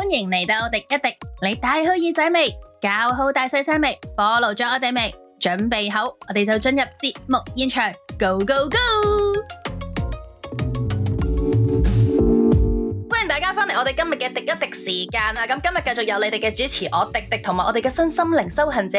迎嚟到廸一廸，你戴好耳仔未？搞好大細聲未？follow咗我哋未？準備好，我哋就進入節目現場，Go Go Go！歡迎大家返嚟我哋今日嘅廸一廸時間啊！咁今日繼續有你哋嘅主持我廸廸同埋我哋嘅身心靈修行者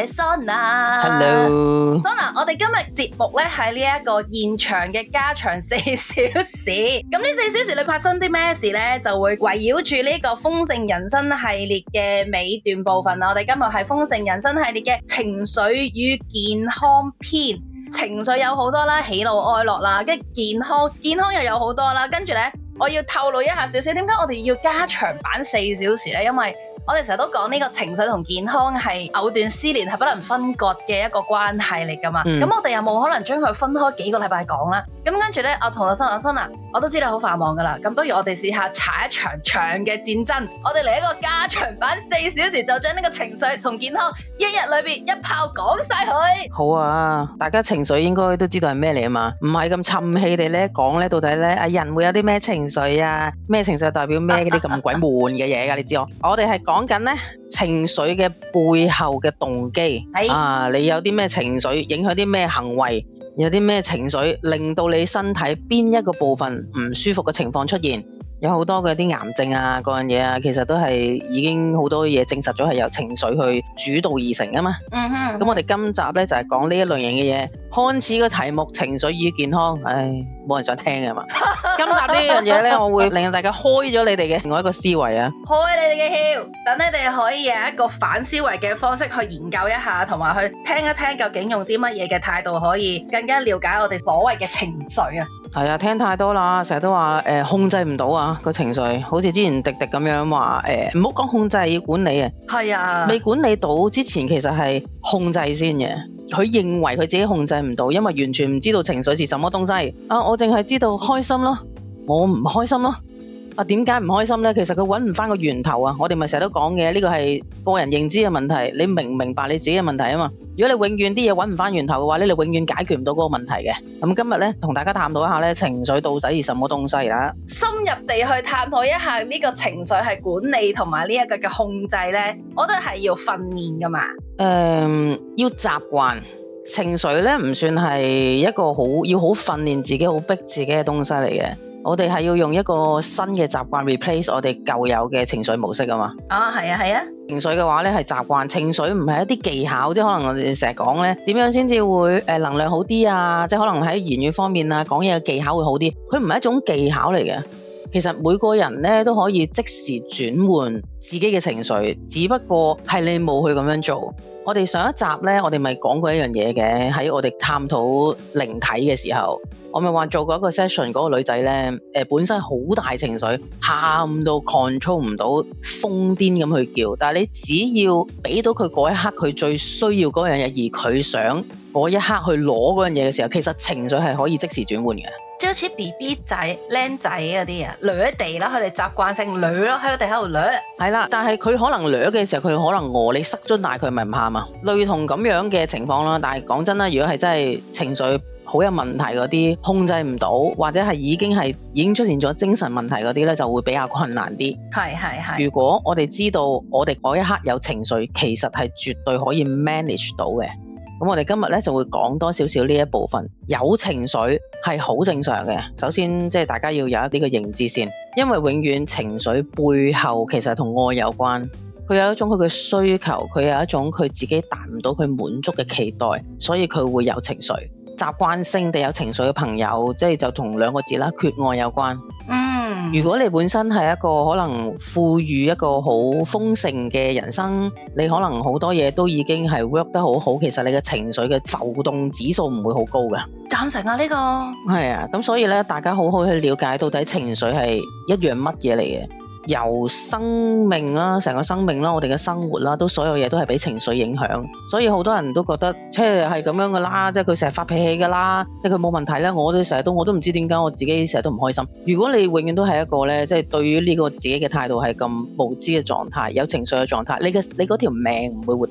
Sona。Hello，Sona，我哋今日節目咧喺呢一個現場嘅加長4小時。咁呢4小時你發生啲咩事咧？就會圍繞住呢個豐盛人生系列嘅尾段部分啦。我哋今日係豐盛人生系列嘅情緒與健康篇。情緒有好多啦，喜怒哀樂啦，跟住健康又有好多啦，跟住咧。我要透露一下少少，點解我哋要加長版4小時呢？因為我哋成日都講呢個情緒同健康係藕斷絲連，係不能分割嘅一個關係嚟噶嘛。咁我哋有冇可能將佢分開幾個禮拜講啦？咁跟住咧，我同阿Sona，我都知道好繁忙噶啦。咁不如我哋試下踩一場長嘅戰爭，我哋嚟一個加長版4小時，就將呢個情緒同健康一日裏邊一炮講晒佢。 好啊，大家情緒應該都知道係咩嚟啊嘛，唔係咁沉氣地咧講咧，到底咧人會有啲咩情緒啊？咩情緒代表咩？嗰啲咁鬼悶嘅嘢噶，你知我哋係講緊咧情緒嘅背後嘅動機啊！你有啲咩情緒影響啲咩行為？有啲咩情緒令到你身體邊一個部分唔舒服嘅情況出現？有好多嘅啲癌症啊，嗰樣嘢啊，其實都係已經好多嘢證實咗係由情緒去主導而成啊嘛。咁我哋今集咧就係講呢一類型嘅嘢。看似個題目情緒與健康，冇人想聽嘅嘛。今集呢樣嘢咧，我會令大家開咗你哋嘅另外一個思維啊， 開你哋嘅竅，等你哋可以有一個反思維嘅方式去研究一下，同埋去聽一聽究竟用啲乜嘢嘅態度可以更加了解我哋所謂嘅情緒啊。 係啊，聽太多啦，成日都話控制唔到啊個情緒，好似之前廸廸咁樣話唔好講控制，要管理啊。係啊，未管理到之前其實係控制先嘅。佢認為佢自己控制唔到，因為完全唔知道情緒是什麼東西啊！我淨係知道開心咯，我唔開心咯。啊，點解唔開心呢？其實佢揾唔翻個源頭啊！我哋咪成日都講嘅，呢個係個人認知嘅問題。你明唔明白你自己嘅問題啊嘛？如果你永遠啲嘢揾唔翻源頭嘅話，你永遠解決唔到嗰個問題嘅。咁今日呢，同大家探討一下呢，情緒到底係什麼東西啦？ 深入地去探討一下呢個情緒係管理同埋呢一個嘅控制呢，我覺得係要訓練噶嘛。 要習慣。情緒咧唔算係一個要好訓練自己、好逼自己嘅東西嚟嘅。我哋係要用一個新嘅習慣 replace 我哋舊有嘅情緒模式啊嘛。係啊。情緒嘅話咧係習慣，情緒唔係一啲技巧，即係可能我哋成日講咧，點樣先至會能量好啲啊？即係可能喺言語方面啊，講嘢嘅技巧會好啲。佢唔係一種技巧嚟嘅。其實每個人咧都可以即時轉換自己嘅情緒，只不過係你冇去咁樣做。我哋上一集咧，我哋咪講過一樣嘢嘅，喺我哋探討靈體嘅時候，我咪話做過一個 session，嗰個女仔咧，本身好大情緒，喊到 control 唔到，瘋癲咁去叫，但係你只要俾到佢嗰一刻，佢最需要嗰樣嘢，而佢想嗰一刻去攞嗰樣嘢嘅時候，其實情緒係可以即時轉換嘅。 即好似 BB 仔、僆仔嗰啲啊，掠地啦，佢哋習慣性掠咯，喺個地喺度掠。係啦，但係佢可能掠嘅時候，佢可能餓，你塞樽奶佢咪唔喊啊？類同咁樣嘅情況啦。但係講真啦，如果係真係情緒好有問題嗰啲，控制唔到，或者係已經出現咗精神問題嗰啲咧，就會比較困難啲。係。如果我哋知道我哋嗰一刻有情緒，其實係絕對可以 manage 到嘅。咁我哋今日咧就會講多少少呢一部分，有情緒係好正常嘅。首先即係大家要有一啲嘅認知先，因為永遠情緒背後其實同愛有關。佢有一種佢嘅需求，佢有一種佢自己達唔到佢滿足嘅期待，所以佢會有情緒。習慣性地有情緒嘅朋友，即係就同2個字啦，缺愛有關。如果你本身係一個可能賦予一個好豐盛嘅人生，你可能好多嘢都已經係 work 得好好，其實你嘅情緒嘅浮動指數唔會好高嘅。 贊成啊呢個。 係啊，咁所以咧，大家好好去了解到底情緒係一樣乜嘢嚟嘅。由生命啦，成個生命啦，我哋嘅生活啦，都所有嘢都係俾情緒影響，所以好多人都覺得即係咁樣噶啦，即係佢成日發脾氣噶啦，即係佢冇問題咧。我都唔知點解我自己成日都唔開心。如果你永遠都係一個咧，即係對於呢個自己嘅態度係咁無知嘅狀態，有情緒嘅狀態，你嗰條命唔會活得好。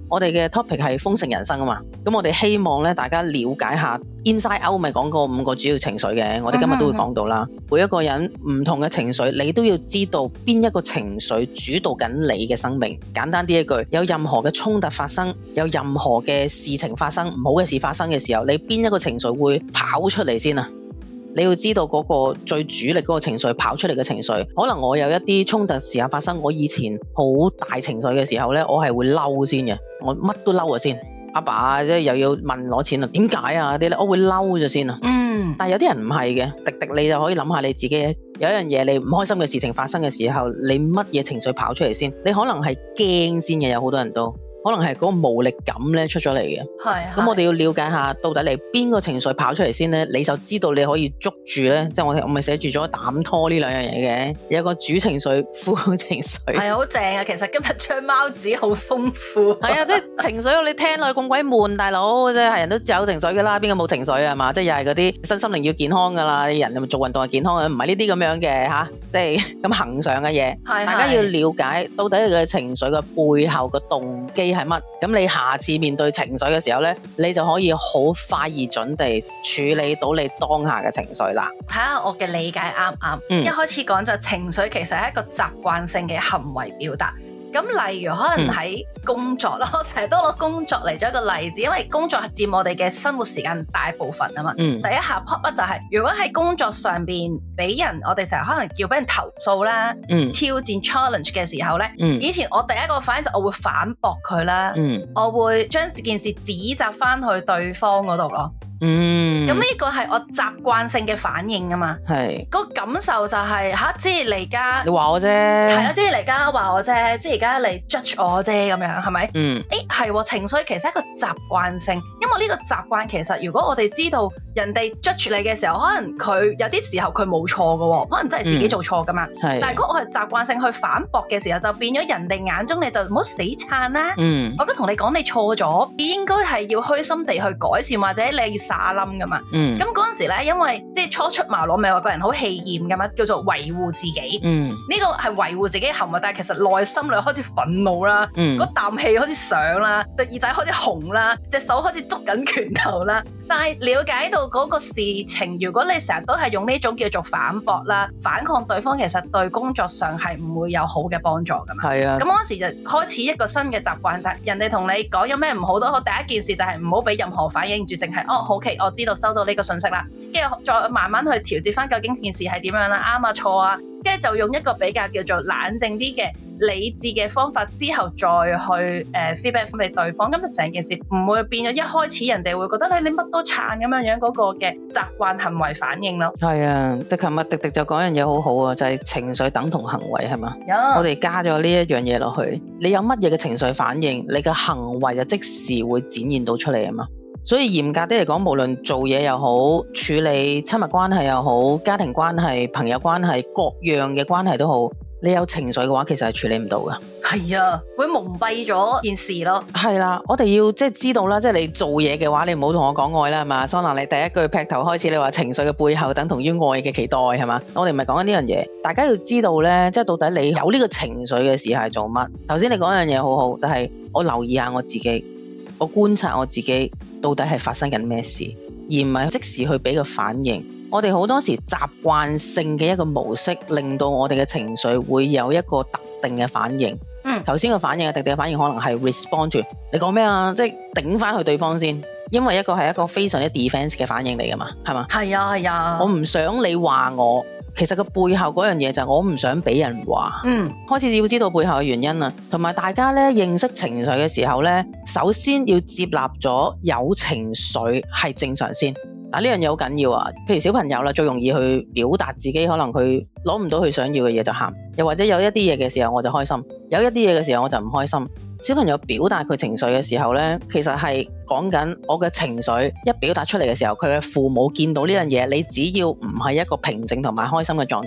我哋嘅 topic 係豐盛人生啊嘛，咁我哋希望咧大家了解下 Inside Out 咪講過5個主要情緒嘅，我哋今日都會講到啦。每一個人唔同嘅情緒，你都要知道邊一個情緒主導緊你嘅生命。簡單啲一句，有任何嘅衝突發生，有任何嘅事情發生，唔好嘅事發生嘅時候，你邊一個情緒會跑出嚟先啊？你要知道嗰個最主力嗰個情緒跑出嚟嘅情緒，可能我有一啲衝突時候發生，我以前好大情緒嘅時候呢，我係會嬲先嘅，我乜都嬲咗先。阿爸即係又要問攞錢啊，點解啊啲咧，我會嬲咗先啊。但係有啲人唔係嘅，迪迪你就可以諗下你自己，有一樣嘢你唔開心嘅事情發生嘅時候，你乜嘢情緒跑出嚟先？你可能係驚先嘅，有好多人都。可能係嗰個無力感咧出咗嚟嘅，咁我哋要了解下到底你邊個情緒跑出嚟先咧，你就知道你可以捉住咧，即係我咪寫住咗膽拖呢兩樣嘢嘅，有個主情緒、副情緒， 係好正啊！其實今日張貓紙好豐富， 係啊，即係情緒你聽落去咁鬼悶，大佬即係人都有情緒噶啦，邊個冇情緒啊嘛？即係又係嗰啲身心靈要健康噶啦，人咪做運動係健康嘅，唔係呢啲咁樣嘅吓，即係咁恆常嘅嘢，大家要了解到底你嘅情緒嘅背後嘅動機係乜？咁你下次面對情緒嘅時候呢，你就可以好快而準地處理到你當下嘅情緒啦。 睇下我嘅理解啱唔啱？一開始講就情緒其實係一個習慣性嘅行為表達。咁例如可能喺工作咯，我成日都攞工作嚟做一個例子，因為工作係佔我哋嘅生活時間大部分啊嘛。第一下 pop up 就係，如果喺工作上邊俾人，我哋成日可能叫俾人投訴啦，挑戰 challenge 嘅時候咧，以前我第一個反應就我會反駁佢啦，我會將件事指責翻去對方嗰度咯。咁呢個係我習慣性嘅反應啊嘛，係個感受就係即係你而家你話我啫， 係啦，即係你而家話我啫，即係而家你 judge 我啫咁樣，係咪？係情緒其實係一個習慣性，因為呢個習慣其實如果我哋知道人哋 judge 你嘅時候，可能佢有啲時候佢冇錯噶，可能真係自己做錯噶嘛。但係如果我係習慣性去反駁嘅時候，就變咗人哋眼中你就唔好死撐啦。我而家同你講你錯咗，你應該係要虛心地去改善，或者你撒冧噶嘛。咁嗰陣時咧，因為即係初出茅廬，咪話個人好氣焰噶嘛，叫做維護自己。呢個係維護自己嘅行為，但係其實內心裏開始憤怒啦，嗰啖氣開始上啦，對耳仔開始紅啦，隻手開始捉緊拳頭啦。但係了解到嗰個事情，如果你成日都係用呢種叫做反駁啦、反抗對方，其實對工作上係唔會有好嘅幫助噶嘛。係啊。咁嗰時就開始一個新嘅習慣，就係人哋同你講有咩唔好都好，第一件事就係唔好俾任何反應住，淨係好奇我知道收到呢個信息啦，跟住再慢慢去調節翻究竟件事係點樣啦，啱啊錯啊，跟住就用一個比較叫做冷靜啲嘅理智嘅方法，之後再去feedback 翻俾對方，咁就成件事唔會變咗一開始人哋會覺得你乜都撐咁樣嗰個嘅習慣行為反應咯。係啊，即係琴日迪迪就講樣嘢好好啊，就係情緒等同行為係嘛？我哋加咗呢一樣嘢落去，你有乜嘢嘅情緒反應，你嘅行為就即時會展現到出嚟啊嘛。所以嚴格啲嚟講，無論做嘢又好，處理親密關係又好，家庭關係、朋友關係，各樣嘅關係都好，你有情緒嘅話，其實係處理唔到噶。係啊，會蒙蔽咗件事咯。係啦，我哋要即係知道啦，即係你做嘢嘅話，你唔好同我講愛啦，係嘛？桑娜，你第一句劈頭開始，你話情緒嘅背後等同於愛嘅期待，係嘛？我哋唔係講緊呢樣嘢，大家要知道咧，即係到底你有呢個情緒嘅時候係做乜？頭先你講一樣嘢好好，就係我留意下我自己，我觀察我自己。到底係發生緊咩事，而唔係即時去俾個反應。我哋好多時習慣性嘅一個模式，令到我哋嘅情緒會有一個特定嘅反應。頭先個反應嘅特定嘅反應可能係 respond to 你講咩啊，即係頂翻去對方先，因為一個係一個非常之 defense 嘅反應嚟噶嘛，係嘛？係啊係啊，我唔想你話我。其實個背後嗰樣嘢就係我唔想俾人話，開始要知道背後嘅原因啦，同埋大家咧認識情緒嘅時候咧，首先要接納咗有情緒係正常先。嗱，呢樣嘢好緊要啊，譬如小朋友啦，最容易去表達自己，可能佢攞唔到佢想要嘅嘢就喊，又或者有一啲嘢嘅時候我就開心，有一啲嘢嘅時候我就唔開心。小朋友表達佢情緒嘅時候呢，其實係講緊我嘅情緒一表達出嚟嘅時候，佢嘅父母見到呢樣嘢，你只要唔係一個平靜同埋開心嘅狀態，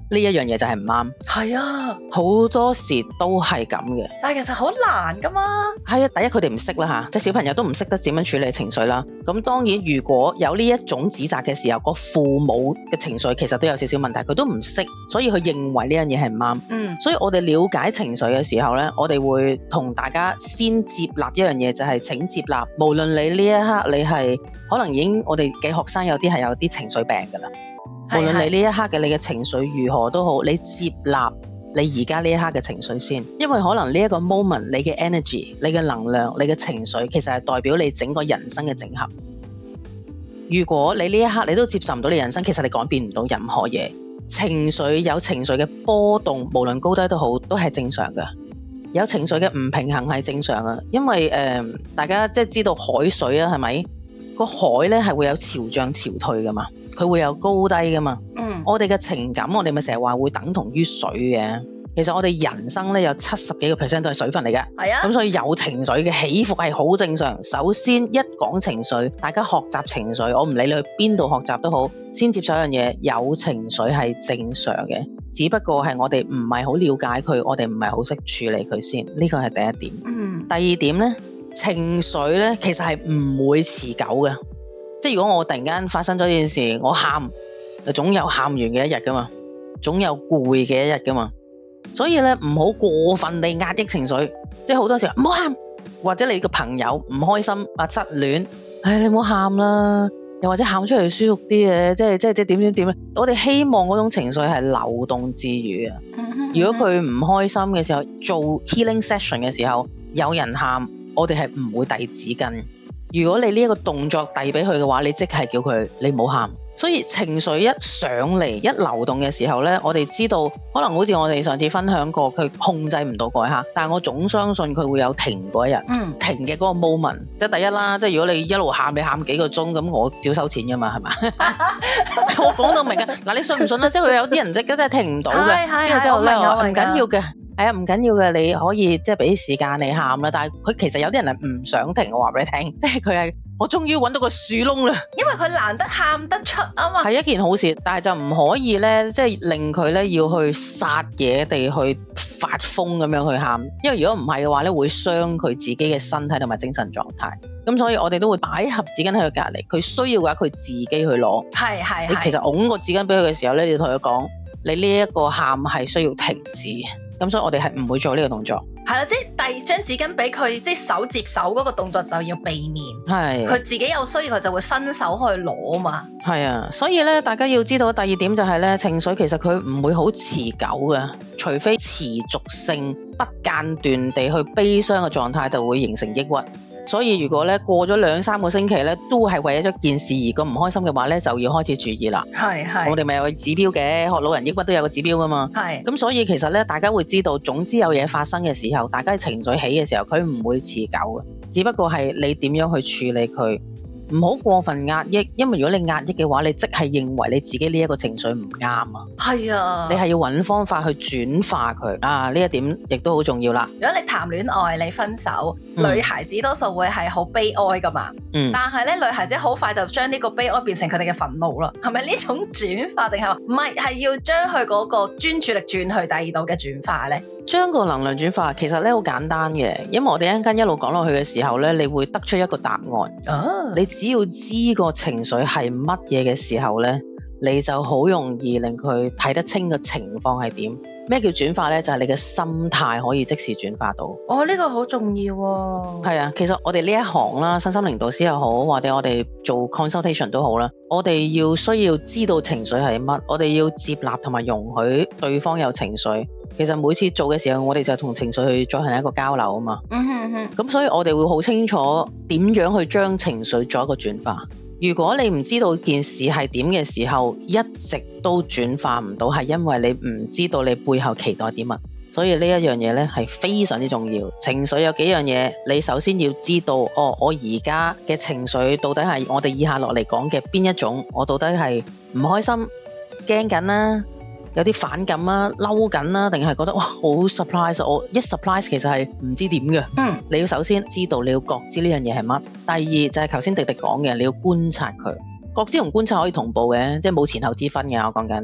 呢一樣嘢就係唔啱。 係啊， 好多時都係咁嘅。 但係其實好難噶嘛。 係啊，第一佢哋唔識啦嚇，即係小朋友都唔識得點樣處理情緒啦。咁當然如果有呢一種指責嘅時候，個父母嘅情緒其實都有少少問題，佢都唔識，所以佢認為呢樣嘢係唔啱。所以我哋了解情緒嘅時候呢，我哋會同大家先接納一樣嘢，就係請接納，無論你呢一刻你係可能已經我哋嘅學生有啲係有啲情緒病噶啦，無論你呢一刻嘅你嘅情緒如何都好，你接納你而家呢一刻嘅情緒先，因為可能呢一個 moment 你嘅 energy、你嘅能量、你嘅情緒，其實係代表你整個人生嘅整合。如果你呢一刻你都接受唔到你人生，其實你改變唔到任何嘢。情緒有情緒嘅波動，無論高低都好，都係正常嘅。有情緒嘅唔平衡係正常嘅，因為大家即係知道海水啊，係咪？個海咧係會有潮漲潮退噶嘛，佢會有高低噶嘛。我哋嘅情感，我哋咪成日話會等同於水嘅。其實我哋人生咧有70幾個% 都係水分嚟嘅。係啊，咁所以有情緒嘅起伏係好正常。首先一講情緒，大家學習情緒，我唔理你去邊度學習都好，先接受一樣嘢，有情緒係正常嘅，只不過係我哋唔係好了解佢，我哋唔係好識處理佢先，呢個係第一點。第二點咧，情緒咧其實係唔會持久嘅，即係如果我突然間發生咗呢件事，我喊，總有喊完嘅一日噶嘛，總有攰嘅一日噶嘛。所以咧唔好過分地壓抑情緒，即係好多時候唔好喊，或者你個朋友唔開心啊失戀，你唔好喊啦，又或者喊出嚟舒服啲嘅，即係點咧？我哋希望嗰種情緒係流動自如啊。如果佢唔開心嘅時候，做 healing session 嘅時候，有人喊，我哋係唔會遞紙巾。如果你呢一個動作遞俾佢嘅話，你即係叫佢你唔好喊。所以情緒一上嚟一流動嘅時候呢，我哋知道可能好似我哋上次分享過，佢控制唔到嗰一刻，但係我總相信佢會有停嗰一日，停嘅嗰個 moment。即係第一啦，即係如果你一路喊，你喊幾個鐘，咁我照收錢㗎嘛，係嘛？我講到明㗎，嗱你信唔信咧？即係佢有啲人真係停唔到嘅，跟住之後咧唔緊要嘅。係啊，唔緊要嘅，你可以即係俾時間你喊啦。但係佢其實有啲人係唔想停，我話俾你聽，即係佢係我終於揾到個樹窿啦。因為佢難得喊得出啊嘛，係一件好事，但係就唔可以咧，即係令佢咧要去殺嘢地去發瘋咁樣去喊，因為如果唔係嘅話咧，會傷佢自己嘅身體同埋精神狀態。咁所以我哋都會擺盒紙巾喺佢隔離，佢需要嘅話佢自己去攞。係。你其實拱個紙巾俾佢嘅時候咧，你要同佢講，你呢一個喊係需要停止。咁所以我哋係唔會做呢個動作。係啦，即係遞張紙巾俾佢，即係手接手嗰個動作就要避免。係，佢自己有需要佢就會伸手去攞嘛。係啊，所以咧大家要知道第二點就係咧，情緒其實佢唔會好持久嘅，除非持續性不間斷地去悲傷嘅狀態，就會形成抑鬱。所以如果咧過咗2-3個星期咧，都係為咗件事而咁唔開心嘅話咧，就要開始注意啦。係，我哋咪有個指標嘅，學老人抑鬱都有個指標噶嘛。係，咁所以其實咧，大家會知道，總之有嘢發生嘅時候，大家情緒起嘅時候，佢唔會持久嘅，只不過係你點樣去處理佢。唔好過分壓抑，因為如果你壓抑嘅話，你即係認為你自己呢一個情緒唔啱啊。係啊，你係要揾方法去轉化佢啊，呢一點亦都好重要啦。如果你談戀愛，你分手，女孩子多數會係好悲哀噶嘛。但係咧，女孩子好快就將呢個悲哀變成佢哋嘅憤怒啦。係咪呢種轉化定係話唔係？係要將佢嗰個專注力轉去第二度嘅轉化呢？將個能量轉化其實咧好簡單嘅，因為我哋一陣間一路講落去嘅時候咧，你會得出一個答案。你只要知個情緒係乜嘢嘅時候咧，你就好容易令佢睇得清個情況係點。咩叫轉化咧？就係你嘅心態可以即時轉化到。呢個好重要喎。係啊，其實我哋呢一行啦，身心靈導師又好，或者我哋做 consultation 都好啦，我哋需要知道情緒係乜，我哋要接納同埋容許對方有情緒。其實每次做嘅時候，我哋就同情緒去進行一個交流啊嘛。咁所以我哋會好清楚點樣去將情緒做一個轉化。如果你唔知道件事係點嘅時候，一直都轉化唔到，係因為你唔知道你背後期待啲乜。所以呢一樣嘢咧係非常之重要。情緒有幾樣嘢，你首先要知道，我而家嘅情緒到底係我哋以下落嚟講嘅邊一種？我到底係唔開心、驚緊啦，有啲反感啦、嬲緊啦，定係覺得哇好 surprise？ 我一 surprise 其實係唔知點嘅。你要首先知道，你要覺知呢樣嘢係乜。第二就係頭先迪迪講嘅，你要觀察佢。覺知同觀察可以同步嘅，即係冇前後之分嘅。我講緊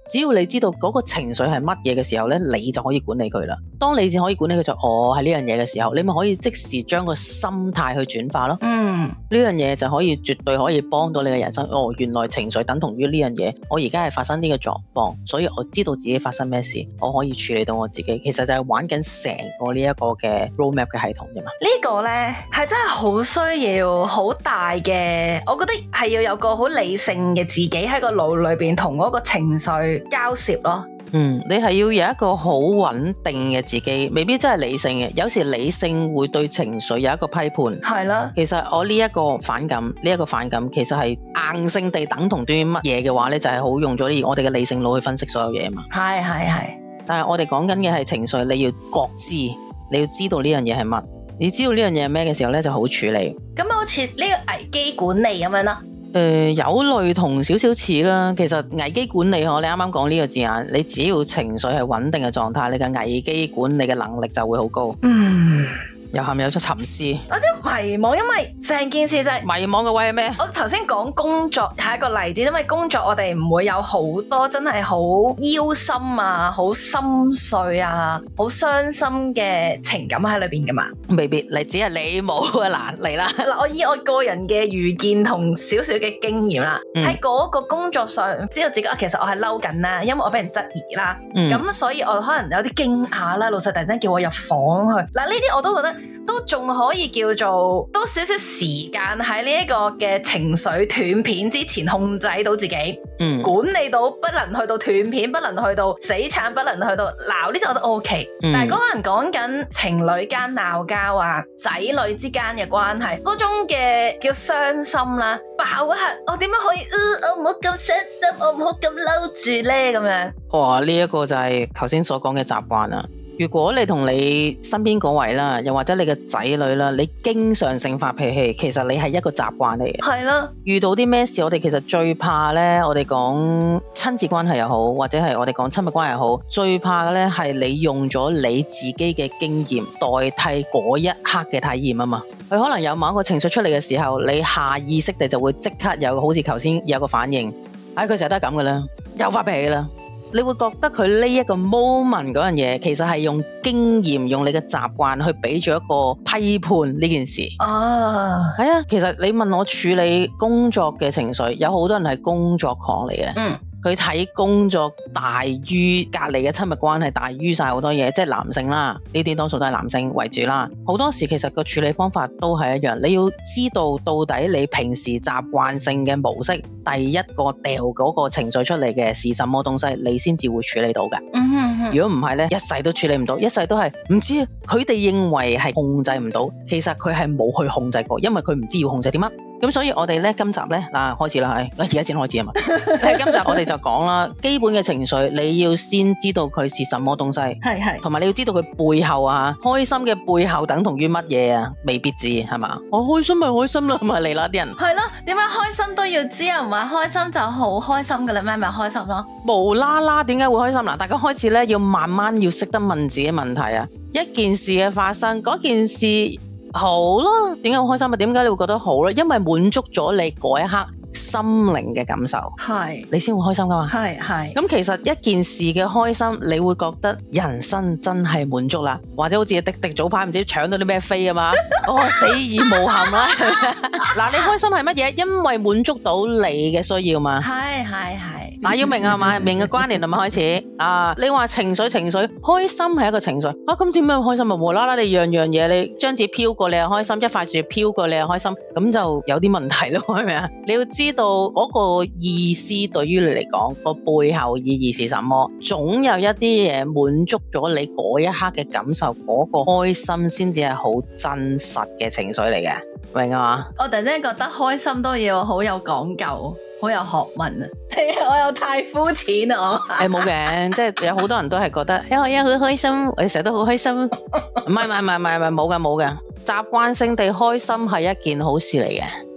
只要你知道嗰個情緒係乜嘢嘅時候咧，你就可以管理佢啦。當你先可以管理佢就係呢樣嘢嘅時候，你咪可以即時將個心態去轉化咯。呢樣嘢就可以絕對可以幫到你嘅人生。原來情緒等同於呢樣嘢，我而家係發生呢個狀況，所以我知道自己發生咩事，我可以處理到我自己。其實就係玩緊成個呢一個嘅 roadmap 嘅系統啫嘛。 呢個呢係真係好需要好大嘅，我覺得係要有個好理性嘅自己喺個腦裏邊同嗰個情緒交涉咯。 你係要有一個好穩定嘅自己，未必真係理性嘅。有時理性會對情緒有一個批判， 係啦。 其實我呢一個反感，其實係硬性地等同於乜嘢嘅話呢，就係好用咗我哋嘅理性腦去分析所有嘢嘛。 係。 但係我哋講緊嘅係情緒，你要覺知，你要知道呢樣嘢係乜，你知道呢樣嘢係咩嘅時候呢，就好處理。 咁好似呢個危機管理咁樣啦。 有類同少少似啦。其實危機管理，你啱啱講呢個字眼，你只要情緒係穩定嘅狀態，你嘅危機管理嘅能力就會好高。又係咪有出沉思？ 有啲迷茫，因為成件事就係迷茫嘅位係咩？ 我頭先講工作係一個例子，因為工作我哋唔會有好多真係好憂心啊、好心碎啊、好傷心嘅情感喺裏邊噶嘛。 未必，你只係你冇啊。嗱，嚟啦。 嗱，我以我個人嘅愚見同少少嘅經驗啦，喺嗰個工作上知道自己其實我係嬲緊啦，因為我俾人質疑啦，咁所以我可能有啲驚訝啦，老細突然間叫我入房去，嗱呢啲我都覺得都仲可以叫做多少少時間喺呢一個嘅情緒斷片之前控制到自己，管理到不能去到斷片，不能去到死撐，不能去到鬧，呢啲我覺得 OK。但係嗰個人講緊情侶間鬧交啊，仔女之間嘅關係，嗰種嘅叫傷心啦，爆一下，我點樣可以我唔好咁傷心，我唔好咁嬲住咧咁樣。 哇！呢一個就係頭先所講嘅習慣啦。如果你同你身邊嗰位啦，又或者你嘅仔女啦，你經常性發脾氣，其實你係一個習慣嚟嘅。 係啦， 遇到啲咩事，我哋其實最怕呢，我哋講親子關係又好，或者係我哋講親密關係又好，最怕嘅呢係你用咗你自己嘅經驗代替嗰一刻嘅體驗啊嘛。佢可能有某一個情緒出嚟嘅時候，你下意識地就會即刻有好似頭先有個反應，佢成日都係咁嘅啦，又發脾氣啦。你會覺得佢呢一個 moment 嗰樣嘢，其實係用經驗、用你嘅習慣去俾咗一個批判呢件事。係啊，其實你問我處理工作嘅情緒，有好多人係工作狂嚟嘅。佢睇工作大於隔離嘅親密關係，大於晒好多嘢，即係男性啦，呢啲多數都係男性為主啦。好多時其實個處理方法都係一樣，你要知道到底你平時習慣性嘅模式，第一個掉嗰個情緒出嚟嘅是什麼東西，你先至會處理到嘅。如果唔係呢，一世都處理唔到，一世都係唔知。佢哋認為係控制唔到，其實佢係冇去控制過，因為佢唔知要控制啲乜。咁所以我哋咧今集咧開始啦，而家先開始啊嘛。今集我哋就講啦，基本嘅情緒你要先知道佢是什麼東西，係，同埋你要知道佢背後開心嘅背後等同於乜嘢啊？未必知係嘛？我開心咪開心啦，咪嚟啦啲人。 係咯，點解開心都要知啊？唔係開心就好開心噶啦咩？咪開心咯。無啦啦點解會開心？嗱，大家開始咧要慢慢要識得問自己問題啊！一件事嘅發生，嗰件事好咯，點解好開心啊？點解你會覺得好咧？因為滿足咗你嗰一刻心靈嘅感受，係你先會開心噶嘛？係。咁其實一件事嘅開心，你會覺得人生真係滿足啦，或者好似迪迪早排唔知搶到啲咩飛啊嘛，死而無憾啦。嗱，你開心係乜嘢？因為滿足到你嘅需要嘛。係。嗱，要明啊嘛，明嘅關聯係咪開始啊？你話情緒，開心係一個情緒啊，咁點樣開心啊？無啦啦你樣嘢，你張紙飄過你又開心，一塊樹飄過你又開心，咁就有啲問題咯，係咪啊？你要知道嗰個意思對於你嚟講個背後意義是什麼？總有一啲嘢滿足咗你嗰一刻嘅感受，嗰個開心先至係好真實嘅情緒嚟嘅，明啊嘛？我突然間覺得開心都要好有講究。好有學問啊！我又太膚淺啊！冇嘅，即係有好多人都係覺得，我好開心，我成日都好開心。唔係，冇嘅。習慣性地開心係一件好事嚟嘅。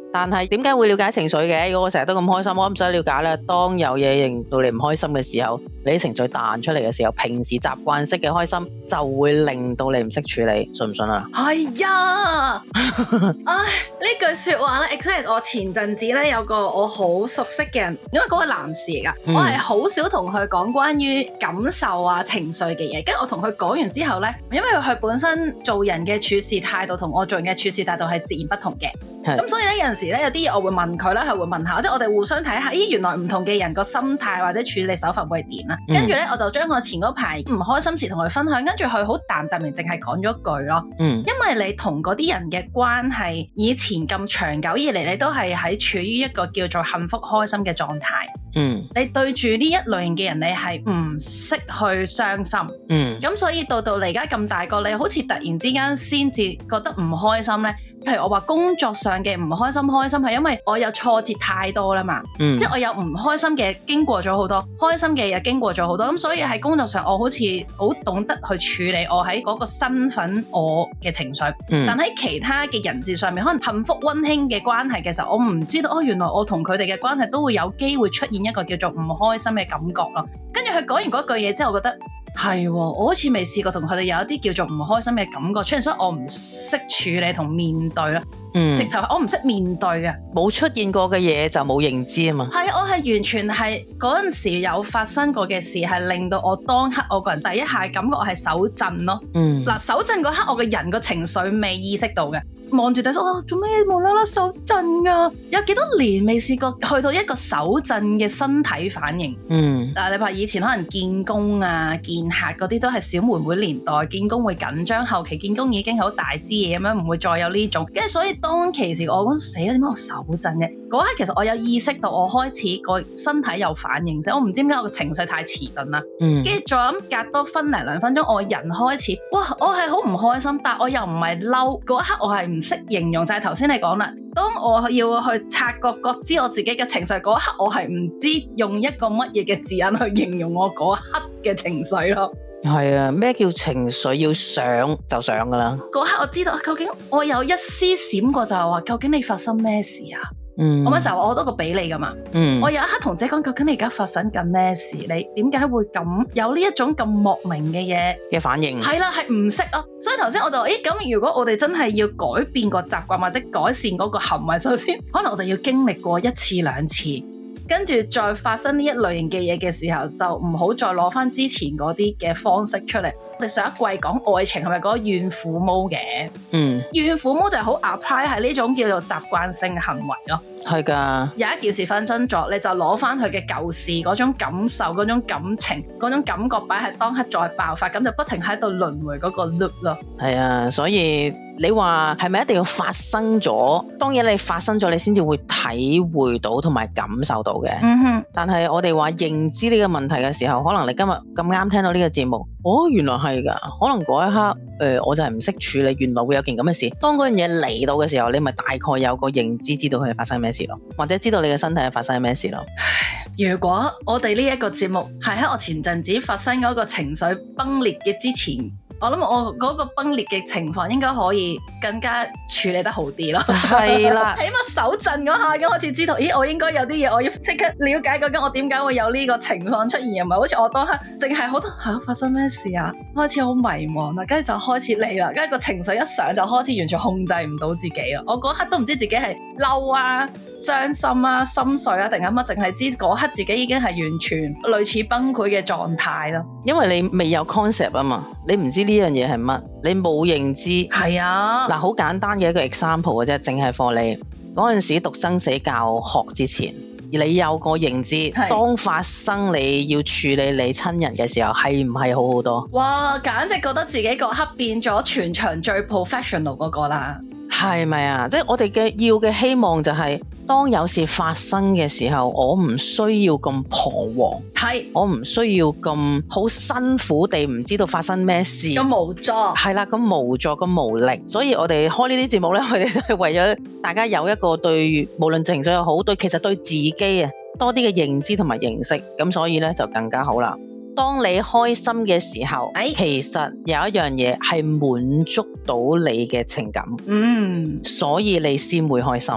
但係點解會了解情緒嘅？如果我成日都咁開心，我唔使了解啦。當有嘢令到你唔開心嘅時候，你啲情緒彈出嚟嘅時候，平時習慣式嘅開心就會令到你唔識處理，信唔信啊？ 係呀，唉，呢句說話咧 exactly 我前陣子咧有個我好熟悉嘅人，因為嗰個男士嚟噶，我係好少同佢講關於感受啊情緒嘅嘢，跟住我同佢講完之後咧，因為佢本身做人嘅處事態度同我做人嘅處事態度係截然不同嘅，咁所以咧有陣時咧有啲嘢我會問佢啦，係會問下，即係我哋互相睇下，咦原來唔同嘅人個心態或者處理手法會係點啦，跟住咧我就將我前嗰排唔開心時同佢分享，跟住佢好淡淡然淨係講咗一句咯，因為你同嗰啲人嘅關係以前咁長久以嚟，你都係喺處於一個叫做幸福開心嘅狀態。你對住呢一類型嘅人，你係唔識去傷心。咁所以到你而家咁大個，你好似突然之間先至覺得唔開心咧。譬如我話工作上嘅唔開心係因為我有挫折太多啦嘛，即係我有唔開心嘅經過咗好多，開心嘅嘢經過咗好多，咁所以喺工作上我好似好懂得去處理我喺嗰個身份我嘅情緒，但喺其他嘅人事上面，可能幸福溫馨嘅關係嘅時候，我唔知道原來我同佢哋嘅關係都會有機會出現一個叫做唔開心嘅感覺咯。跟住佢講完嗰句嘢之後，我覺得係，我好似未試過同佢哋有一啲叫做唔開心嘅感覺出現，所以我唔識處理同面對啦。直頭我唔識面對啊， 冇出現過嘅嘢就冇認知啊嘛。 係，我係完全係嗰陣時有發生過嘅事，係令到我當刻我個人第一下感覺我係手震咯。嗱，手震嗰刻我個人個情緒未意識到嘅。望住對手，做咩無啦啦手震啊？有幾多年未試過去到一個手震嘅身體反應？你話以前可能見工啊、見客嗰啲都係小妹妹年代，見工會緊張，後期見工已經好大支嘢咁樣，唔會再有呢種。跟住所以當其時我講死啦，點解我手震嘅？嗰刻其實我有意識到我開始個身體有反應啫，我唔知點解我個情緒太遲鈍啦。跟住再諗隔多分零2分鐘，我人開始，哇！我係好唔開心，但我又唔係嬲。嗰刻我係唔識形容，就係頭先你講啦。當我要去察覺覺知我自己嘅情緒嗰一刻，我係唔知用一個乜嘢嘅字眼去形容我嗰一刻嘅情緒咯。 係啊，咩叫情緒要上就上噶啦？ 嗰刻我知道究竟我有一絲閃過就係話，究竟你發生咩事啊？我嗰時候我好多個俾你噶嘛，我有一刻同姐講，究竟你而家發生緊咩事？你點解會咁有呢一種咁莫名嘅嘢嘅反應？ 係啦，係唔識咯。所以頭先我就話，咁如果我哋真係要改變個習慣或者改善嗰個行為，首先可能我哋要經歷過1次2次，跟住再發生呢一類型嘅嘢嘅時候，就唔好再攞翻之前嗰啲嘅方式出嚟。我哋上一季講愛情係咪嗰個怨婦毛嘅？怨婦毛就係好 apply 喺呢種叫做習慣性行為咯。 係噶， 有一件事發生咗，你就攞翻佢嘅舊事嗰種感受、嗰種感情、嗰種感覺擺喺當刻再爆發，咁就不停喺度輪迴嗰個 loop 咯。 係啊，所以你話係咪一定要發生咗？當然你發生咗，你先至會體會到同埋感受到嘅。但係我哋話認知呢個問題嘅時候，可能你今日咁啱聽到呢個節目，原來係噶，可能嗰一刻我就係唔識處理，原來會有件咁嘅事。當嗰樣嘢嚟到嘅時候，你咪大概有個認知，知道佢係發生咩事咯，或者知道你嘅身體係發生咩事咯。 如果我哋呢一個節目係喺我前陣子發生嗰個情緒崩裂嘅之前，我諗我嗰個崩裂嘅情況應該可以更加處理得好啲咯。係啦，起碼手震嗰下已經開始知道，我應該有啲嘢我要即刻了解究竟我點解會有呢個情況出現，又唔係好似我當刻淨係好多發生咩事啊，開始好迷茫啦，跟住就開始嚟啦，跟住個情緒一上就開始完全控制唔到自己啦。我嗰刻都唔知自己係嬲啊、傷心啊、心碎啊定係乜，淨係知嗰刻自己已經係完全類似崩潰嘅狀態咯。因為你未有 concept 啊嘛，你唔知呢樣嘢係乜，你冇認知。係啊，嗱，好簡單嘅一個 example 嘅啫，淨係課你嗰陣時讀生死教學之前，你有個認知，當發生你要處理你親人嘅時候，係唔係好好多？哇，簡直覺得自己嗰刻變咗全場最 professional 嗰個啦。係咪啊？即係我哋要嘅希望就係，當有事發生嘅時候，我唔需要咁彷徨，我唔需要咁好辛苦地唔知道發生咩事，咁無助，係啦，咁無助咁無力。所以我哋開呢啲節目呢，我哋都係為咗大家有一個對無論情緒又好，其實對自己啊多啲嘅認知同埋認識，咁所以呢，就更加好啦。當你開心嘅時候，其實有一樣嘢係滿足到你嘅情感，所以你先會開心。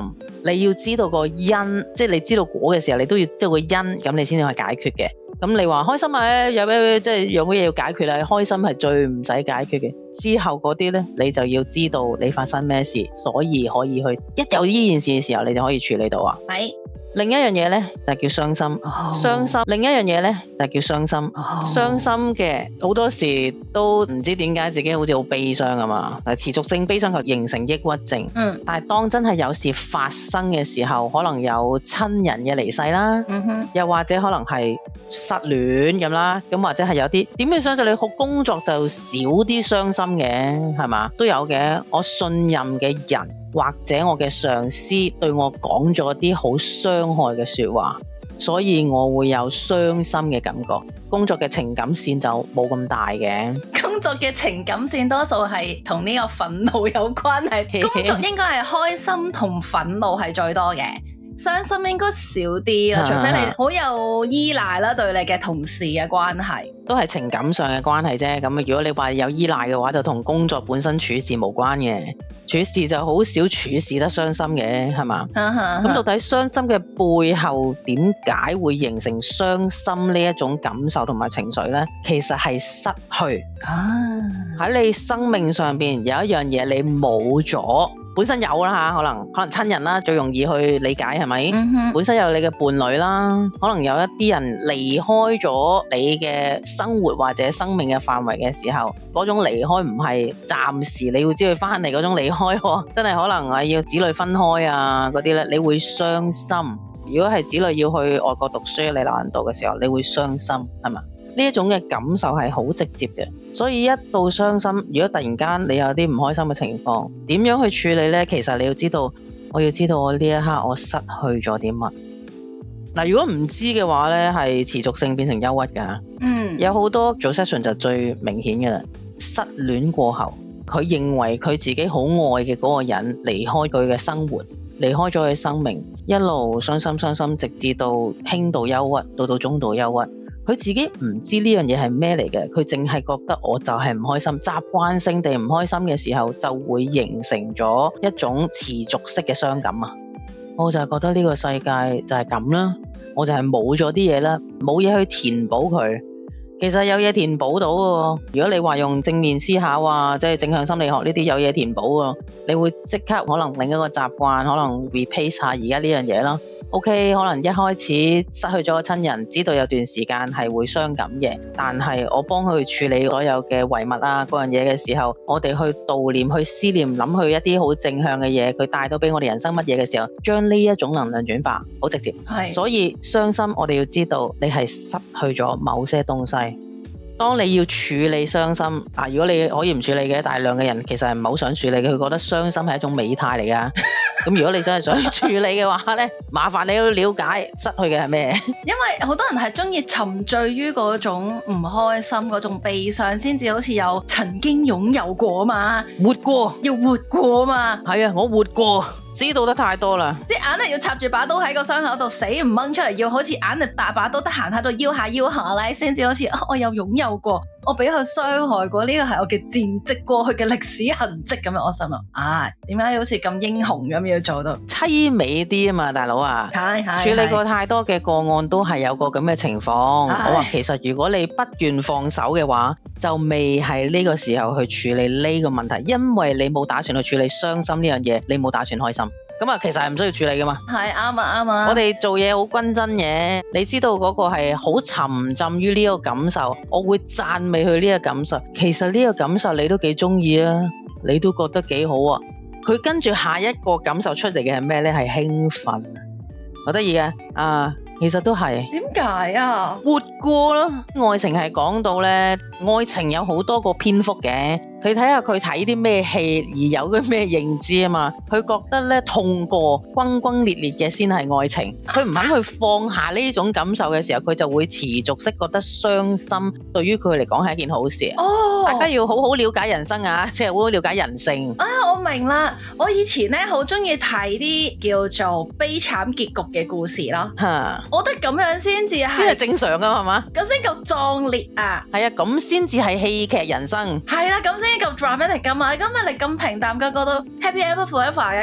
你要知道個因，即係你知道果嘅時候，你都要知道個因，咁你先至去解決嘅。咁你話開心啊，有咩即係有乜嘢要解決啊？開心係最唔使解決嘅。之後嗰啲呢，你就要知道你發生咩事，所以可以去一有呢件事嘅時候，你就可以處理到啊。 係。 另一樣嘢呢，就叫傷心，傷心。另一樣嘢呢，就叫傷心，傷心嘅好多時都唔知點解自己好似好悲傷啊嘛。持續性悲傷就形成抑鬱症。但係當真係有事發生嘅時候，可能有親人嘅離世啦，又或者可能係失戀咁啦，咁或者係有啲點樣相信你好工作就少啲傷心嘅，係嘛？都有嘅。我信任嘅人或者我嘅上司對我講咗啲好傷害嘅說話，所以我會有傷心嘅感覺。工作嘅情感線就冇咁大嘅。 工作嘅情感線多數係同呢個憤怒有關係。工作應該係開心同憤怒係最多嘅。傷心應該少啲啦，除非你好有依賴啦，對你嘅同事嘅關係都係情感上嘅關係啫。咁如果你話有依賴嘅話，就同工作本身處事無關嘅。處事就好少處事得傷心嘅，係嘛？咁到底傷心嘅背後點解會形成傷心呢一種感受同埋情緒呢？其實係失去。喺你生命上邊有一樣嘢你冇咗。本身有啦吓，可能親人啦，最容易去理解係咪？本身有你嘅伴侶啦，可能有一啲人離開咗你嘅生活或者生命嘅範圍嘅時候，嗰種離開唔係暫時你要知佢翻嚟嗰種離開，真係可能係要子女分開啊嗰啲咧，你會傷心。如果係子女要去外國讀書，你難度嘅時候，你會傷心，係嘛？呢一種嘅感受係好直接嘅，所以一到傷心，如果突然間你有啲唔開心嘅情況，點樣去處理呢？其實你要知道，我要知道我呢一刻我失去咗啲乜。嗱，如果唔知嘅話呢，係持續性變成憂鬱噶。有好多做 session 就最明顯嘅啦。失戀過後，佢認為佢自己好愛嘅嗰個人離開佢嘅生活，離開咗佢生命，一路傷心，直至到輕度憂鬱，到中度憂鬱。佢自己唔知呢樣嘢係咩嚟嘅，佢淨係覺得我就係唔開心，習慣性地唔開心嘅時候，就會形成咗一種持續式嘅傷感啊！我就係覺得呢個世界就係咁啦，我就係冇咗啲嘢啦，冇嘢去填補佢。其實有嘢填補到嘅，如果你話用正面思考啊，即係正向心理學呢啲有嘢填補啊，你會即刻可能另一個習慣，可能 replace 下而家呢樣嘢啦。OK， 可能一開始失去咗個親人，知道有段時間係會傷感嘅，但係我幫佢處理所有嘅遺物啊嗰樣嘢嘅時候，我哋去悼念、去思念、諗去一啲好正向嘅嘢，佢帶到俾我哋人生乜嘢嘅時候，將呢一種能量轉化，好直接。所以傷心，我哋要知道你係失去咗某些東西。當你要處理傷心，如果你可以唔處理嘅，大量嘅人其實係唔係好想處理嘅，佢覺得傷心係一種美態嚟噶。咁如果你想處理嘅話呢，麻煩你要了解失去嘅係咩？ 因為好多人係中意沉醉於嗰種唔開心、嗰種悲傷，先至好似有曾經擁有過嘛， 活過， 要活過嘛。 係啊，我活過，知道得太多啦。 即係硬係要插住把刀喺個傷口度死唔掹出嚟，要好似硬係大把刀得閒喺度腰下咧，先至好似我有擁有過，我俾佢傷害過，呢個係我嘅戰績，過去嘅歷史痕跡咁樣。我心諗點解好似咁英雄咁要做到凄美啲啊嘛，大佬啊，處理過太多嘅個案都係有個咁嘅情況。我話其實如果你不願放手嘅話，就未係呢個時候去處理呢個問題，因為你冇打算去處理傷心呢樣嘢，你冇打算開心。咁其實係唔需要處理噶嘛。係啱啊。我哋做嘢好均真嘅，你知道嗰個係好沉浸於呢個感受，我會讚美佢呢個感受。其實呢個感受你都幾中意啊，你都覺得幾好啊。佢跟住下一個感受出嚟嘅係咩呢？係興奮，好得意嘅其實都係。點解啊？活過咯。愛情係講到呢，愛情有好多個篇幅嘅。佢睇下佢睇啲咩戲而有啲咩認知啊嘛，佢覺得咧痛過轟轟烈烈嘅先係愛情，佢唔肯去放下呢種感受嘅時候，佢就會持續式覺得傷心，對於佢嚟講係一件好事。大家要好好了解人生啊，即係好好了解人性。我明啦，我以前咧好中意睇啲叫做悲慘結局嘅故事咯。我覺得咁樣先至係正常噶係嘛？咁先夠壯烈啊！係啊，咁先至係戲劇人生。係啦，咁先夠 dramatic 噶嘛？咁你咁平淡嘅過到 happy ever forever 嘅，咁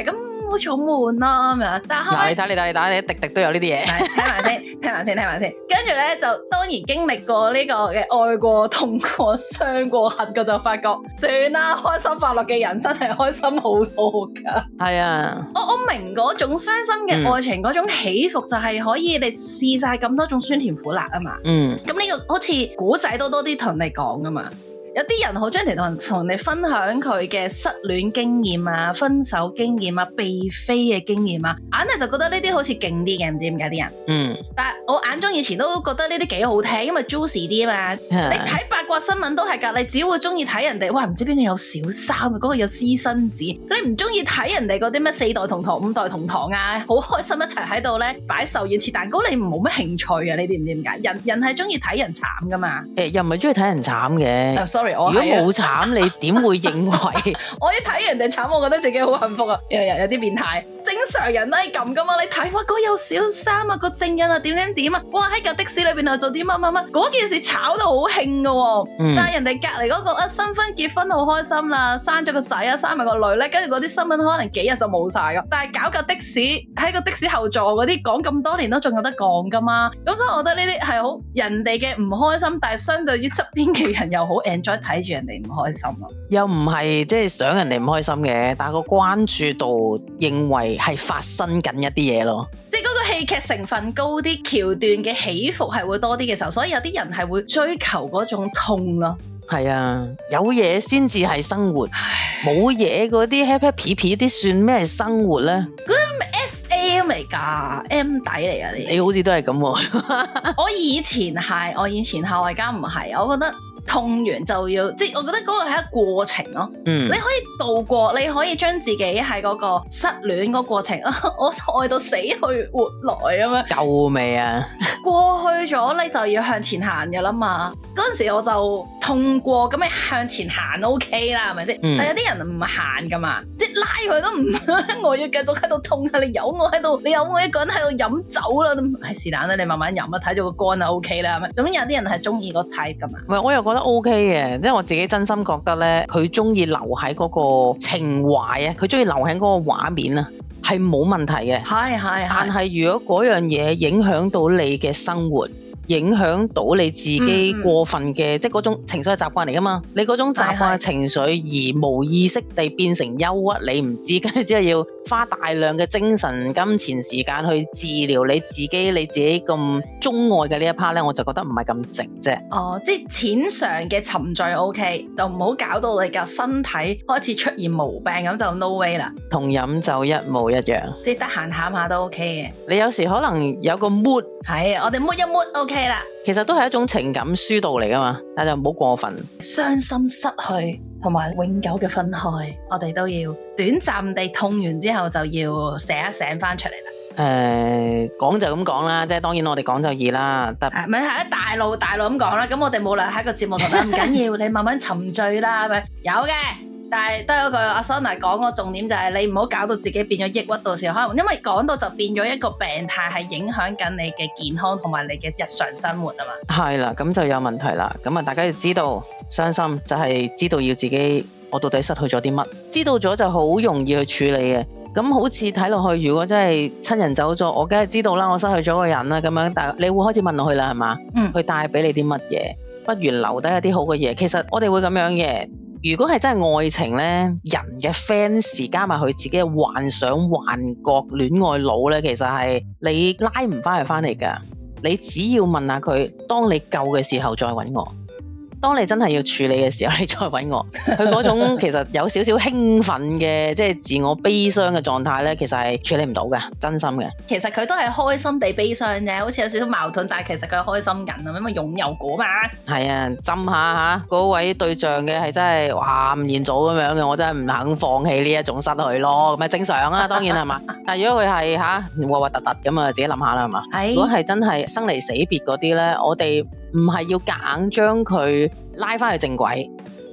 好似好悶啦咁樣。但係後嗱， 尾你睇，滴滴都有呢啲嘢。 聽埋先。跟住咧就當然經歷過呢個嘅愛過、痛過、傷過、恨過，就發覺算啦，開心快樂嘅人生係開心好多噶。 係啊， 我明嗰種傷心嘅愛情嗰種起伏，就係可以你試晒咁多種酸甜苦辣啊嘛。咁呢個好似古仔都多啲同你講噶嘛。有啲人好中意同你分享佢嘅失戀經驗啊、分手經驗啊、被飛嘅經驗啊，硬係就覺得呢啲好似勁啲嘅，唔知點解啲人。但係我眼中以前都覺得呢啲幾好聽，因為 juicy 啲啊嘛。你睇八卦新聞都係㗎，你只會中意睇人哋，哇唔知邊個有小三，嗰個有私生子，你唔中意睇人哋嗰啲咩4代同堂、5代同堂啊，好開心一齊喺度咧擺壽宴切蛋糕，你冇乜興趣啊？你知唔知點解？人係中意睇人慘㗎嘛？ 又唔係中意睇人慘嘅。 sorry， 如果冇慘，你點會認為？ 我一睇人哋慘，我覺得自己好幸福啊！有啲變態，正常人都係咁噶嘛。你睇哇，嗰有小三啊，個證人啊，點啊，哇喺架的士裏邊又做啲乜，嗰件事炒到好興噶。但係人哋隔籬嗰個新婚結婚好開心啦，生咗個仔啊，生埋個女咧，跟住嗰啲新聞可能幾日就冇晒噶。但係搞架的士喺個的士後座嗰啲講咁多年都仲有得講噶嘛。咁所以我覺得呢啲係好人哋嘅唔開心，但係相對於側邊嘅人又好 enjoy 睇住人哋唔開心咯。 又唔係即係想人哋唔開心嘅，但係個關注度認為係發生緊一啲嘢咯。 即係嗰個戲劇成分高啲，橋段嘅起伏係會多啲嘅時候，所以有啲人係會追求嗰種痛咯。 係啊，有嘢先至係生活，冇嘢嗰啲 happy happy 啲算咩係生活咧？ 嗰啲咩 FM 嚟㗎，M 底嚟㗎你好似都係咁喎。 我以前係，我而家唔係，我覺得。痛完就要，即係我覺得嗰個係一個過程咯。你可以度過，你可以將自己喺嗰個失戀嗰個過程，我愛到死去活來咁樣。 夠未啊？ 過去咗，你就要向前行嘅啦嘛。嗰陣時我就痛過，咁你向前行 OK 啦，係咪先？但有啲人唔行噶嘛，即係拉佢都唔，我要繼續喺度痛啊！你有我喺度，你有我一個人喺度飲酒啦，係是但啦，你慢慢飲啦，睇住個肝啊 OK 啦，係咪？咁有啲人係中意個 type 噶嘛。 唔係，我又覺得 OK 嘅，即係我自己真心覺得咧，佢中意留喺嗰個情懷啊，佢中意留喺嗰個畫面啊，係冇問題嘅。係。但係如果嗰樣嘢影響到你嘅生活，影響到你自己過分嘅，即係嗰種情緒係習慣嚟噶嘛？你嗰種習慣嘅情緒而無意識地變成憂鬱，你唔知，跟住之後要花大量嘅精神、金錢、時間去治療你自己咁鍾愛嘅呢一 part 咧，我就覺得唔係咁值啫。 哦，即係淺嘗嘅沉醉 OK， 就唔好搞到你嘅身體開始出現毛病，咁就 no way 啦。 同飲酒一模一樣， 即係得閒淡下都 OK 嘅。 你有時可能有個 mood， 係我哋 mood 一 mood OK 啦。 其實都係一種情感疏導嚟噶嘛，但就唔好過分。 傷心失去同埋永久嘅分開，我哋都要短暫地痛完之後就要醒一醒翻出嚟啦。 講就咁講啦，即係當然我哋講就易啦，但係咪係大路咁講啦？咁我哋冇理由喺個節目同你唔緊要，你慢慢沉醉啦，係咪？有嘅。但係都有個阿 Sona 講個重點就係你唔好搞到自己變咗抑鬱，到時候可能因為講到就變咗一個病態，係影響緊你嘅健康同埋你嘅日常生活啊嘛。係啦，咁就有問題啦。咁啊，大家要知道傷心就係知道要自己我到底失去咗啲乜，知道咗就好容易去處理嘅。咁好似睇落去，如果真係親人走咗，我梗係知道啦，我失去咗個人啦，咁樣，但係你會開始問落去啦，係嘛？佢帶俾你啲乜嘢？不如留低一啲好嘅嘢。其實我哋會咁樣嘅。如果係真係愛情呢，人嘅 fans 加埋佢自己嘅幻想、幻覺、戀愛腦呢，其實係你拉唔翻佢翻嚟㗎。你只要問下佢，當你夠嘅時候再揾我。當你真係要處理嘅時候，你再揾我。佢嗰種其實有少少興奮嘅，即係自我悲傷嘅狀態呢，其實係處理唔到嘅，真心嘅。 其實佢都係開心地悲傷啫，好似有少少矛盾，但係其實佢係開心緊啊，因為擁有過嘛。係啊，浸下嚇嗰位對象嘅係真係哇吳彥祖咁樣嘅，我真係唔肯放棄呢一種失去咯，咁咪正常啊，當然係嘛。但係如果佢係核核突突咁啊，自己諗下啦，係嘛。如果係真係生離死別嗰啲呢，我哋唔係要夾硬將佢拉翻去正軌，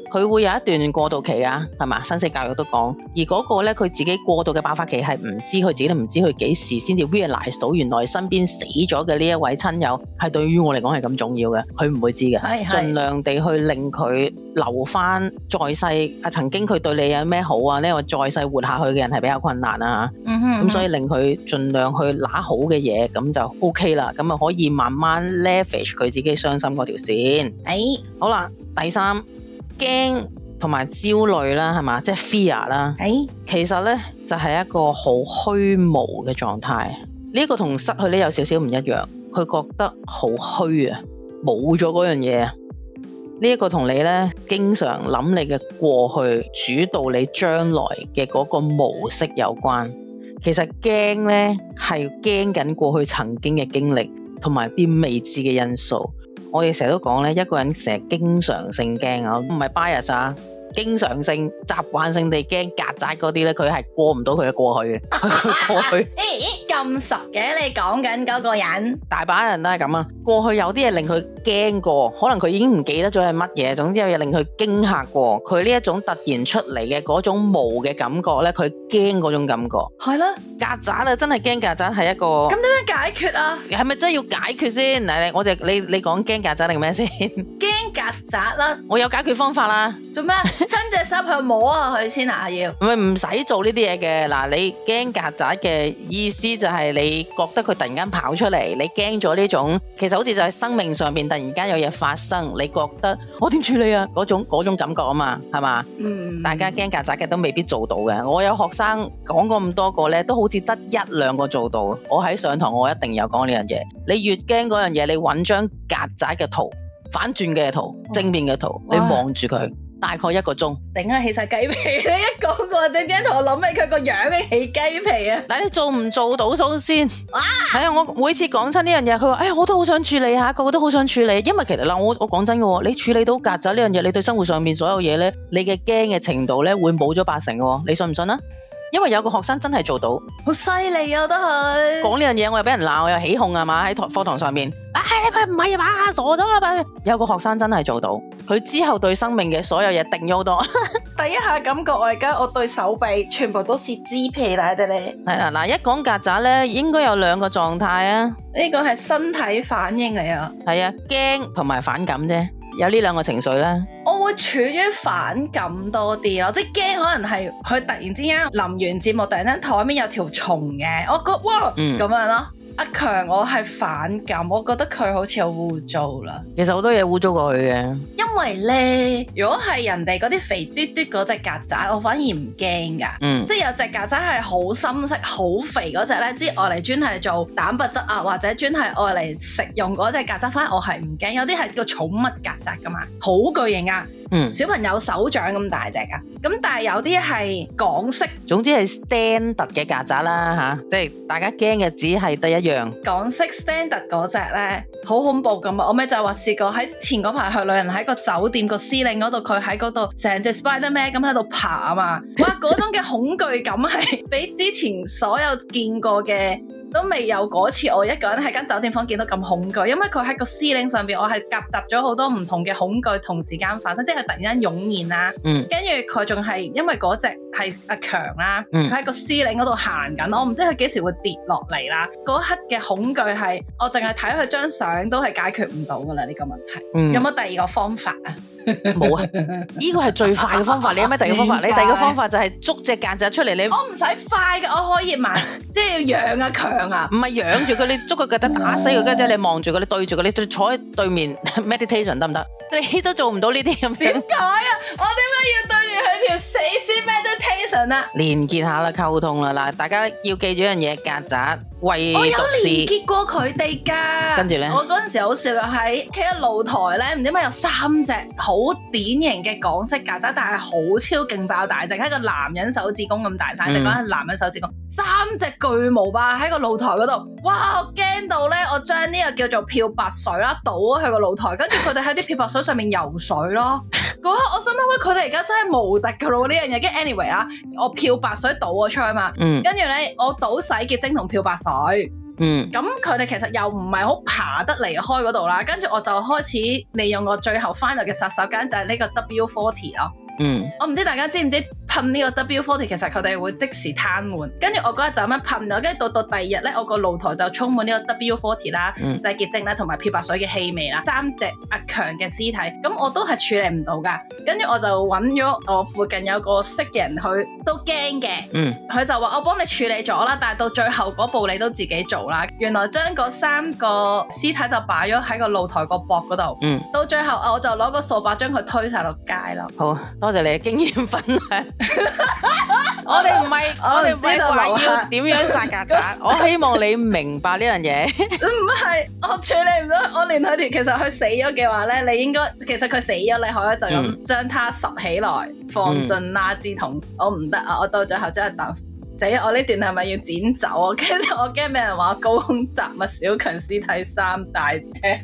佢會有一段過渡期啊，係嘛？生死教育都講，而嗰個咧佢自己過渡嘅爆發期係唔知，佢自己都唔知佢幾時先至 realize 到原來身邊死咗嘅呢一位親友係對於我嚟講係咁重要嘅，佢唔會知嘅，盡量地去令佢留翻在世曾經佢對你有咩好啊？呢個在世活下去嘅人係比較困難啊，咁所以令佢盡量去拿好嘅嘢，咁就 OK 啦，咁啊可以慢慢 leverage 佢自己傷心嗰條線。好啦，第三，驚同埋焦慮啦，係嘛，即係 fear 啦。其實呢，就係一個好虛無嘅狀態，呢個同失去呢有少少唔一樣，佢覺得好虛啊，冇咗嗰樣嘢啊。呢一個同你呢經常諗你嘅過去主導你將來嘅嗰個模式有關。其實驚呢係驚緊過去曾經嘅經歷同埋啲未知嘅因素。我哋成日都講呢，一個人成日經常性驚啊，唔係 bias 啊，經常性習慣性地驚曱甴嗰啲呢，佢係過唔到佢嘅過去嘅。佢過去咁熟嘅，你講緊嗰個人， 大把人都係咁啊。過去有啲嘢令佢驚過，可能佢已經唔記得咗係乜嘢，總之有嘢令佢驚嚇過。佢呢一種突然出嚟嘅嗰種無嘅感覺呢，佢驚嗰種感覺。係啦，曱甴啊，真係驚曱甴係一個。咁點樣解決啊？係咪真係要解決先？嗱，你講驚曱甴定咩先？驚曱甴啦，我有解決方法啦。做咩？伸隻手去摸下佢先啊！要唔使做呢啲嘢嘅。嗱，你驚曱甴嘅意思就係你覺得佢突然間跑出嚟，你驚咗呢種，其實好似就係生命上邊突然間有嘢發生，你覺得我點處理啊？嗰種感覺啊嘛，係嘛？大家驚曱甴嘅都未必做到嘅。我有學生講過咁多個咧，都好似得一兩個做到。我喺上堂我一定有講呢樣嘢。你越驚嗰樣嘢，你揾張曱甴嘅圖，反轉嘅圖，正面嘅圖，你望住佢。大概1個鐘，頂啊起晒雞皮！你一講個正正同我諗起佢個樣嘅起雞皮啊！嗱，你做唔做到數先？係啊，我每次講親呢樣嘢，佢話：哎呀，我都好想處理下，個個都好想處理。因為其實嗱，我講真嘅，你處理到曱甴呢樣嘢，你對生活上面所有嘢咧，你嘅驚嘅程度咧會冇咗80嘅，你信唔信啊？因為有個學生真係做到，好犀利啊！都係講呢樣嘢，我又俾人鬧，我又起哄啊嘛！喺課堂上面，你唔係啊嘛，傻咗啦！有個學生真係做到，佢之後對生命嘅所有嘢定咗好多。第一下感覺我對手臂全部都是脂皮啦，哋咧係啦嗱，一講曱甴咧，應該有2個狀態啊。呢個係身體反應嚟啊，係啊，驚同埋反感啫。有呢2個情緒咧，我會處於反感多啲咯，即係驚可能係佢突然之間臨完節目，突然間台面有條蟲嘅，我覺得哇咁樣咯。阿強我係反感，我覺得佢好似好污糟啦。其實好多嘢污糟過去嘅，因為咧，如果係人哋嗰啲肥嘟嘟嗰隻曱甴，我反而唔驚噶。即係有隻曱甴係好深色、好肥嗰隻咧，即係愛嚟專係做蛋白質啊，或者專係愛嚟食用嗰隻曱甴，反而我係唔驚。有啲係個寵物曱甴噶嘛，好巨型啊！小朋友手掌咁大隻噶，咁但係有啲係港式，總之係 standard 嘅曱甴啦吓，即係大家驚嘅只係得一樣。港式 standard 嗰隻咧，好恐怖噶嘛！我咪就係話試過喺前嗰排去旅行喺個酒店個司令嗰度，佢喺嗰度成隻 Spiderman 咁喺度爬啊嘛，哇！嗰種嘅恐懼感係比之前所有見過嘅。都未有嗰次我一個人喺間酒店房見到咁恐懼，因為佢喺個司令上邊，我係夾雜咗好多唔同嘅恐懼同時間發生，即係突然間湧現啦。跟住佢仲係因為嗰隻係阿強啦，佢喺個司令嗰度行緊，我唔知佢幾時會跌落嚟啦。嗰刻嘅恐懼係我淨係睇佢張相都係解決唔到噶啦呢個問題。有冇第二個方法啊？冇啊！呢個係最快嘅方法。你有咩第二個方法？你第二個方法就係捉隻曱甴出嚟。我唔使快嘅，我可以慢，即係要養阿強啊！唔係養住佢，你捉佢曱甴打死佢，跟住你望住佢，你對住佢，你坐喺對面 meditation 得唔得？你都做唔到呢啲咁樣。點解啊？我點解要對住佢條死屍 meditation 啊？連結下啦，溝通啦，嗱，大家要記住一樣嘢，曱甴。我有連結過佢哋噶，跟住咧，我嗰陣時好笑嘅喺企喺露台咧，唔知點解有3隻好典型嘅港式曱甴，但係好超勁爆大隻，係個男人手指公咁大細隻，講係男人手指公，3隻巨無霸喺個露台嗰度，哇！我驚到咧，我將呢個叫做漂白水啦，倒咗去個露台，跟住佢哋喺啲漂白水上面游水咯。嗰刻我心諗，喂，佢哋而家真係無敵噶咯呢樣嘢。跟住 anyway 啦，我漂白水倒咗出去嘛，跟住咧我倒洗潔精同漂白水。 咁佢哋其實又唔係好爬得離開嗰度啦，跟住我就開始利用我最後 final 嘅殺手鐧就係呢個 W40 咯。我唔知大家知唔知噴呢個 W40 其實佢哋會即時癱瘓，跟住我嗰日就咁樣噴咗，跟住到第二日咧，我個露台就充滿呢個 W40 啦、洗潔精啦同埋漂白水嘅氣味啦，3隻阿強嘅屍體，咁我都係處理唔到噶，跟住我就揾咗我附近有個識嘅人，佢都驚嘅，佢就話我幫你處理咗啦，但係到最後嗰步你都自己做啦，原來將嗰3個屍體就擺咗喺個露台個膊嗰度，到最後我就攞個掃把將佢推晒落街咯。 好多謝你嘅經驗分享。我哋唔係話要點樣殺曱甴，我希望你明白呢樣嘢。 唔係，我處理唔到，我連佢哋其實佢死咗嘅話咧，你應該其實佢死咗，你可以就咁將它拾起來放進垃圾桶。我唔得啊！我到最後真係等死，我呢段係咪要剪走啊？跟住我驚俾人話高空雜物小強屍體3大隻，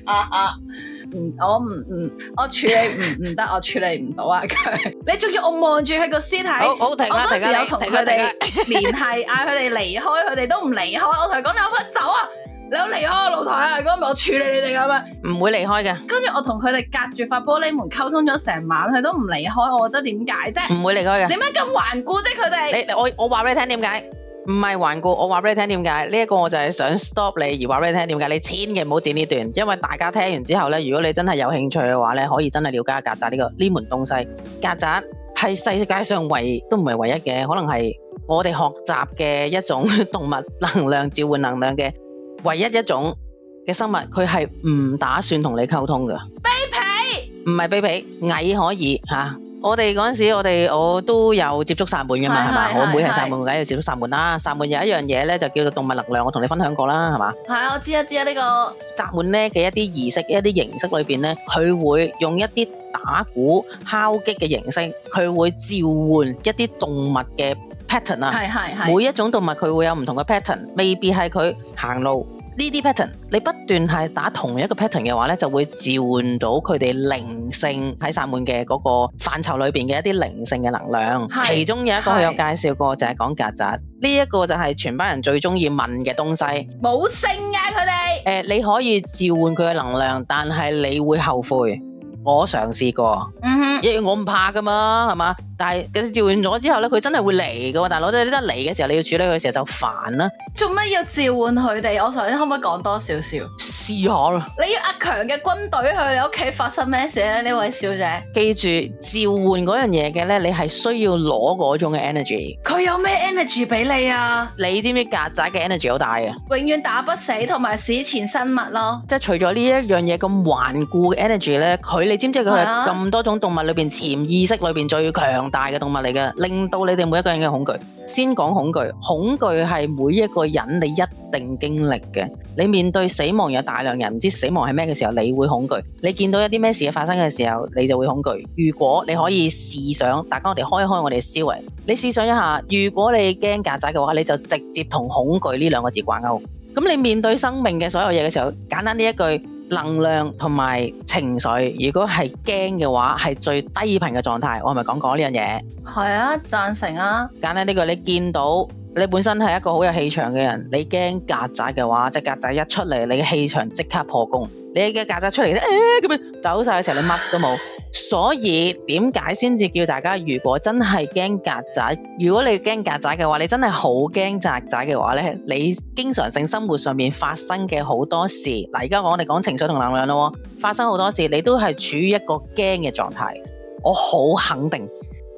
我處理唔得，我處理唔到啊！佢，你仲要我望住佢個屍體， 好停啦， 我當時有同佢哋聯繫，嗌佢哋離開，佢哋都唔離開。我同佢講：你有乜走啊？你有離開個露台啊！如果唔係我處理你哋咁樣， 唔會離開嘅。 跟住我同佢哋隔住塊玻璃門溝通咗成晚，佢都唔離開。我覺得點解啫？ 唔會離開嘅。 點解咁頑固啫？佢哋我話俾你聽點解？唔係頑固，我話俾你聽點解？呢一個我就係想 stop 你，而話俾你聽點解？你千祈唔好剪呢段，因為大家聽完之後咧，如果你真係有興趣嘅話咧，可以真係了解下曱甴呢門東西。曱甴係世界上都唔係唯一嘅，可能係我哋學習嘅一種動物能量召喚能量嘅唯一一種嘅生物，佢係唔打算同你溝通嘅。 卑鄙？唔係卑鄙，蟻可以吓。我哋嗰陣時，我都有接觸薩滿嘅嘛，係嘛？我妹係薩滿，梗係要接觸薩滿啦。薩滿有一樣嘢咧，就叫做動物能量，我同你分享過啦，係嘛？ 係啊，我知啊呢個薩滿咧嘅一啲儀式、一啲形式裏邊咧，佢會用一啲打鼓、敲擊嘅形式，佢會召喚一啲動物嘅 pattern 啊。係。每一種動物佢會有唔同嘅 pattern，未必係佢行路。呢啲 pattern， 你不斷係打同一個 pattern 嘅話咧，就會召喚到佢哋靈性喺薩滿嘅嗰個範疇裏邊嘅一啲靈性嘅能量。其中有一個佢有介紹過，就係講曱甴。呢一個就係全班人最中意問嘅東西。冇性啊佢哋。你可以召喚佢嘅能量，但係你會後悔。我嘗試過，因為我唔怕噶嘛，係嘛？但係召喚咗之後咧，佢真係會嚟噶，大佬，你得嚟嘅時候，你要處理佢嘅時候就煩啦。做乜要召喚佢哋？我想可唔可以講多少少？試下啦。你要阿強嘅軍隊去你屋企發生咩事咧？呢位小姐，記住召喚嗰樣嘢嘅咧，你係需要攞嗰種嘅 energy。佢有咩 energy 俾你啊？你知唔知曱甴嘅 energy 好大啊？永遠打不死同埋史前生物咯。即係除咗呢一樣嘢咁頑固嘅 energy 咧，你知唔知佢係咁多種動物裏邊潛意識裏邊最強大嘅動物嚟嘅，令到你哋每一個人嘅恐懼。先講恐懼，恐懼係每一個人你一定經歷嘅。你面對死亡，有大量人唔知死亡係咩嘅時候，你會恐懼。你見到一啲咩事發生嘅時候，你就會恐懼。如果你可以試想，大家我哋開開我哋思維，你試想一下，如果你驚曱甴嘅話，你就直接同恐懼呢2個字掛鈎。咁你面對生命嘅所有嘢嘅時候，簡單呢一句，能量同埋情緒，如果係驚嘅話，係最低頻嘅狀態。我係咪講過呢樣嘢？係啊，贊成啊。簡單呢句，你見到你本身係一個好有氣場嘅人，你驚曱甴嘅話，隻曱甴一出嚟，你嘅氣場即刻破功。你嘅曱甴出嚟咧，咁樣走晒嘅時候，你乜都冇。所以點解先至叫大家，如果真係驚曱甴，如果你驚曱甴嘅話，你真係好驚曱甴嘅話咧，你經常性生活上面發生嘅好多事，嗱，而家我哋講情緒同能量咯，發生好多事，你都係處於一個驚嘅狀態。我好肯定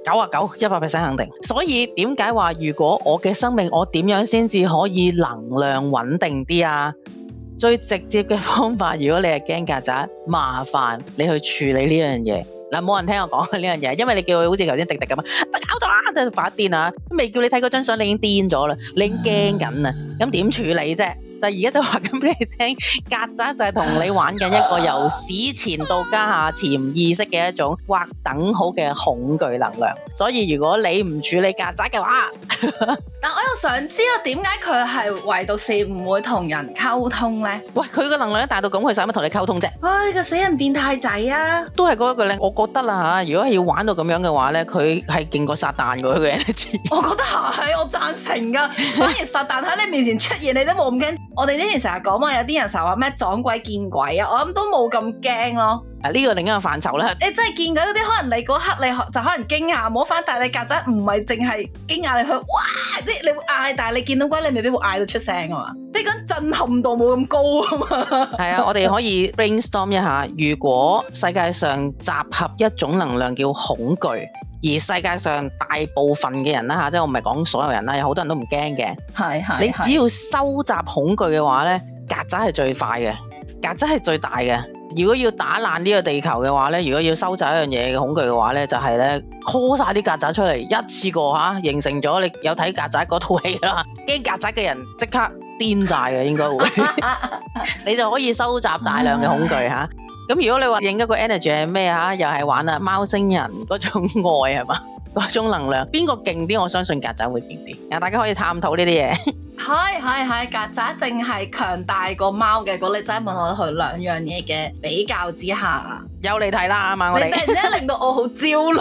，99%肯定。所以點解話，如果我嘅生命，我點樣先至可以能量穩定啲啊？最直接嘅方法，如果你係驚曱甴，麻煩你去處理呢樣嘢。嗱，冇人聽我講呢樣嘢，因為你叫佢好似頭先迪迪咁啊，搞咗啊，真係發癲啊！未叫你睇嗰張相，你已經癲咗啦，你已經驚緊啊！咁點處理啫？但係而家就話緊俾你聽，曱甴就係同你玩緊一個由史前到家下潛意識嘅一種或等好嘅恐懼能量。所以如果你唔處理曱甴嘅話，但我又想知道點解佢係唯獨是唔會同人溝通咧？喂，佢個能量大到咁，佢使乜同你溝通啫？哇！你個死人變態仔啊！都係嗰一句咧，我覺得啦吓，如果係要玩到咁樣嘅話咧，佢係勁過撒旦嗰個 energy。我覺得係，我贊成噶。反而撒旦喺你面前出現，你都冇咁驚。 我哋之前成日講話有啲人成日話咩撞鬼見鬼啊，我諗都冇咁驚咯。 呢個另一個範疇啦。 你真係見鬼嗰啲，可能你嗰刻你就可能驚訝摸翻，但係你曱甴唔係淨係驚訝你去哇，即係你會嗌，但係你見到鬼你未必會嗌到出聲啊嘛，即係嗰震撼度冇咁高啊嘛。係啊，我哋可以 brainstorm 一下，如果世界上集合一種能量叫恐懼，而世界上大部分嘅人啦嚇，即係我唔係講所有人啦，有好多人都唔驚嘅。係。你只要收集恐懼嘅話咧，曱甴係最快嘅，曱甴係最大嘅。如果要打爛呢個地球嘅話咧，如果要收集一樣嘢嘅恐懼嘅話咧，就係咧 call 晒啲曱甴出嚟，一次過嚇形成咗。你有睇曱甴嗰套戲啦，驚曱甴嘅人即刻癲晒嘅應該會，你就可以收集大量嘅恐懼嚇。咁如果你話另一個 energy 係咩嚇，又係玩貓星人嗰種愛係嘛，嗰種能量，邊個勁啲？我相信曱甴會勁啲。大家可以探討呢啲嘢。 係，曱甴淨係強大過貓嘅。如果你真係問我佢兩樣嘢嘅比較之下， 又嚟睇啦啊嘛！我哋你突然之間令到我好焦慮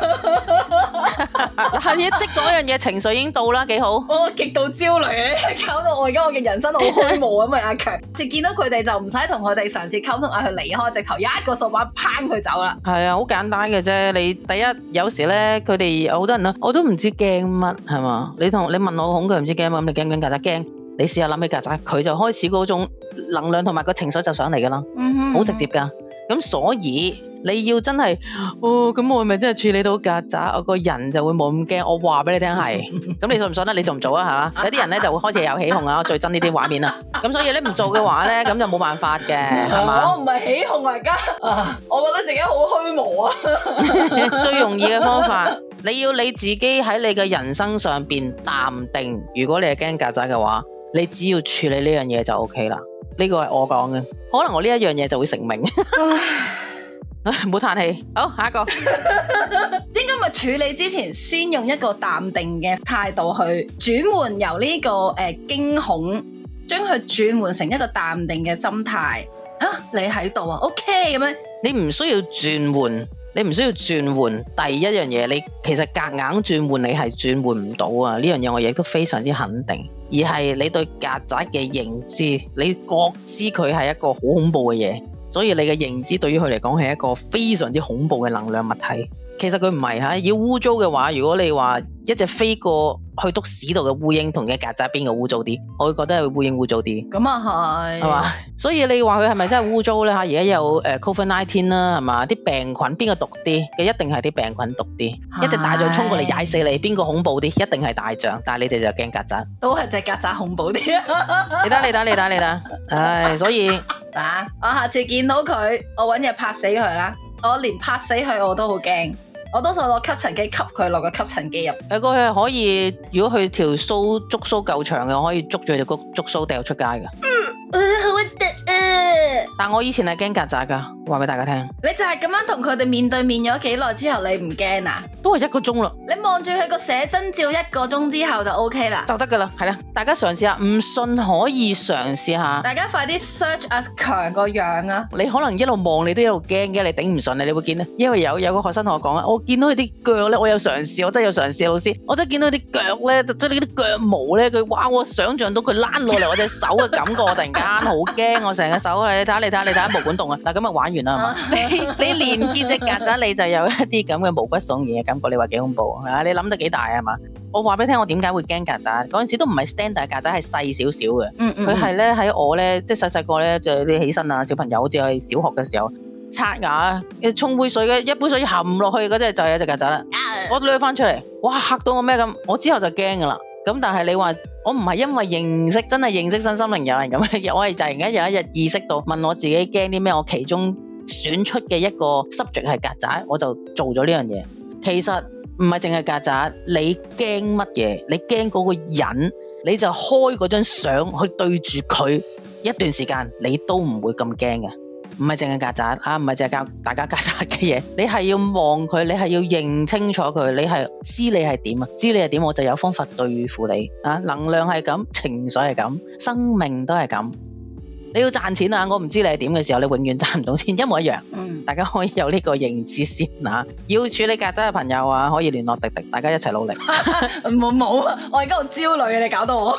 啊！ 係嘢，即嗰樣嘢情緒已經到啦，幾好。 我極度焦慮嘅，搞到我而家我嘅人生好虛無啊！咪阿強，直見到佢哋就唔使同佢哋嘗試溝通，嗌佢離開，直頭一個掃把拚佢走啦。 係啊，好簡單嘅啫。你第一有時咧，佢哋好多人我都唔知驚乜係嘛？你問我恐懼唔知驚乜，咁你驚唔驚曱甴？驚，你試下諗起曱甴，佢就開始嗰種能量同埋個情緒就上嚟噶啦，好直接噶。咁所以你要真係咁我咪真係處理到曱甴，我個人就會冇咁驚。我話俾你聽係，咁你信唔信咧？你做唔做啊？係嘛？有啲人咧就會開始有起哄啊，我最憎呢啲畫面啦。咁所以你唔做嘅話咧，咁就冇辦法嘅，係嘛？我唔係起哄而家，我覺得自己好虛無啊。 最容易嘅方法，你要你自己喺你嘅人生上邊淡定。如果你係驚曱甴嘅話，你只要處理呢樣嘢就 OK 啦。呢個係我講嘅，可能我呢一樣嘢就會成名。唔好嘆氣，好，下一個。 應該咪處理之前先用一個淡定嘅態度去轉換，由呢個驚恐，將佢轉換成一個淡定嘅心態。你喺度啊 ，OK 咁樣。你唔需要轉換，第一樣嘢，你其實夾硬轉換，你係轉換唔到啊！呢樣嘢我亦都非常之肯定，而係你對曱甴嘅認知，你覺知佢係一個好恐怖嘅嘢。所以你嘅認知對於佢嚟講係一個非常之恐怖嘅能量物體。其實佢唔係吓，要污糟嘅話，如果你話一隻飛過去篤屎度嘅烏蠅同嘅曱甴邊個污糟啲？我會覺得係烏蠅污糟啲。咁啊係嘛？所以你話佢係咪真係污糟咧？吓，而家有COVID-19 啦，係嘛？啲病菌邊個毒啲？嘅一定係啲病菌毒啲。一隻大象衝過嚟踩死你，邊個恐怖啲？一定係大象。但係你哋就驚曱甴，都係隻曱甴恐怖啲。你得，唉，所以我下次見到佢，我搵嘢拍死佢啦。我連拍死佢我都好驚。我多數攞吸塵機吸佢落個吸塵機入。佢係可以，如果佢條鬚觸鬚夠長嘅，可以捉住條觸鬚掉出街㗎。好核突啊！但我以前係驚曱甴㗎，話俾大家聽。你就係咁樣同佢哋面對面咗幾耐之後，你唔驚啊？都係1個鐘啦。你望住佢個寫真照1個鐘之後就 OK 啦，就得㗎啦。係啦，大家嘗試下，唔信可以嘗試下。大家快啲 search 阿強個樣啊！你可能一路望你都一路驚嘅，你頂唔順你會見咧。因為有個學生同我講啊，我見到佢啲腳咧，我有嘗試，我真係有嘗試，老師，我真係見到佢啲腳咧，即係啲腳毛咧，哇！我想象到佢躝落嚟我隻手嘅感覺，我突然間好驚，我成個手你睇下毛管戙啊！嗱，咁啊玩完啦，你連見隻曱甴你就有一啲咁嘅毛骨悚然嘅感覺，你話幾恐怖啊？你諗得幾大啊嘛？我話俾你聽，我點解會驚曱甴？嗰陣時都唔係 standard 曱甴，係細少少嘅。佢係咧喺我咧，即係細個咧，就你起身啊，小朋友好似去小學嘅時候刷牙，沖杯水嘅一杯水含落去嗰隻就係一隻曱甴啦。我掠翻出嚟，哇嚇到我咩咁？我之後就驚噶啦。咁但係你話我唔係因為真係認識身心靈有人咁，我係突然間有一日意識到問我自己驚啲咩，我其中選出嘅一個 subject 係曱甴，我就做咗呢樣嘢。其實唔係淨係曱甴，你驚乜嘢？你驚嗰個人，你就開嗰張相去對住佢一段時間，你都唔會咁驚嘅。唔係淨係曱甴啊，唔係淨係教大家曱甴嘅嘢，你係要望佢，你係要認清楚佢，你係知你係點啊？知你係點，我就有方法對付你啊！能量係咁，情緒係咁，生命都係咁。你要賺錢啊！我唔知你係點嘅時候，你永遠賺唔到錢，一模一樣。大家可以有呢個認知先啊！要處理曱甴嘅朋友啊，可以聯絡迪迪，大家一齊努力。冇，我而家好焦慮啊！你搞到我。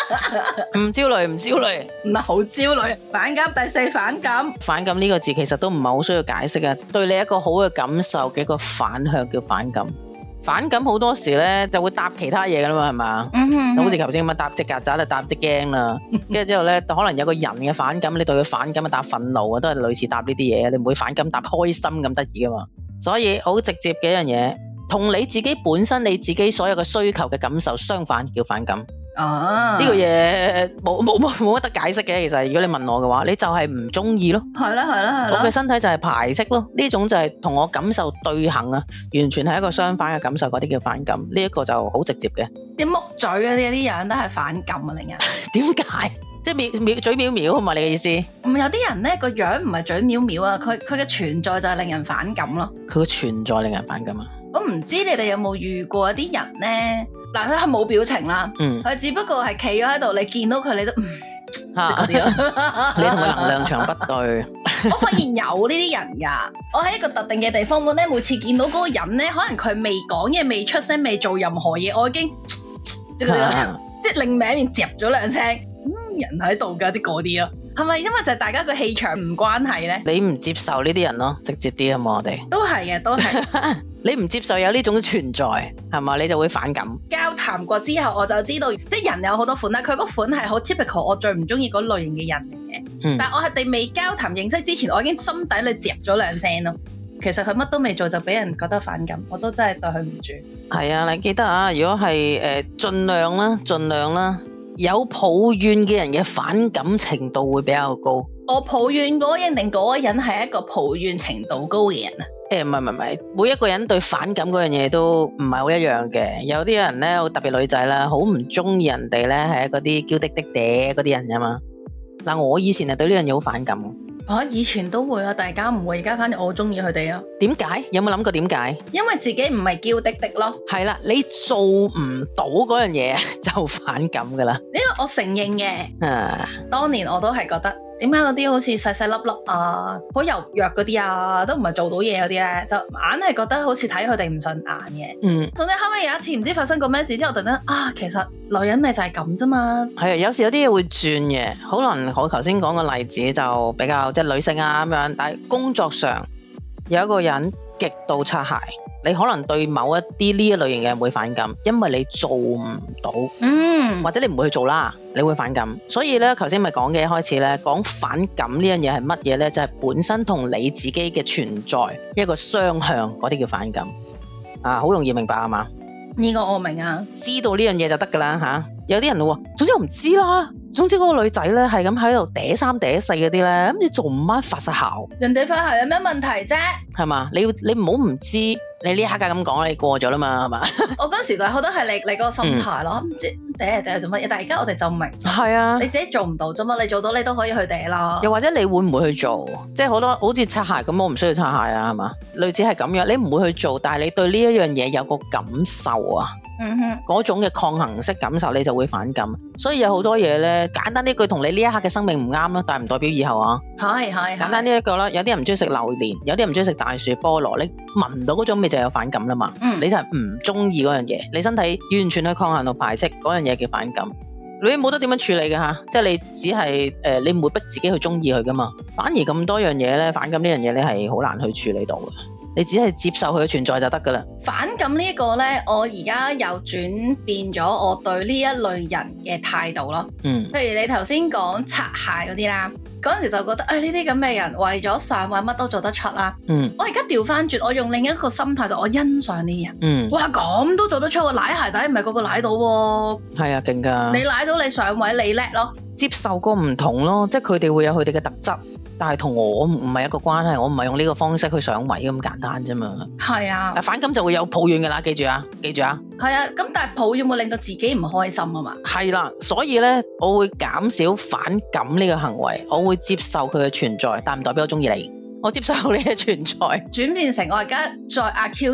唔焦慮，唔焦慮。 唔係好焦慮。反感，第四反感。 反感呢個字其實都唔係好需要解釋嘅，對你一個好嘅感受嘅一個反向叫反感。反感好多時咧就會搭其他嘢噶啦嘛，係嘛？好似頭先咁樣搭隻曱甴就搭隻驚啦，跟住之後咧可能有個人嘅反感，你對佢反感啊搭憤怒啊，都係類似搭呢啲嘢，你唔會反感搭開心咁得意噶嘛。所以好直接嘅一樣嘢，同你自己本身你自己所有嘅需求嘅感受相反叫反感。呢個嘢冇乜得解釋嘅，其實如果你問我嘅話，你就係唔中意咯。 係啦， 我嘅身體就係排斥咯，呢種就係同我感受對行啊，完全係一個相反嘅感受，嗰啲叫反感。呢一個就好直接嘅。 啲木嘴嗰啲樣都係反感啊，令人。 點解？即係嘴藐藐啊嘛？你嘅意思？ 有啲人咧個樣唔係嘴藐藐啊，佢嘅存在就係令人反感咯。 佢嘅存在令人反感啊？ 我唔知你哋有冇遇過一啲人咧？嗱，佢係冇表情啦，佢只不過係企咗喺度，你見到佢你都即嗰啲咯。 你同佢能量場不對。 我發現有呢啲人㗎，我喺一個特定嘅地方咧，每次見到嗰個人咧，可能佢未講嘢、未出聲、未做任何嘢，我已經即係嗰啲咯，即係另面接咗兩聲，人喺度㗎啲嗰啲咯。係咪因為就係大家個氣場唔關係咧？ 你唔接受呢啲人咯，直接啲啊嘛，我哋都係嘅，都係。 你唔接受有呢種存在，係嘛？你就會反感。 交談過之後，我就知道，即係人有好多款啦。佢嗰款係好 typical，我最唔中意嗰類型嘅人嚟嘅。但係我係哋未交談認識之前，我已經心底裏接咗兩聲咯。其實佢乜都未做就俾人覺得反感，我都真係對佢唔住。係啊，你記得啊，如果係盡量啦，有抱怨嘅人嘅反感程度會比較高。我抱怨嗰個人定嗰個人係一個抱怨程度高嘅人啊？唔係，每一個人對反感嗰樣嘢都唔係好一樣嘅。有啲人咧，特別女仔啦，好唔中意人哋咧係嗰啲嬌滴滴嗲嗰啲人㗎嘛。嗱，我以前係對呢樣嘢好反感。以前都會啊，大家唔會，而家反正我好中意佢哋啊。點解？有冇諗過點解？因為自己唔係嬌滴滴咯。係啦，你做唔到嗰樣嘢就反感㗎啦。呢個我承認嘅。當年我都係覺得。點解嗰啲好似細細粒粒啊，好柔弱嗰啲啊，都唔係做到嘢嗰啲咧，就硬係覺得好似睇佢哋唔順眼嘅。總之後尾有一次唔知發生過咩事之後，突然間其實女人咪就係咁啫嘛。係啊，有時有啲嘢會轉嘅，可能我頭先講個例子就比較即係女性啊咁樣，但係工作上有一個人極度擦鞋，你可能對某一啲呢一類型嘅人會反感，因為你做唔到，或者你唔會去做啦，你會反感。所以咧，頭先咪講嘅一開始咧，講反感呢樣嘢係乜嘢咧？就係本身同你自己嘅存在一個雙向，嗰啲叫反感啊，好容易明白啊嘛？呢個我明啊，知道呢樣嘢就得噶啦吓。有啲人喎，總之我唔知啦。總之嗰個女仔咧係咁喺度嗲三嗲四嗰啲咧，咁你做唔啱發晒姣，人哋發姣有咩問題啫？係嘛？你唔好唔知。你呢刻咁講，你過咗啦嘛，係嘛？我嗰時就好多係你嗰個心態咯，唔知嗲做乜嘢，但係而家我哋就明。係啊，你自己做唔到啫嘛，你做到你都可以去嗲啦。又或者你會唔會去做？即係好多好似擦鞋咁，我唔需要擦鞋啊，係嘛？類似係咁樣，你唔會去做，但係你對呢一樣嘢有個感受啊。嗰種嘅抗衡式感受，你就會反感。所以有好多嘢咧，簡單呢句同你呢一刻嘅生命唔啱咯，但係唔代表以後啊。係簡單呢一個啦，有啲人唔中意食榴蓮，有啲人唔中意食大樹菠蘿，你聞到嗰種味就有反感啦嘛。你就係唔中意嗰樣嘢，你身體完全去抗衡同排斥嗰樣嘢叫反感。你冇得點樣處理嘅吓，即係你只係你唔會逼自己去中意佢噶嘛。反而咁多樣嘢咧，反感呢樣嘢咧係好難去處理到嘅。你只係接受佢嘅存在就得噶啦。反感呢一個咧，我而家又轉變咗我對呢一類人嘅態度咯。譬如你頭先講擦鞋嗰啲啦，嗰陣時就覺得呢啲咁嘅人為咗上位乜都做得出啦。我而家調翻轉，我用另一個心態就我欣賞呢啲人。哇，咁都做得出喎，舐鞋底唔係個個舐到喎。係啊，勁噶。你舐到你上位，你叻咯。接受個唔同咯，即係佢哋會有佢哋嘅特質。但係同我唔係一個關係，我唔係用呢個方式去上位咁簡單啫嘛。係啊，反感就會有抱怨噶啦，記住啊。係啊，咁但係抱怨會令到自己唔開心啊嘛。係啦，所以咧我會減少反感呢個行為，我會接受佢嘅存在，但唔代表我中意你。我接受你嘅存在，轉變成我而家再阿 Q 啲，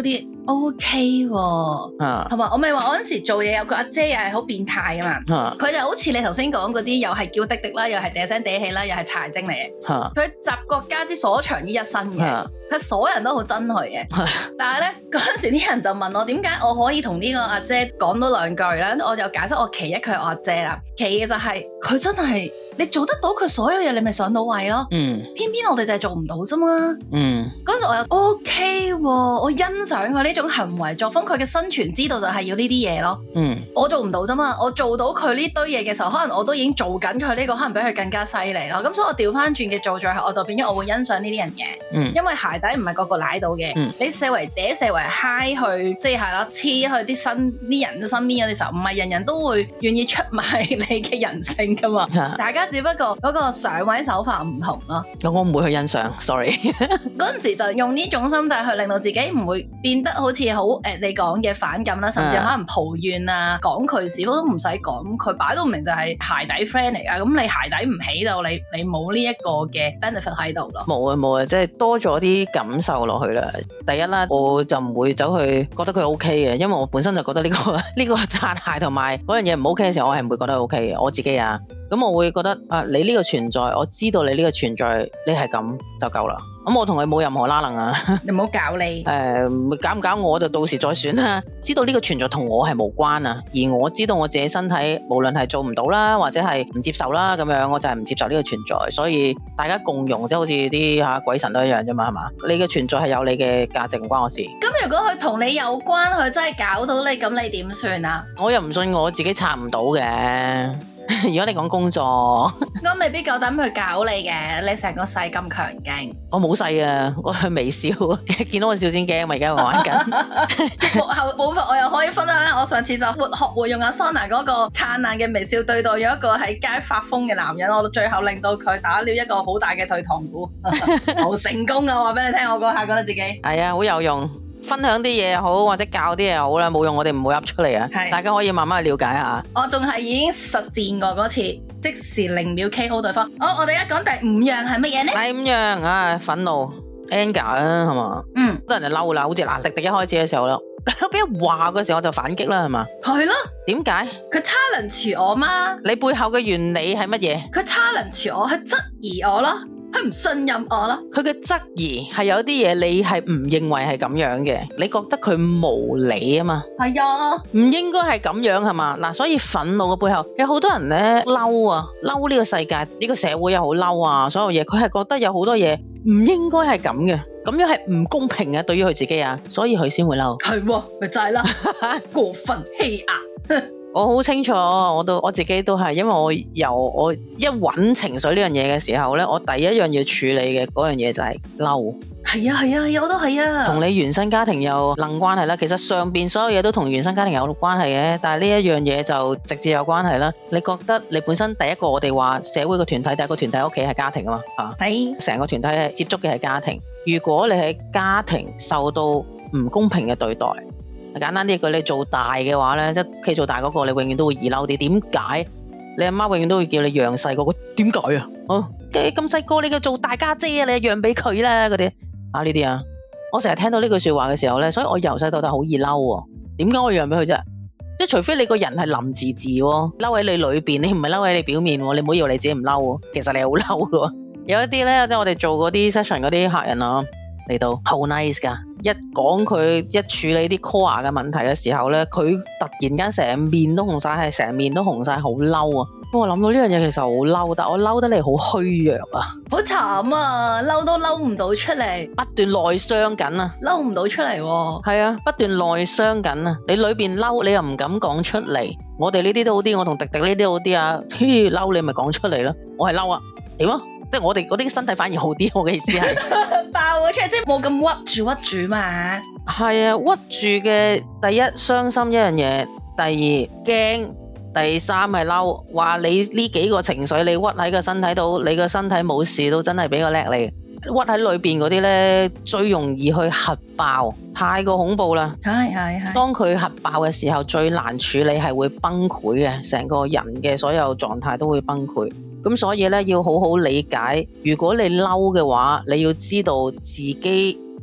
OK 喎。 啊同埋我咪話我嗰陣時做嘢有個阿姐又係好變態噶嘛， 啊佢就好似你頭先講嗰啲，又係叫滴滴啦，又係嗲聲嗲氣啦，又係柴精嚟嘅。 啊佢集國家之所長於一身嘅。 啊佢所有人都好憎佢嘅，但係咧嗰陣時啲人就問我點解我可以同呢個阿姐講多兩句咧，我就解釋我其一佢係我阿姐啦，其二就係佢真係你做得到佢所有嘢，你咪上到位咯。偏偏我哋就係做唔到啫嘛。嗰陣時我又 OK 喎，我欣賞佢呢種行為作風，佢嘅生存之道就係要呢啲嘢咯。我做唔到啫嘛，我做到佢呢堆嘢嘅時候，可能我都已經做緊佢呢個，可能比佢更加犀利咯。咁所以我調翻轉嘅做最後，我就變咗我會欣賞呢啲人嘅，因為鞋底唔係個個舐到嘅。你四圍嗲四圍嗨去，即係啦，黐去啲人身邊嗰啲時候，唔係人人都會願意出賣你嘅人性噶嘛。大家只不過嗰個上位手法唔同咯。 我唔會去欣賞 ，sorry。 嗰陣時就用呢種心態去令到自己唔會變得好似好你講嘅反感啦，甚至可能抱怨啊、講佢事都唔使講，佢擺到明就係鞋底 friend 嚟噶。咁你鞋底唔起到，你冇呢一個嘅 benefit 喺度咯。 冇啊，即係多咗啲感受落去啦。第一啦，我就唔會走去覺得佢 OK 嘅，因為我本身就覺得呢個擦鞋同埋嗰樣嘢唔 OK 嘅時候，我係唔會覺得 OK 嘅，我自己啊。咁我會覺得啊，你呢個存在，我知道你呢個存在，你係咁就夠啦。咁我同佢冇任何拉楞啊。 你唔好搞你。 搞唔搞我就到時再選啦。知道呢個存在同我係無關啊，而我知道我自己身體無論係做唔到啦，或者係唔接受啦，咁樣我就係唔接受呢個存在。所以大家共融，即係好似啲鬼神都一樣啫嘛，係嘛？你嘅存在係有你嘅價值，唔關我事。 咁如果佢同你有關，佢真係搞到你，咁你點算啊？ 我又唔信我自己拆唔到嘅。如果你講工作， 我未必夠膽去搞你嘅，你成個世咁強勁。 我冇細啊，我係微笑，見到我笑先驚，咪而家我玩緊。 幕後部分我又可以分享，我上次就學會用阿 Sona 嗰個燦爛嘅微笑對待咗一個喺街發瘋嘅男人，我到最後令到佢打了一個好大嘅退堂鼓，好成功啊！我話俾你聽，我嗰下覺得自己係啊，好有用。分享啲嘢好，或者教啲嘢好啦，冇用我哋唔會噏出嚟啊！大家可以慢慢去了解下。 我仲係已經實戰過嗰次，即時0秒 KO 對方。我哋而家講第5樣係乜嘢呢？ 第5樣啊，憤怒 anger 啦，係嘛？好多人就嬲啦，好似迪迪一開始嘅時候啦，俾人話嘅時候我就反擊啦，係嘛？ 係咯。點解？ 佢 challenge 我嘛？ 你背後嘅原理係乜嘢？ 佢 challenge 我，佢質疑我咯。佢唔信任我咯， 佢嘅質疑係有啲嘢你係唔認為係咁樣嘅，你覺得佢無理啊嘛？ 係啊， 唔應該係咁樣係嘛？嗱，所以憤怒嘅背後有好多人咧嬲啊，嬲呢個世界呢個社會又好嬲啊，所有嘢佢係覺得有好多嘢唔應該係咁嘅，咁樣係唔公平嘅對於佢自己啊，所以佢先會嬲。 係喎，咪就係啦，過分欺壓。 我好清楚，我自己都係，因為我一搵情緒呢樣嘢嘅時候咧，我第一樣要處理嘅嗰樣嘢就係嬲。 係啊，我都係啊。同你原生家庭有撚關係啦，其實上邊所有嘢都同原生家庭有關係嘅，但係呢一樣嘢就直接有關係啦。你覺得你本身第一個我哋話社會個團體，第一個團體屋企係家庭啊嘛，係成個團體係接觸嘅係家庭。如果你喺家庭受到唔公平嘅對待，簡單啲句，你做大嘅話咧，即係屋企做大嗰個，你永遠都會易嬲啲。點解？你阿媽永遠都會叫你讓細嗰個？點解啊？咁細個你嘅做大家姐啊，你讓俾佢啦嗰啲啊呢啲啊，我成日聽到呢句說話嘅時候咧，所以我由細到大好易嬲喎。點解我讓俾佢啫？即係除非你個人係林字字喎，嬲喺你裏邊，你唔係嬲喺你表面喎，你唔好以為你自己唔嬲，其實你係好嬲嘅。有一啲咧，即係我哋做嗰啲 session 嗰啲客人啊。嚟到好 nice 噶，一講佢一處理啲 core 嘅問題嘅時候咧，佢突然間成面都紅晒，係成面都紅晒，好嬲啊！我諗到呢樣嘢其實好嬲，但我嬲得你好虛弱啊， 好慘啊，嬲都嬲唔到出嚟， 不斷內傷緊啊， 嬲唔到出嚟喎， 係啊，不斷內傷緊啊，你裏邊嬲，你又唔敢講出嚟，我哋呢啲都好啲，我同迪迪呢啲好啲啊，嬲你咪講出嚟咯，我係嬲啊，點啊？即係我哋嗰啲身體反而好啲，我嘅意思係爆咗出嚟，即係冇咁屈住嘛。係啊，屈住嘅第一傷心一樣嘢，第二驚，第三係嬲。話你呢幾個情緒你屈喺個身體度，你個身體冇事都真係比較叻你。屈喺裏邊嗰啲咧，最容易去核爆，太過恐怖啦。係。當佢核爆嘅時候，最難處理係會崩潰嘅，成個人嘅所有狀態都會崩潰。咁所以咧，要好好理解。如果你嬲嘅話，你要知道自己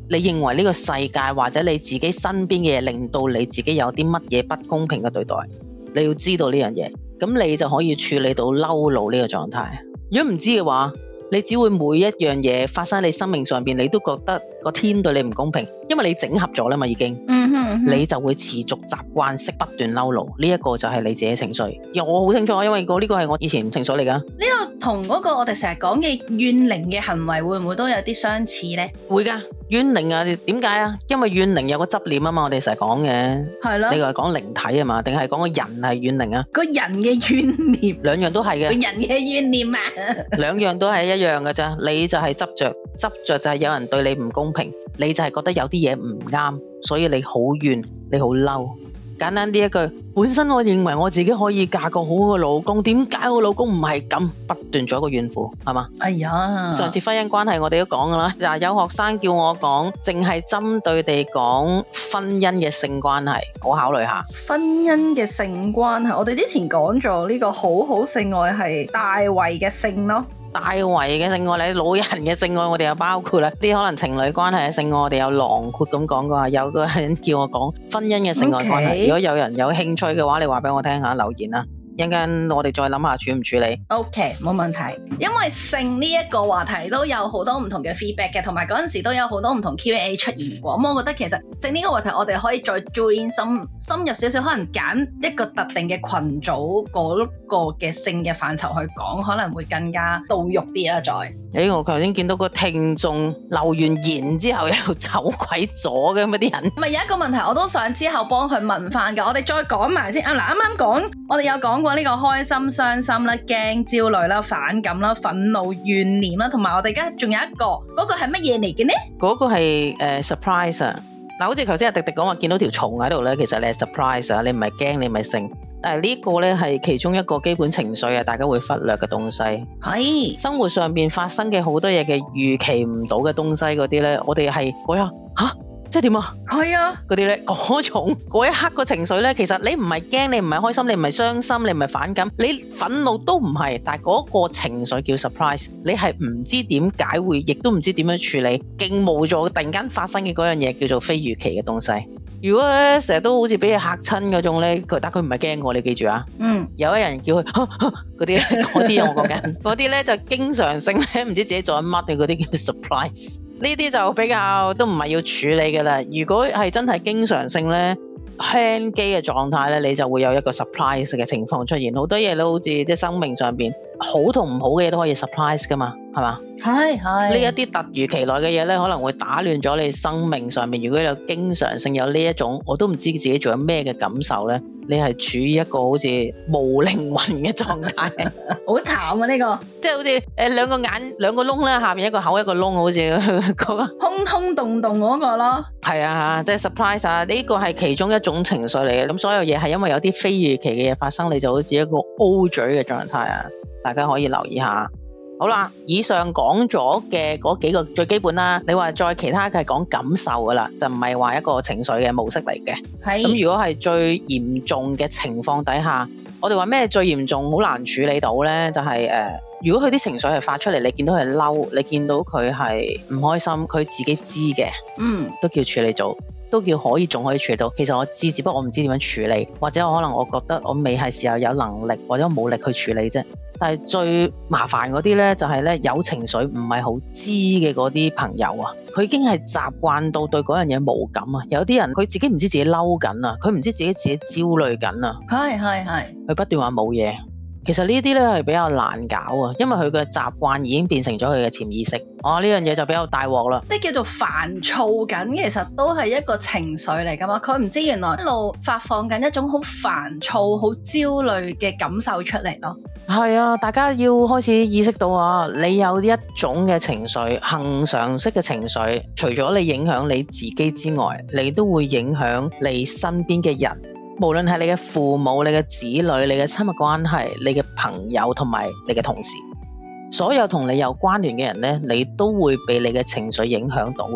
你認為呢個世界或者你自己身邊嘅嘢令到你自己有啲乜嘢不公平嘅對待，你要知道呢樣嘢，咁你就可以處理到嬲怒呢個狀態。如果唔知嘅話，你只會每一樣嘢發生喺你生命上邊，你都覺得個天對你唔公平，因為你整合咗啦嘛已經，你就會持續習慣式不斷嬲怒，呢一個就係你自己情緒。我好清楚，因為呢個係我以前情緒嚟噶。 呢個同嗰個我哋成日講嘅怨靈嘅行為會唔會都有啲相似呢？ 會噶，怨靈啊，點解啊？因為怨靈有個執念啊嘛，我哋成日講嘅。係咯。你係講靈體啊嘛，定係講個人係怨靈啊？個人嘅怨念，兩樣都係嘅。個人嘅怨念啊，兩樣都係一樣嘅咋。你就係執着就係有人對你唔公平，你就係覺得有啲嘢唔啱，所以你好怨，你好嬲。簡單啲一句，本身我認為我自己可以嫁個好嘅老公，點解我老公唔係咁？不斷做一個怨婦，係嘛？哎呀，上次婚姻關係我哋都講噶啦，嗱，有學生叫我講，淨係針對地講婚姻嘅性關係，我考慮下。婚姻嘅性關係，我哋之前講咗呢個好好性愛係大圍嘅性咯。大圍嘅性愛，你老人嘅性愛我哋又包括啦，啲可能情侶關係嘅性愛我哋有囊括咁講過。有個人叫我講婚姻嘅性愛關係，如果有人有興趣嘅話，你話俾我聽下，留言啦。一陣間我哋再諗下處唔處理。OK， 冇問題。因為性呢一個話題都有好多唔同嘅 feedback 嘅，同埋嗰陣時都有好多唔同 Q&A 出現過。咁我覺得其實性呢個話題我哋可以再 join 深入少少，可能揀一個特定嘅群組嗰個嘅性嘅範疇去講，可能會更加到肉啲啊！再，我頭先見到個聽眾留完言之後又走鬼咗嘅咁啲人。咪有一個問題我都想之後幫佢問翻㗎，我哋再講埋先啊！嗱，啱啱講我哋有講過呢個開心、傷心啦、驚、焦慮啦、反感啦、憤怒、怨念啦，同埋我哋而家仲有一個，嗰個係乜嘢嚟嘅呢？嗰個係surprise 啊！嗱，好似頭先阿迪迪講話見到條蟲喺度咧，其實你係 surprise 啊，你唔係驚，你唔係性。但係呢個咧係其中一個基本情緒啊，大家會忽略嘅東西。係生活上邊發生嘅好多嘢嘅預期唔到嘅東西嗰啲咧，我哋係嗰下吓。即係點啊？係啊，嗰啲咧，嗰種嗰一刻個情緒咧，其實你唔係驚，你唔係開心，你唔係傷心，你唔係反感，你憤怒都唔係，但係嗰個情緒叫 surprise， 你係唔知點解會，亦都唔知點樣處理，勁無助，突然間發生嘅嗰樣嘢叫做非預期嘅東西。如果咧成日都好似俾佢嚇親嗰種咧，但佢唔係驚我，你記住啊。有一人叫佢嗰啲咧，嗰啲我講緊，嗰啲咧就經常性咧唔知自己做緊乜嘅嗰啲叫 surprise。呢啲就比較都唔係要處理嘅啦。如果係真係經常性咧輕機嘅狀態咧，你就會有一個 surprise 嘅情況出現。好多嘢都好似即係生命上邊好同唔好嘅嘢都可以 surprise 噶嘛，係嘛？係呢一啲突如其來嘅嘢咧，可能會打亂咗你生命上面。如果有經常性有呢一種，我都唔知自己做緊咩嘅感受咧，你係處於一個好似無靈魂嘅狀態，好慘啊！呢個即係好似兩個眼兩個窿咧，下面一個口一個窿，好似嗰個空空洞洞嗰個咯。係啊，即係 surprise 啊！呢個係其中一種情緒嚟嘅。咁所有嘢係因為有啲非預期嘅嘢發生，你就好似一個 O 嘴嘅狀態啊！大家可以留意下。好啦，以上講咗嘅嗰幾個最基本啦，你話再其他嘅係講感受噶啦，就唔係話一個情緒嘅模式嚟嘅。係咁，如果係最嚴重嘅情況底下，我哋話咩最嚴重好難處理到呢？就係如果佢啲情緒係發出嚟，你見到佢嬲，你見到佢係唔開心，佢自己知嘅，都叫處理到，都叫仲可以處理到。其實我知，只不過我唔知點樣處理，或者可能我覺得我未係時候有能力，或者我冇力去處理啫。但係最麻煩嗰啲咧，就係咧有情緒唔係好知嘅嗰啲朋友啊，佢已經係習慣到對嗰樣嘢冇感啊。有啲人佢自己唔知自己嬲緊啊，佢唔知自己焦慮緊啊。係，佢不斷話冇嘢。其實呢啲咧係比較難搞啊，因為佢嘅習慣已經變成咗佢嘅潛意識。呢樣嘢就比較大鑊啦。即係叫做煩躁緊，其實都係一個情緒嚟噶嘛。佢唔知原來一路發放緊一種好煩躁、好焦慮嘅感受出嚟咯。係啊，大家要開始意識到啊，你有一種嘅情緒，恆常式嘅情緒，除咗你影響你自己之外，你都會影響你身邊嘅人。無論係你嘅父母、你嘅子女、你嘅親密關係、你嘅朋友同埋你嘅同事，所有同你有關聯嘅人呢，你都會被你嘅情緒影響到嘅。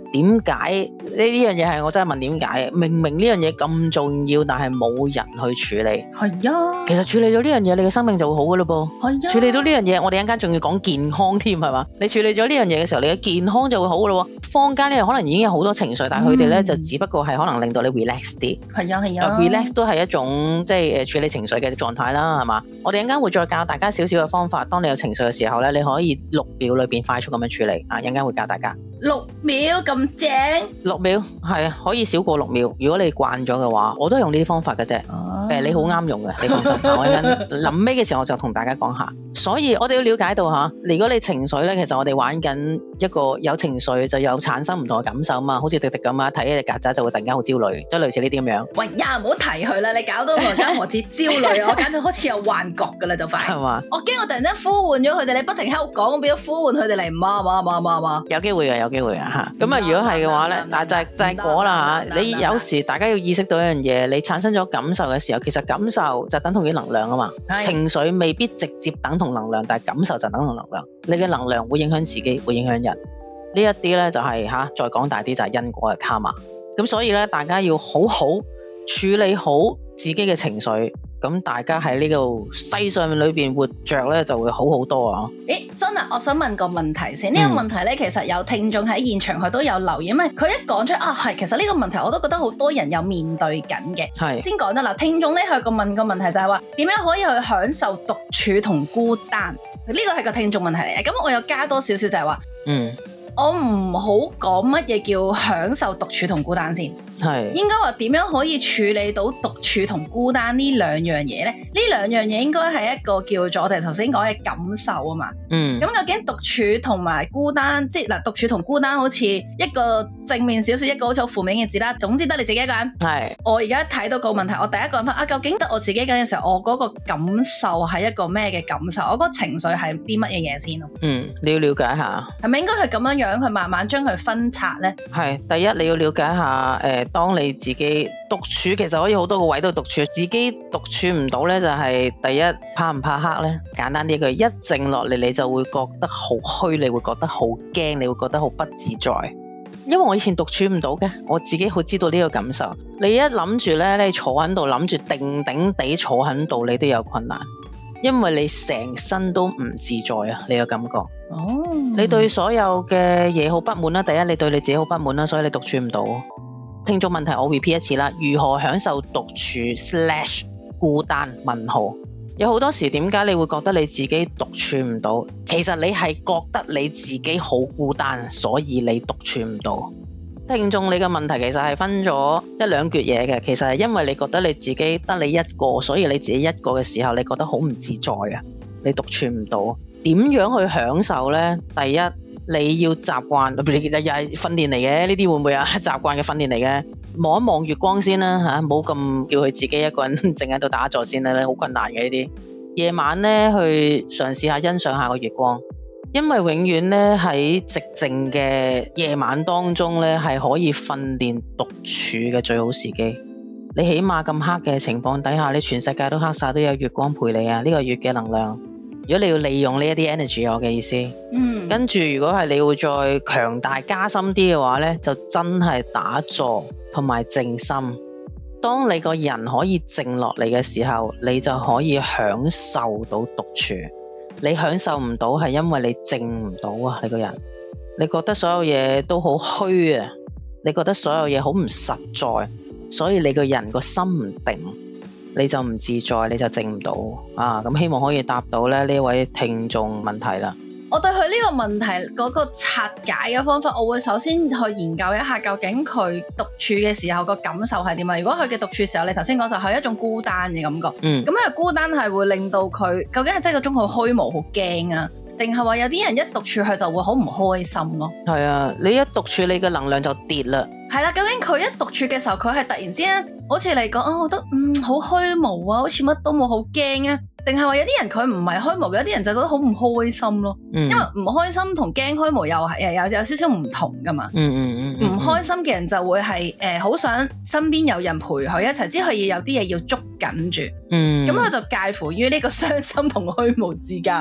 點解呢樣嘢係我真係問點解？明明呢樣嘢咁重要，但係冇人去處理。 係啊， 其實處理咗呢樣嘢，你嘅生命就會好噶咯噃。 係啊， 處理到呢樣嘢，我哋一陣間仲要講健康添，係嘛？你處理咗呢樣嘢嘅時候，你嘅健康就會好噶咯。坊間呢可能已經有好多情緒，但係佢哋咧就只不過係可能令到你 relax 啲。 係啊係啊 relax 都係一種即係處理情緒嘅狀態啦，係嘛？我哋一陣間會再教大家少少嘅方法，當你有情緒嘅時候咧，你可以6秒裏邊快速咁樣處理啊！一陣間會教大家。 6秒咁正 6秒係啊，可以少過6秒。如果你慣咗嘅話，我都係用呢啲方法嘅啫。你好啱用嘅，你放心。我一陣臨尾嘅時候我就同大家講下。所以我哋要了解到吓，如果你情緒咧，其實我哋玩緊一個有情緒就有產生唔同嘅感受嘛，好似迪迪咁啊，睇一隻曱甴就會突然間好焦慮，即係類似呢啲咁樣。 喂呀，唔好提佢啦，你搞到我而家何止焦慮，我簡直好似有幻覺噶啦，就快。 係嘛？ 我驚我突然間呼喚咗佢哋，你不停喺度講，變咗呼喚佢哋嚟，唔啊， 有機會嘅，有機會嘅吓。咁啊，如果係嘅話咧，嗱就係果啦吓。你有時大家要意識到一樣嘢，你產生咗感受嘅時候，其實感受就等同於能量啊嘛。情緒未必直接等同能量，但係感受就等同能量。你嘅能量會影響自己，會影響人。呢一啲咧就係再講大啲就係因果嘅卡瑪。咁所以咧，大家要好好處理好自己嘅情緒。咁大家喺呢個世上面裏邊活着咧，就會好好多啊！ Sona，我想問個問題先。呢個問題咧，其實有聽眾喺現場佢都有留意，因為佢一講出係，其實呢個問題我都覺得好多人有面對緊嘅。係先講得啦，聽眾咧佢問個問題就係話，點樣可以去享受獨處同孤單？呢個係個聽眾問題嚟嘅。咁我又加多少少就係話，我唔好講乜嘢叫享受獨處同孤單先，係應該話點樣可以處理到獨處同孤單呢兩樣嘢咧？呢兩樣嘢應該係一個叫做我哋頭先講嘅感受啊嘛。咁究竟獨處同埋孤單，即係嗱，獨處同孤單好似一個正面少少，一個好似好負面嘅字啦。總之得你自己一個人。係我而家睇到個問題，我第一個諗翻究竟得我自己一個人嘅時候，我嗰個感受係一個咩嘅感受？我嗰個情緒係啲乜嘢嘢先咯？ 你要了解下，係咪應該係咁樣佢慢慢將佢分拆呢？係第一，你要了解下，當你自己獨處，其實可以好多個位都獨處，自己獨處唔到呢，就係第一，怕唔怕黑呢？簡單啲句，一靜落嚟，你就會覺得好虛，你會覺得好驚，你會覺得好不自在。因為我以前獨處唔到嘅，我自己好知道呢個感受。你一諗住呢，你坐喺度諗住定定地坐喺度，你都有困難，因為你成身都唔自在啊，你有感覺。你對所有嘅嘢好不滿啦，第一，你對你自己好不滿啦，所以你獨處唔到。聽眾問題我 repeat 一次啦，如何享受獨處/孤單？問號。有好多時點解你會覺得你自己獨處唔到？其實你係覺得你自己好孤單，所以你獨處唔到。聽眾，你嘅問題其實係分咗一兩橛嘢嘅，其實係因為你覺得你自己得你一個，所以你自己一個嘅時候，你覺得好唔自在啊，你獨處唔到。點樣去享受呢？第一，你要習慣，又係訓練嚟嘅，呢啲會唔會啊？習慣嘅訓練嚟嘅，望一望月光先啦吓，冇咁叫佢自己一個人靜喺度打坐先啦，好困難嘅呢啲。夜晚呢，去嘗試下欣賞下個月光，因為永遠呢，喺寂靜嘅夜晚當中呢，係可以訓練獨處嘅最好時機。你起碼咁黑嘅情況底下，你全世界都黑晒，都有月光陪你啊！呢個月嘅能量。如果你要利用呢一啲 energy， 我嘅意思，跟住如果係你要再強大加深啲嘅話呢，就真係打坐同埋靜心。當你個人可以靜落嚟嘅時候，你就可以享受到獨處。你享受唔到係因為你靜唔到啊，你個人，你覺得所有嘢都好虛啊，你覺得所有嘢好唔實在，所以你個人個心唔定。你就唔自在，你就靜唔到啊！咁希望可以答到咧呢位聽眾問題啦。我對佢呢個問題嗰個拆解嘅方法，我會首先去研究一下究竟佢獨處嘅時候個感受係點啊？如果佢嘅獨處時候，你頭先講就係一種孤單嘅感覺，咁佢孤單係會令到佢究竟係真係嗰種好虛無、好驚啊？定係話有啲人一獨處佢就會好唔開心咯？係啊，你一獨處你嘅能量就跌啦。係啦，究竟佢一獨處嘅時候，佢係突然之間好似嚟講，我覺得好虛無啊，好似乜都冇，好驚啊？定係話有啲人佢唔係虛無嘅，有啲人就覺得好唔開心咯。因為唔開心同驚虛無又係有少少唔同噶嘛。唔開心嘅人就會係好想身邊有人陪佢一齊，之後要有啲嘢要捉緊住。咁佢就介乎於呢個傷心同虛無之間啊。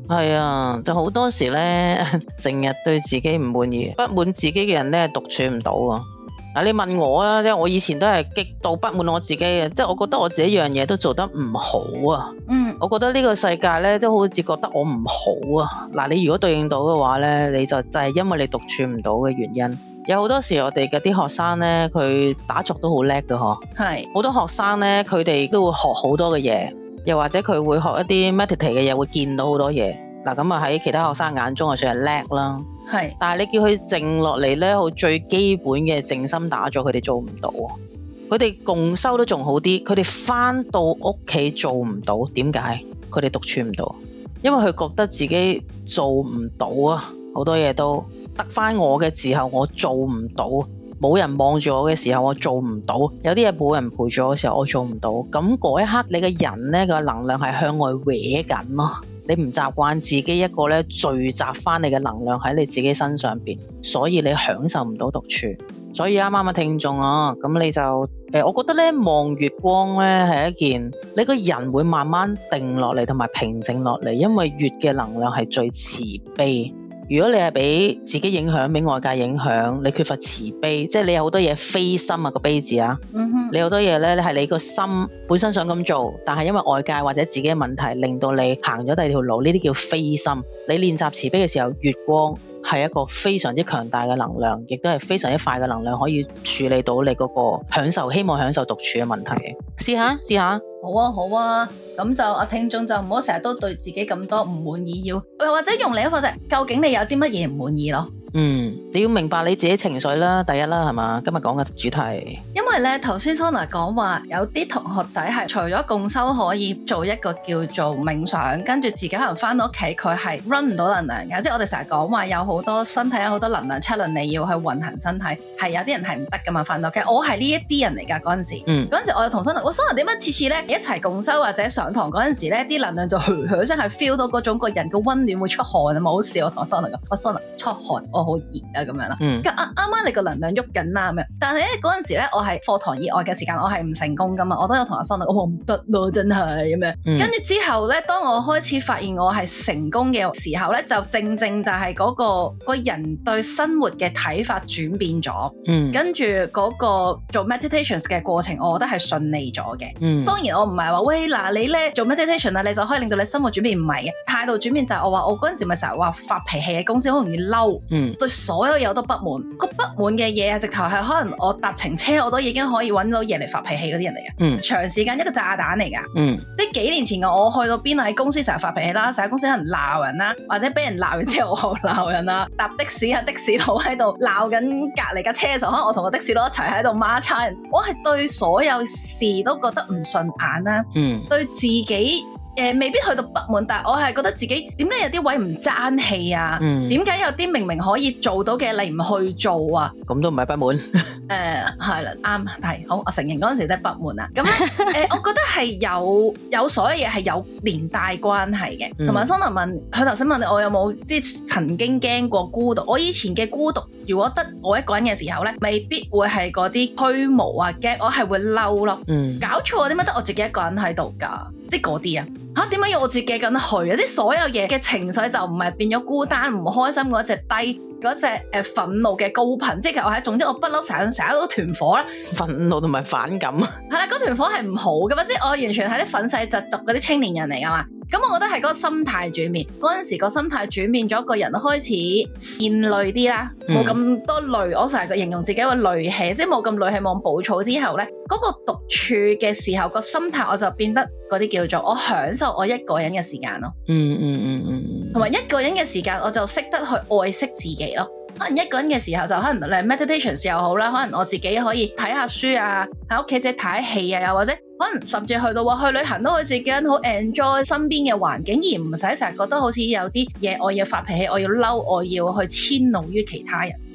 係啊，就好多時咧，成日對自己唔滿意、不滿自己嘅人咧，獨處唔到啊！嗱，你問我啦，即係我以前都係極度不滿我自己嘅，即係我覺得我自己樣嘢都做得唔好啊。我覺得呢個世界咧，都好似覺得我唔好啊。嗱，你如果對應到嘅話咧，你就係因為你獨處唔到嘅原因。有好多時我哋嘅啲學生咧，佢打坐都好叻㗎嗬。係好多學生咧，佢哋都會學好多嘅嘢。又或者佢會學一啲 meditate 嘅嘢，會見到好多嘢。嗱，咁啊喺其他學生眼中啊算係叻啦。係，但係你叫佢靜落嚟咧，好最基本嘅靜心打坐，佢哋做唔到。佢哋共修都仲好啲，佢哋翻到屋企做唔到。點解？佢哋獨處唔到，因為佢覺得自己做唔到啊，好多嘢都得翻我嘅時候，我做唔到。冇人望住我嘅時候，我做唔到；有啲嘢冇人陪住我嘅時候，我做唔到。咁嗰一刻，你嘅人呢個能量係向外搲緊咯。你唔習慣自己一個咧聚集翻你嘅能量喺你自己身上邊，所以你享受唔到獨處。所以啱啱嘅聽眾啊，咁你就我覺得咧望月光咧係一件你個人會慢慢定落嚟同埋平靜落嚟，因為月嘅能量係最慈悲。如果你係俾自己影響，俾外界影響，你缺乏慈悲，即係你有好多嘢非心啊，個悲字啊，你好多嘢咧係你個心本身想咁做，但係因為外界或者自己嘅問題令到你行咗第二條路，呢啲叫非心。你練習慈悲嘅時候，月光係一個非常之強大嘅能量，亦都係非常之快嘅能量，可以處理到你嗰個享受，希望享受獨處嘅問題。試下。 好啊，好啊，咁就阿聽眾就唔好成日都對自己咁多唔滿意，又或者用另一個方式，究竟你有啲乜嘢唔滿意咯？你要明白你自己情緒啦，第一啦，係嘛？今日講嘅主題， 因為咧頭先 Sona 講話有啲同學仔係除咗共修可以做一個叫做冥想，跟住自己可能翻到屋企佢係 run 唔到能量嘅，即係我哋成日講話有好多身體有好多能量七輪你要去運行身體，係有啲人係唔得噶嘛，翻到屋企我係呢一啲人嚟噶嗰陣時，嗰陣時我又同 Sona 點解次次咧一齊共修或者上堂嗰陣時咧啲能量就真係 feel 到嗰種個人嘅溫暖會出汗啊，冇好笑我同 Sona 講，我 Sona 出汗我好熱啊咁樣啦，啱啱你個能量喐緊啦咁樣，但係咧嗰陣時咧我係課堂以外嘅時間我係唔成功噶嘛，我都有同阿 Sona 我唔得咯真係咁樣，跟住之後咧當我開始發現我係成功嘅時候咧，就正正就係嗰個人對生活嘅睇法轉變咗，跟住嗰個做 meditations 嘅過程我覺得係順利咗嘅，當然我唔係話喂嗱你咧做 meditation 啊你就可以令到你生活轉變，唔係嘅，態度轉變就係我話我嗰陣時咪成日話發脾氣嘅公司好容易嬲，對所有嘢都不滿，個不滿嘅嘢直頭係可能我搭程車我都已經可以揾到嘢嚟發脾氣嗰啲人嚟嘅，長時間一個炸彈嚟噶，即係幾年前我去到邊喺公司成日發脾氣啦，成日公司可能鬧人啦，或者俾人鬧完之後我鬧人啦，搭的士啊的士佬喺度鬧緊隔離架車嘅時候，可能我同個的士佬一齊喺度孖叉人，我係對所有事都覺得唔順眼啦，對自己未必去到不滿，但係我係覺得自己點解有啲位唔爭氣啊？點解有啲明明可以做到嘅你唔去做啊？ 咁都唔係不滿。 係啦，啱係好，我承認嗰陣時都係不滿啊。咁我覺得係有所有嘢係有連帶關係嘅。同埋 Sona 問佢頭先問你我有冇即係曾經驚過孤獨？我以前嘅孤獨，如果得我一個人嘅時候咧，未必會係嗰啲虛無啊驚，我係會嬲咯。搞錯點解得我自己一個人喺度㗎？即係嗰啲啊！嚇點解要我自己咁去啊？即係所有嘢嘅情緒就唔係變咗孤單唔開心嗰隻低嗰隻憤怒嘅高頻，即係我係總之我不嬲成日都團火啦， 憤怒同埋反感。 係啦，嗰團火係唔好嘅嘛，即係我完全係啲憤世嫉俗嗰啲青年人嚟㗎嘛。咁我覺得係嗰個心態轉變，嗰陣時個心態轉變咗，個人開始善戾啲啦，冇咁多戾。我成日形容自己個戾氣，即係冇咁戾氣，冇咁暴躁之後咧，嗰個獨處嘅時候個心態我就變得嗰啲叫做我享受我一個人嘅時間咯。同埋一個人嘅時間我就識得去愛惜自己咯。可能一個人嘅時候就可能嚟 meditations 又好啦，可能我自己可以睇下書啊，喺屋企自己睇戲啊，又或者可能甚至去到話去旅行都可以自己好 enjoy 身邊嘅環境，而唔使成日覺得好似有啲嘢我要發脾氣，我要嬲，我要去遷怒於其他人。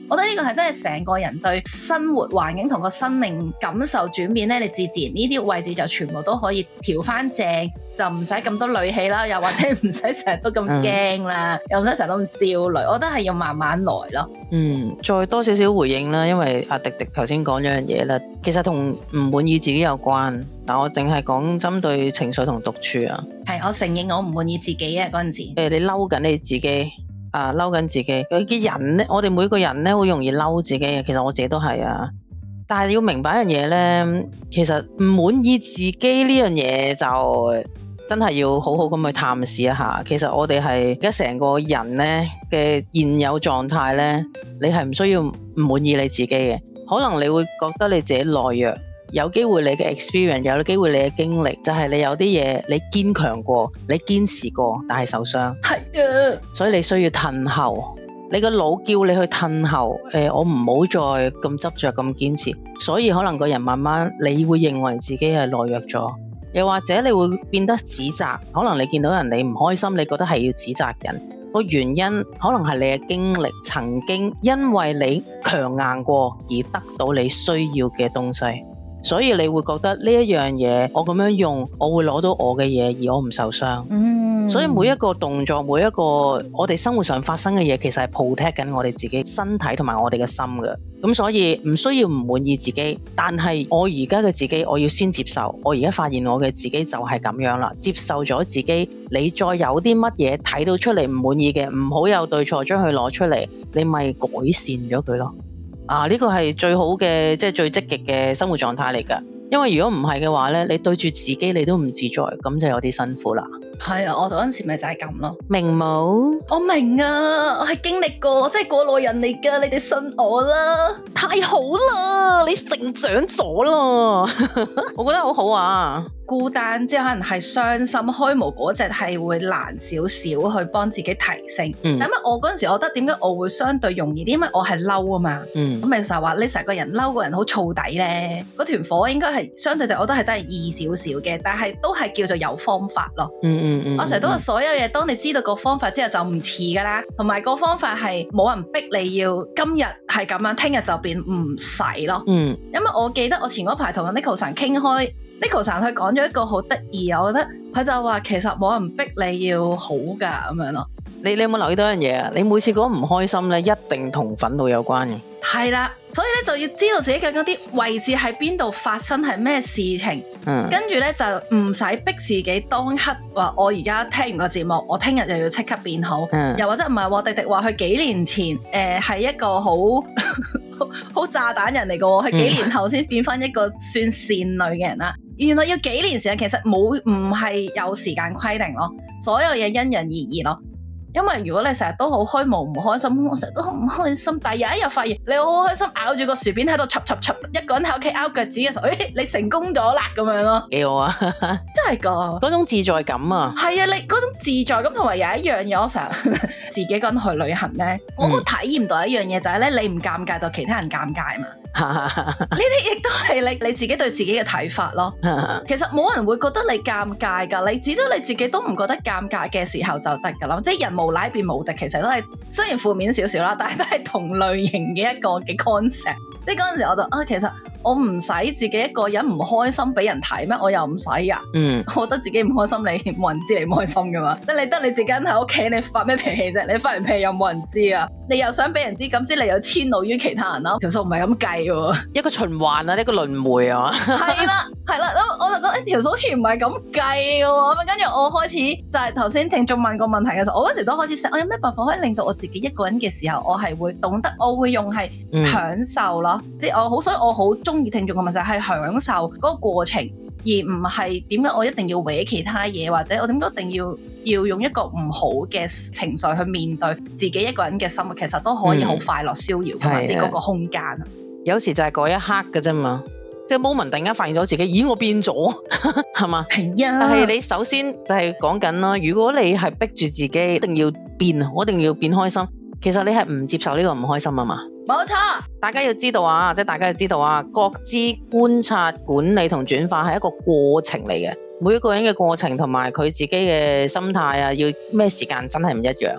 我覺得呢個係真係成個人對生活環境同個生命感受轉變咧，你自然呢啲位置就全部都可以調翻正，就唔使咁多戾氣啦，又或者唔使成日都咁驚啦，又唔使成日都咁焦慮。我覺得係要慢慢來咯。 再多少少回應啦，因為阿迪迪頭先講咗樣嘢啦，其實同唔滿意自己有關，但我淨係講針對情緒同獨處啊。 係，我承認我唔滿意自己啊嗰陣時。 你嬲緊你自己啊，嬲緊自己。有啲人咧，我哋每個人咧好容易嬲自己嘅，其實我自己都係啊。但係要明白一樣嘢咧，其實唔滿意自己呢樣嘢就真係要好好咁去探視一下。其實我哋係而家成個人咧嘅現有狀態咧，你係唔需要唔滿意你自己嘅。可能你會覺得你自己懦弱，有機會你嘅 experience， 有機會你嘅經歷，就係你有啲嘢你堅強過，你堅持過，但係受傷。係啊，所以你需要褪後。你個腦叫你去褪後，我唔好再咁執着咁堅持，所以可能個人慢慢你會認為自己係懦弱咗，又或者你會變得指責，可能你見到人你唔開心，你覺得係要指責人，個原因可能係你嘅經歷曾經因為你強硬過而得到你需要嘅東西，所以你會覺得呢一樣嘢我咁樣用，我會攞到我嘅嘢而我唔受傷。所以每一個動作，每一個我哋生活上發生嘅嘢，其實係 protect 緊我哋自己身體同埋我哋嘅心嘅。咁所以唔需要唔滿意自己，但係我而家嘅自己，我要先接受。我而家發現我嘅自己就係咁樣啦，接受咗自己。你再有啲乜嘢睇到出嚟唔滿意嘅，唔好有對錯，將佢攞出嚟，你咪改善咗佢咯。呢個係最好嘅，即係最積極嘅生活狀態嚟㗎。因為如果唔係嘅話咧，你對住自己你都唔自在，咁就有啲辛苦啦。 係啊，我嗰陣時咪就係咁咯。 明冇？我明啊，我係經歷過，我真係過來人嚟噶，你哋信我啦。 太好啦，你成長咗啦，我覺得好好啊。 孤單即係可能係傷心開無嗰隻係會難少少去幫自己提升。但係我嗰陣時我覺得點解我會相對容易啲，因為我係嬲啊嘛。咁咪成日話你成個人嬲個人好燥底咧，嗰團火應該係相對地我都係真係易少少嘅，但係都係叫做有方法咯。我成日都話所有嘢，當你知道個方法之後就唔似噶啦，同埋個方法係冇人逼你要今日係咁樣，聽日就變唔使咯。因為我記得我前嗰排同 Neko 神傾開，Neko 神佢講咗一個好得意，我覺得佢就話其實冇人逼你要好噶咁樣咯。你有冇留意到一樣嘢啊？你每次講唔開心咧，一定同憤怒有關嘅。 係啦，所以咧就要知道自己究竟啲位置喺邊度發生係咩事情，跟住咧就唔使逼自己當刻話我而家聽完個節目，我聽日就要即刻變好，又或者唔係喎，迪迪話佢幾年前係一個好好炸彈人嚟嘅喎，佢幾年後先變翻一個算善女嘅人啦。原來要幾年時間，其實唔係有時間規定咯，所有嘢因人而異咯。因為如果你成日都好虛無唔開心，我成日都好唔開心，但係有一日發現你好開心，咬住個薯片喺度插，一個人喺屋企拗腳趾嘅時候，你成功咗啦咁樣咯， 幾好啊！ 真係噶， 嗰種自在感啊， 係啊，你嗰種自在感，同埋有一樣嘢，我成日自己一個人去旅行咧，我都體驗到一樣嘢就係咧，你唔尷尬就其他人尷尬嘛。呢啲亦都係你自己對自己嘅睇法咯。其實冇人會覺得你尷尬噶，你只要你自己都唔覺得尷尬嘅時候就得噶啦。即係人無賴變無敵，其實都係雖然負面少少啦，但係都係同類型嘅一個嘅 concept。即係嗰陣時我就其實我唔使自己一個人唔開心俾人睇咩？我又唔使噶。我覺得自己唔開心，你冇人知你唔開心噶嘛。得你自己喺屋企，你發咩脾氣啫？你發完脾氣又冇人知啊？你又想俾人知，咁先你又遷怒於其他人啦。條數唔係咁計喎， 一個循環啊，一個輪迴啊。 係啦，咁我就覺得條數好似唔係咁計嘅喎。咁跟住我開始就係頭先聽眾問個問題嘅時候，我嗰時都開始想，我有咩辦法可以令到我自己一個人嘅時候，我係會懂得，我會用係享受咯。即係所以我好中意聽眾個問題係享受嗰個過程，而唔係點解我一定要搲其他嘢，或者我點解一定要用一個唔好嘅情緒去面對自己一個人嘅生活，其實都可以好快樂逍遙嘅，或者嗰個空間。 有時就係嗰一刻嘅啫嘛，即係 moment 突然間發現咗自己，咦我變咗係嘛？係啊。但係你首先就係講緊啦，如果你係逼住自己一定要變，我一定要變開心，其實你係唔接受呢個唔開心啊嘛。 冇錯， 大家要知道啊，即係大家要知道啊，覺知、觀察、管理同轉化係一個過程嚟嘅。每一個人嘅過程同埋佢自己嘅心態啊，要咩時間真係唔一樣。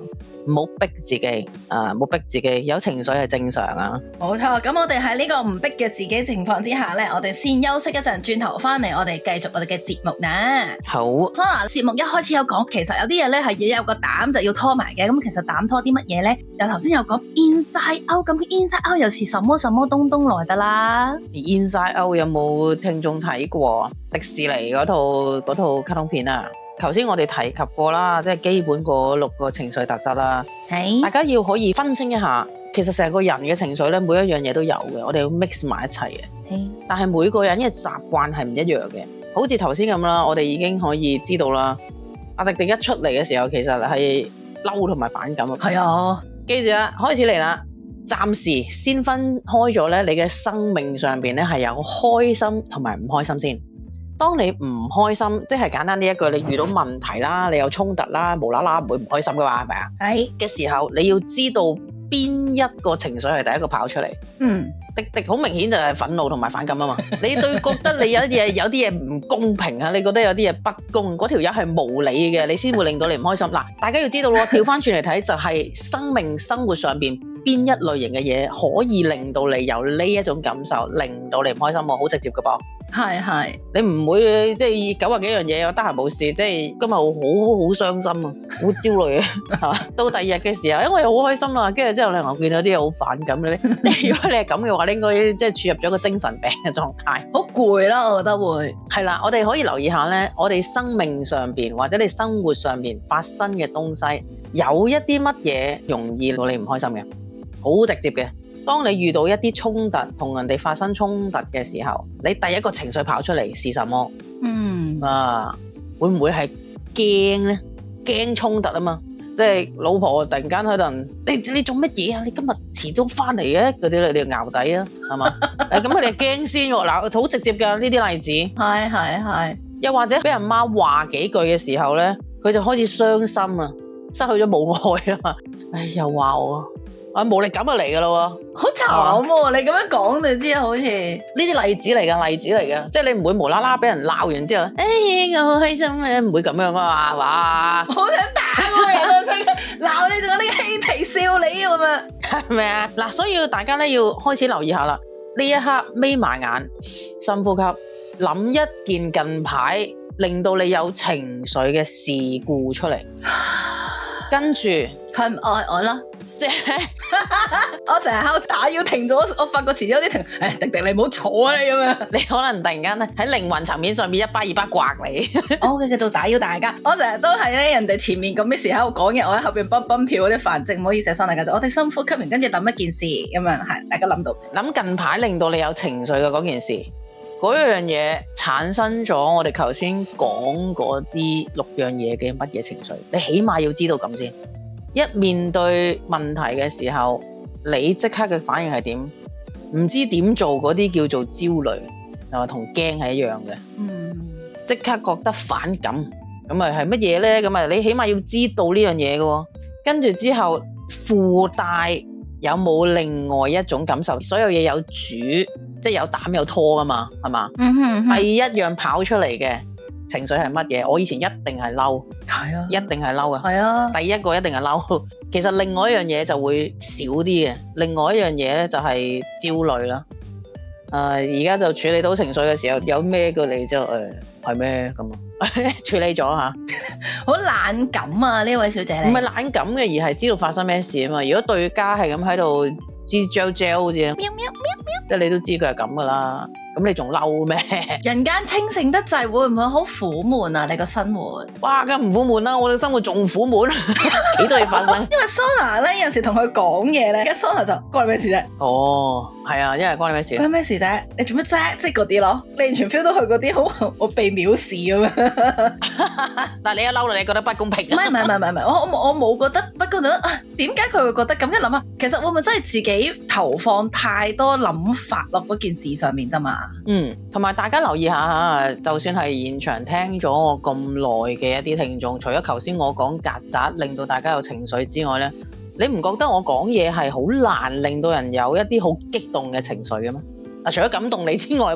唔好逼自己唔好逼自己，有情緒係正常啊。 冇錯，咁我哋喺呢個唔逼嘅自己情況之下呢，我哋先休息一陣，轉頭翻嚟我哋繼續我哋嘅節目啦。 好， Sona 節目一開始有講，其實有啲嘢呢係要有個膽就要拖埋嘅，咁其實膽拖啲乜嘢呢？又頭先有講 Inside Out， 咁 Inside Out 又是什麼什麼東東來的啦？ Inside Out 有冇聽眾睇過迪士尼嗰套卡通片啊？頭先我哋提及過啦，即係基本嗰6個情緒特質啦。 係大家要可以分清一下，其實成個人嘅情緒咧，每一樣嘢都有嘅，我哋要 mix 埋一齊嘅。但係每個人嘅習慣係唔一樣嘅，好似頭先咁啦，我哋已經可以知道啦。阿迪迪一出嚟嘅時候，其實係嬲同埋反感啊。 係啊， 記住啦，開始嚟啦。暫時先分開咗咧，你嘅生命上邊咧係有開心同埋唔開心先。當你唔開心，即係簡單呢一句，你遇到問題啦，你有衝突啦，無啦啦唔會唔開心噶嘛，係咪啊？係嘅時候，你要知道邊一個情緒係第一個跑出嚟。迪迪好明顯就係憤怒同埋反感啊嘛。你對覺得你有啲嘢唔公平啊，你覺得有啲嘢不公，嗰條友係無理嘅，你先會令到你唔開心。嗱，大家要知道咯，調翻轉嚟睇就係生活上邊邊一類型嘅嘢可以令到你有呢一種感受，令到你唔開心喎，好直接噶噃。係，你唔會即係90幾樣嘢，我得閒冇事，即係今日好傷心啊，好焦慮啊，係嘛？到第二日嘅時候，因為好開心啦，跟住之後咧，我見到啲嘢好反感咧。如果你係咁嘅話，你應該即係處入咗一個精神病嘅狀態， 好攰啦，我覺得會係啦。我哋可以留意下咧，我哋生命上邊或者你生活上邊發生嘅東西，有一啲乜嘢容易令你唔開心嘅，好直接嘅。當你遇到一啲衝突，同人哋發生衝突嘅時候，你第一個情緒跑出嚟是什麼？會唔會係驚呢？驚衝突啊嘛，即係老婆突然間喺度，你做乜嘢啊？你今日遲咗翻嚟嘅嗰啲，你哋淆底啊，係嘛？咁佢哋驚先喎，嗱，好直接㗎呢啲例子。係，又或者俾人媽話幾句嘅時候呢，佢就開始傷心啊，失去咗母愛啊嘛，又話我。無力感就嚟噶啦， 好慘喎！你咁樣講就知，好似呢啲例子嚟噶，即係你唔會無啦啦俾人鬧完之後，我好開心啊，唔會咁樣啊嘛，係嘛？ 好想打我人啊！鬧你仲有呢個嬉皮笑你咁啊， 係咪啊？嗱，所以大家咧要開始留意下啦，呢一刻眯埋眼，深呼吸，諗一件近排令到你有情緒嘅事故出嚟，跟住佢唔愛我啦。 即係我成日喺度打擾停咗，我發覺遲咗有啲停。迪迪你唔好坐啊你咁樣， 你可能突然間咧喺靈魂層面上面一巴二巴刮你。 我嘅繼續打擾大家。我成日都係咧人哋前面咁嘅時喺度講嘢，我喺後邊蹦蹦跳嗰啲繁殖，唔好意思，新嚟嘅。我哋深呼吸完，跟住諗一件事咁樣，係大家諗到諗近排令到你有情緒嘅嗰件事，嗰樣嘢產生咗我哋頭先講嗰啲6樣嘢嘅乜嘢情緒，你起碼要知道咁先。一面對問題嘅時候，你即刻嘅反應係點？唔知點做嗰啲叫做焦慮，係嘛？同驚係一樣嘅。即刻覺得反感，咁啊係乜嘢咧？咁啊你起碼要知道呢樣嘢嘅。跟住之後附帶有冇另外一種感受？所有嘢有主，即係有膽有拖噶嘛，係嘛？第一樣跑出嚟嘅情緒係乜嘢？我以前一定係嬲， 係啊， 一定係嬲啊， 係啊， 第一個一定係嬲。其實另外一樣嘢就會少啲嘅，另外一樣嘢咧就係焦慮啦。而家就處理到情緒嘅時候，有咩過嚟之後，係咩咁啊？處理咗吓， 好懶感啊！呢位小姐， 唔係懶感嘅，而係知道發生咩事啊嘛。如果對家係咁喺度吱喳喳好似，喵喵喵喵，即係你都知佢係咁噶啦。咁你仲嬲咩？ 人間清醒得滯，會唔會好苦悶啊？你個生活， 哇，梗唔苦悶啦！我嘅生活仲苦悶，幾多嘢發生。 因為 Sona 咧有陣時同佢講嘢咧，跟 Sona 就關你咩事啫？ 哦，係啊，因為關你咩事？ 關你咩事啫？你做乜啫？即係嗰啲咯，你完全 feel 到佢嗰啲好我被藐視咁樣。 但你一嬲啦，你覺得不公平？ 唔係，我冇覺得不公，就點解佢會覺得咁？一諗啊，其實會唔會真係自己投放太多諗法落嗰件事上面啫嘛？ 同埋大家留意下吓，就算係現場聽咗我咁耐嘅一啲聽眾，除咗頭先我講曱甴令到大家有情緒之外咧，你唔覺得我講嘢係好難令到人有一啲好激動嘅情緒嘅咩？除咗感動你之外噃，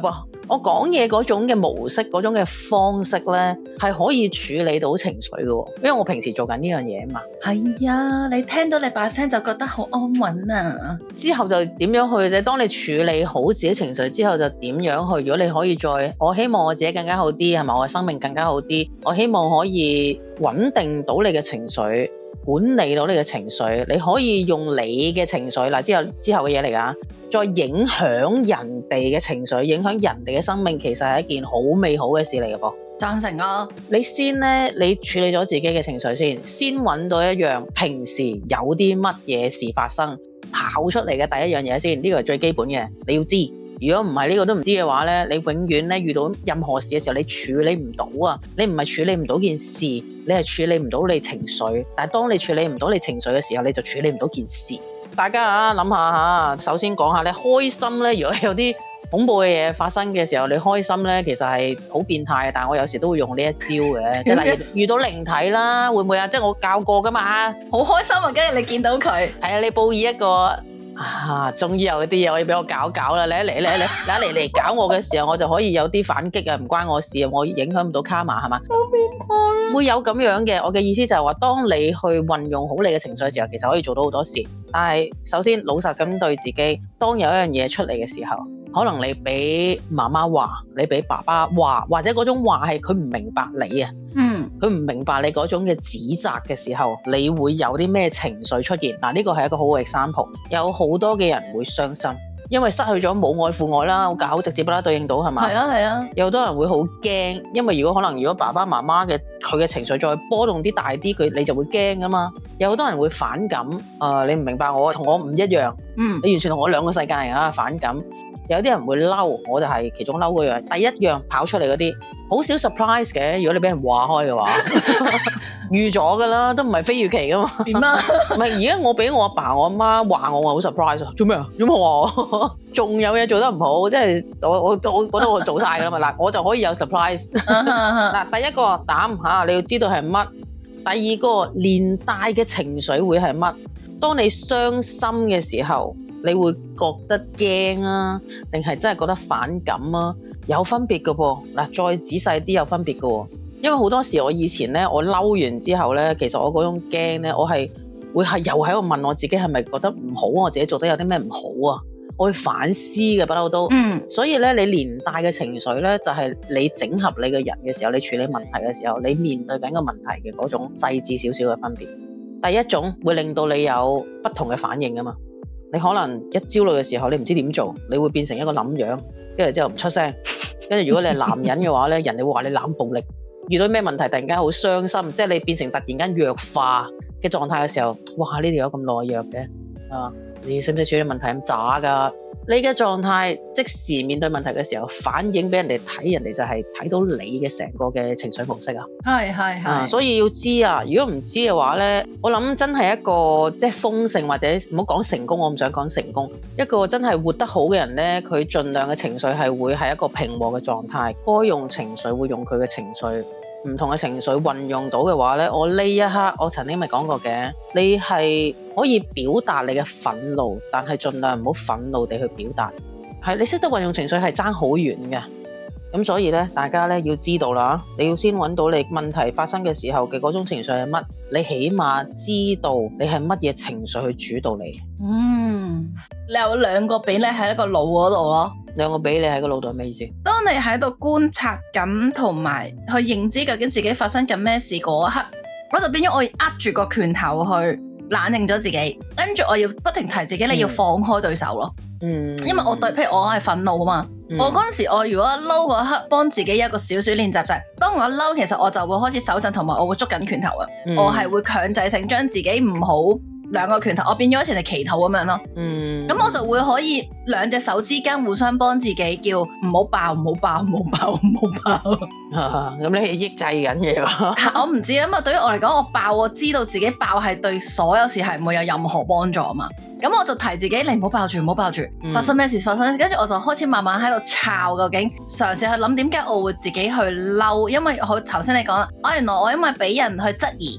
我講嘢嗰種嘅模式，嗰種嘅方式咧，係可以處理到情緒嘅，因為我平時做緊呢樣嘢嘛。 係啊，你聽到你把聲就覺得好安穩啊。 之後就點樣去啫？當你處理好自己情緒之後，就點樣去？如果你可以再，我希望我自己更加好啲，係咪？我嘅生命更加好啲，我希望可以穩定到你嘅情緒，管理到你嘅情緒，你可以用你嘅情緒嗱，之後嘅嘢嚟㗎，再影響人哋嘅情緒，影響人哋嘅生命，其實係一件好美好嘅事嚟嘅噃。 贊成啊！ 你先咧，你處理咗自己嘅情緒先揾到一樣平時有啲乜嘢事發生跑出嚟嘅第一樣嘢先，呢個係最基本嘅，你要知。如果唔係呢個都唔知嘅話咧，你永遠咧遇到任何事嘅時候，你處理唔到啊！你唔係處理唔到件事，你係處理唔到你情緒。但係當你處理唔到你情緒嘅時候，你就處理唔到件事。大家啊，諗下首先講下咧，開心咧，如果有啲恐怖嘅嘢發生嘅時候，你開心咧，其實係好變態嘅。但係我有時都會用呢一招嘅，即係例如遇到靈體啦，會唔會啊？即係我教過噶嘛， 好開心啊！跟住你見到佢， 係啊，你報以一個。終於有啲嘢可以俾我搞啦！你嚟搞我嘅時候，我就可以有啲反擊啊！唔關我事啊，我影響唔到卡瑪係嘛？好變態，會有咁樣嘅。我嘅意思就係話，當你去運用好你嘅情緒嘅時候，其實可以做到好多事。但係首先老實咁對自己，當有一樣嘢出嚟嘅時候，可能你俾媽媽話，你俾爸爸話，或者嗰種話係佢唔明白你啊。佢唔明白你嗰種嘅指責嘅時候，你會有啲咩情緒出現？嗱，呢個係一個好嘅 example。有好多嘅人會傷心，因為失去咗母愛父愛啦，好直接啦，對應到係嘛？係啊係啊。有好多人會好驚，因為如果爸爸媽媽嘅佢嘅情緒再波動啲大啲，你就會驚噶嘛。有好多人會反感，你唔明白我，同我唔一樣。你完全同我兩個世界啊，反感。有啲人會嬲，我就係其中嬲嗰樣。第一樣跑出嚟嗰啲。好少 surprise 嘅，如果你俾人話開嘅話，預咗噶啦，都唔係非預期噶嘛。點啊？唔係而家我俾我阿爸我阿媽話我好 surprise 啊！做咩啊？做咩話？仲有嘢做得唔好，即係我覺得我做晒噶啦嘛。嗱，我就可以有 surprise。嗱，第一個膽嚇，你要知道係乜；第二個連帶嘅情緒會係乜。當你傷心嘅時候，你會覺得驚啊，定係真係覺得反感啊？有分別嘅噃，嗱，再仔細啲有分別嘅喎，因為好多時我以前咧，我嬲完之後咧，其實我嗰種驚咧，我係會係又喺度問我自己係咪覺得唔好，我自己做得有啲咩唔好啊？我會反思嘅，不嬲都。所以咧，你連帶嘅情緒咧，就係你整合你嘅人嘅時候，你處理問題嘅時候，你面對緊個問題嘅嗰種細緻少少嘅分別。第一種會令到你有不同嘅反應啊嘛，你可能一焦慮嘅時候，你唔知點做，你會變成一個冧樣。跟住之後唔出聲，跟住如果你係男人嘅話咧，人哋會話你冷暴力。遇到咩問題突然間好傷心，即係你變成突然間弱化嘅狀態嘅時候，哇！呢條友咁懦弱嘅你識唔識處理問題咁渣㗎？你嘅狀態即時面對問題嘅時候，反映俾人哋睇，人哋就係睇到你嘅成個嘅情緒模式啊。係，所以要知啊。如果唔知嘅話咧，我諗真係一個即係豐盛或者唔好講成功，我唔想講成功。一個真係活得好嘅人咧，佢盡量嘅情緒係會係一個平和嘅狀態，該用情緒會用佢嘅情緒。唔同嘅情緒運用到嘅話咧，我呢一刻我曾經咪講過嘅，你係可以表達你嘅憤怒，但係盡量唔好憤怒地去表達。係你識得運用情緒係爭好遠嘅。咁所以咧，大家咧要知道啦，你要先揾到你問題發生嘅時候嘅嗰種情緒係乜，你起碼知道你係乜嘢情緒去主導你。 你有兩個比例喺一個腦嗰度咯。 兩個比例喺個腦度係咩意思？ 當你喺度觀察緊同埋去認知究竟自己發生緊咩事嗰一刻，我就變咗我握住個拳頭去冷靜咗自己，跟住我要不停提自己，你要放開對手咯。因為我對，譬如我係憤怒啊嘛，我嗰陣時我如果嬲嗰刻，幫自己一個少少練習就係，當我嬲，其實我就會開始手震，同埋我會捉緊拳頭啊，我係會強制性將自己唔好兩個拳頭，我變咗好似係祈禱咁樣咯。咁我就會可以兩隻手之間互相幫自己叫唔好爆，唔好爆，唔好爆，唔好爆。 咁你係抑制緊嘢喎？ 我唔知啊嘛，對於我嚟講，我爆，我知道自己爆係對所有事係唔會有任何幫助啊嘛。咁我就提自己，你唔好爆住，唔好爆住，發生咩事發生，跟住我就開始慢慢喺度抄，究竟嘗試去諗點解我會自己去嬲，因為頭先你講啦，原來我因為俾人去質疑，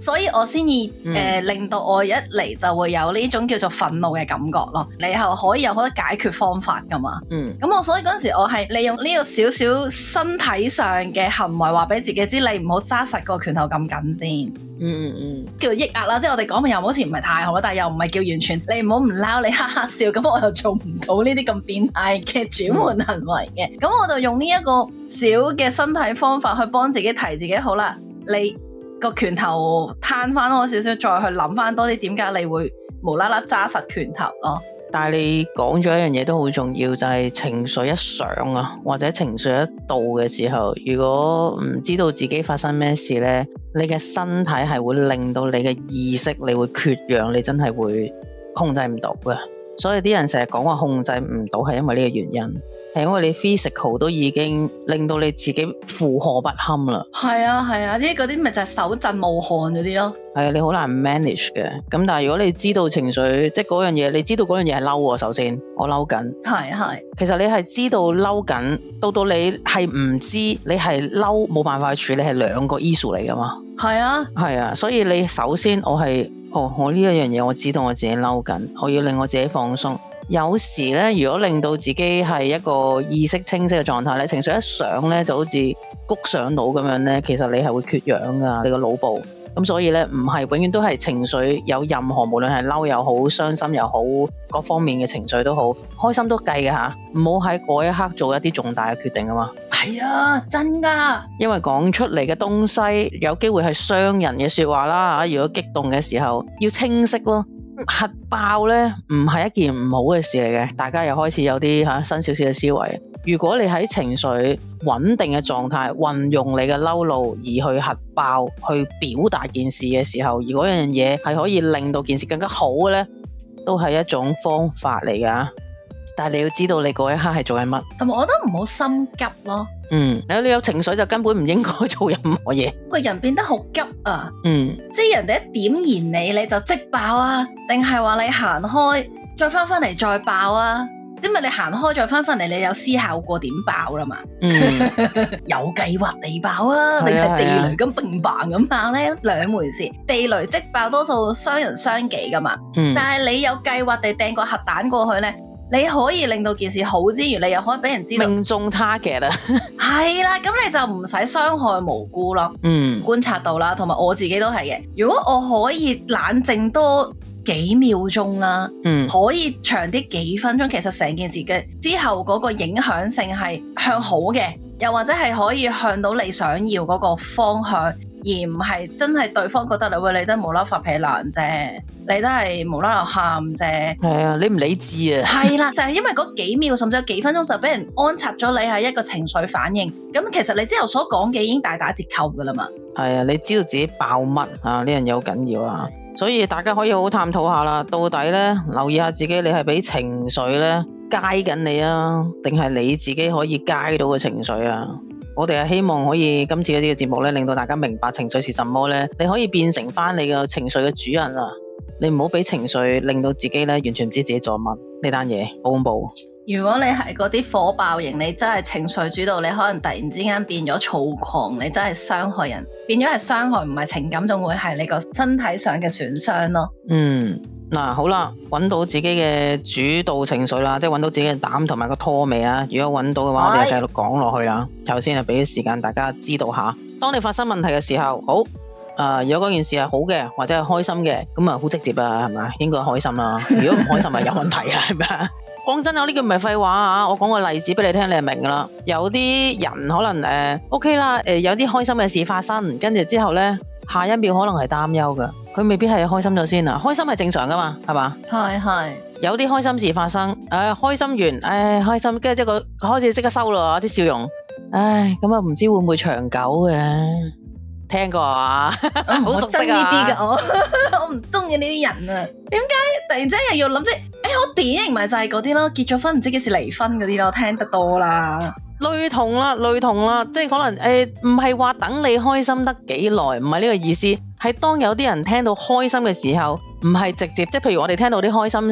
所以我先至令到我一嚟就會有呢種叫做憤怒嘅感覺咯。你係可以有好多解決方法噶嘛。咁我所以嗰陣時我係利用呢個少少身體上嘅行為話俾自己知，你唔好揸實個拳頭咁緊先。叫做抑壓啦，即係我哋講嘅又好似唔係太好啦，但係又唔係叫完全你唔好唔撈，你哈哈笑，咁我又做唔到呢啲咁變態嘅轉換行為嘅。咁我就用呢一個小嘅身體方法去幫自己提自己，好啦，你個拳頭攤翻開少少，再去諗翻多啲點解你會無啦啦揸實拳頭咯。 但係你講咗一樣嘢都好重要，就係情緒一上啊，或者情緒一到嘅時候，如果唔知道自己發生咩事呢，你嘅身體係會令到你嘅意識你會缺氧，你真係會控制唔到嘅。所以啲人成日講話控制唔到，係因為呢個原因。係因為你 physical 都已經令到你自己負荷不堪啦。 係啊係啊，嗰啲咪就係手震冒汗嗰啲咯。 係啊，你好難 manage 嘅。咁但係如果你知道情緒，即係嗰樣嘢，你知道嗰樣嘢係嬲喎。首先我嬲緊，係。其實你係知道嬲緊，到你係唔知你係嬲冇辦法去處理，係兩個 issue 嚟噶嘛。係啊，所以你首先我呢一樣嘢我知道我自己嬲緊，我要令我自己放鬆。有時咧，如果令到自己係一個意識清晰嘅狀態咧，情緒一上咧，就好似谷上腦咁樣咧，其實你係會缺氧噶，你個腦部。咁所以咧，唔係永遠都係情緒有任何，無論係嬲又好、傷心又好，各方面嘅情緒都好，開心都計嘅吓，唔好喺嗰一刻做一啲重大嘅決定啊嘛。 係啊，真噶。因為講出嚟嘅東西有機會係傷人嘅說話啦，如果激動嘅時候要清晰咯。核爆呢唔係一件唔好嘅事嚟嘅，大家又開始有啲新少少嘅思維。如果你喺情緒穩定嘅狀態，運用你嘅嬲怒而去核爆，去表達件事嘅時候，而嗰樣嘢係可以令到件事更加好嘅呢，都係一種方法嚟噶。但係你要知道你嗰一刻係做緊乜， 同埋我覺得唔好心急咯。 你有情緒就根本唔應該做任何嘢。 個人變得好急啊，即係人哋一點燃你就即爆啊，定係話你行開再翻嚟再爆啊？因為你行開再翻嚟，你有思考過點爆啦嘛？有計劃地爆啊，定係地雷咁砰砰咁爆咧？兩回事。地雷即爆多數傷人傷己噶嘛，但係你有計劃地掟個核彈過去咧，你可以令到件事好之餘，你又可以俾人知道命中 target 啊。 係啦，咁你就唔使傷害無辜咯。觀察到啦，同埋我自己都係嘅。如果我可以冷靜多幾秒鐘啦，可以長啲幾分鐘，其實成件事嘅之後嗰個影響性係向好嘅，又或者係可以向到你想要嗰個方向，而唔係真係對方覺得你都無啦啦發脾氣啫，你都係無啦啦喊啫。係啊，你唔理智啊。 係啦，就係因為嗰幾秒甚至有幾分鐘就俾人安插咗你係一個情緒反應，咁其實你之後所講嘅已經大打折扣噶啦嘛。 係啊，你知道自己爆乜啊？呢樣嘢好緊要啊。所以大家可以好好探討下啦，到底咧留意下自己，你係俾情緒咧街緊你啊，定係你自己可以街到個情緒啊？我哋係希望可以今次呢啲嘅節目咧，令到大家明白情緒是什麼咧，你可以變成翻你個情緒嘅主人啊！你唔好俾情緒令到自己咧完全唔知自己做乜，呢單嘢好恐怖。 如果你係嗰啲火爆型，你真係情緒主導，你可能突然之間變咗躁狂，你真係傷害人，變咗係傷害，唔係情感，仲會係你個身體上嘅損傷咯。 嗱，好啦，揾到自己嘅主導情緒啦，即係揾到自己嘅膽同埋個拖尾啊！如果揾到嘅話，我哋就繼續講落去啦。頭先係俾啲時間大家知道下，當你發生問題嘅時候，好。如果嗰件事係好嘅，或者係開心嘅，咁啊好直接啊，係咪？應該開心啦。如果唔開心，咪有問題啊，係咪啊？講真，我呢句唔係廢話啊！我講個例子俾你聽，你就明噶啦。有啲人可能OK 啦，有啲開心嘅事發生，跟住之後呢，下一秒可能係擔憂噶，佢未必係開心咗先啊。開心係正常噶嘛，係嘛？係。有啲開心事發生，開心完，開心，跟住即係開始即刻收咯啲笑容，咁啊唔知會唔會長久嘅？聽過啊？好熟悉啊！呢啲嘅我唔中意呢啲人啊！點解突然之間又要諗即係？好典型咪就係嗰啲咯，結咗婚唔知幾時離婚嗰啲咯，聽得多啦。 類同啦，即係可能唔係話等你開心得幾耐，唔係呢個意思，係當有啲人聽到開心嘅時候，唔係直接，即係譬如我哋聽到啲開心事，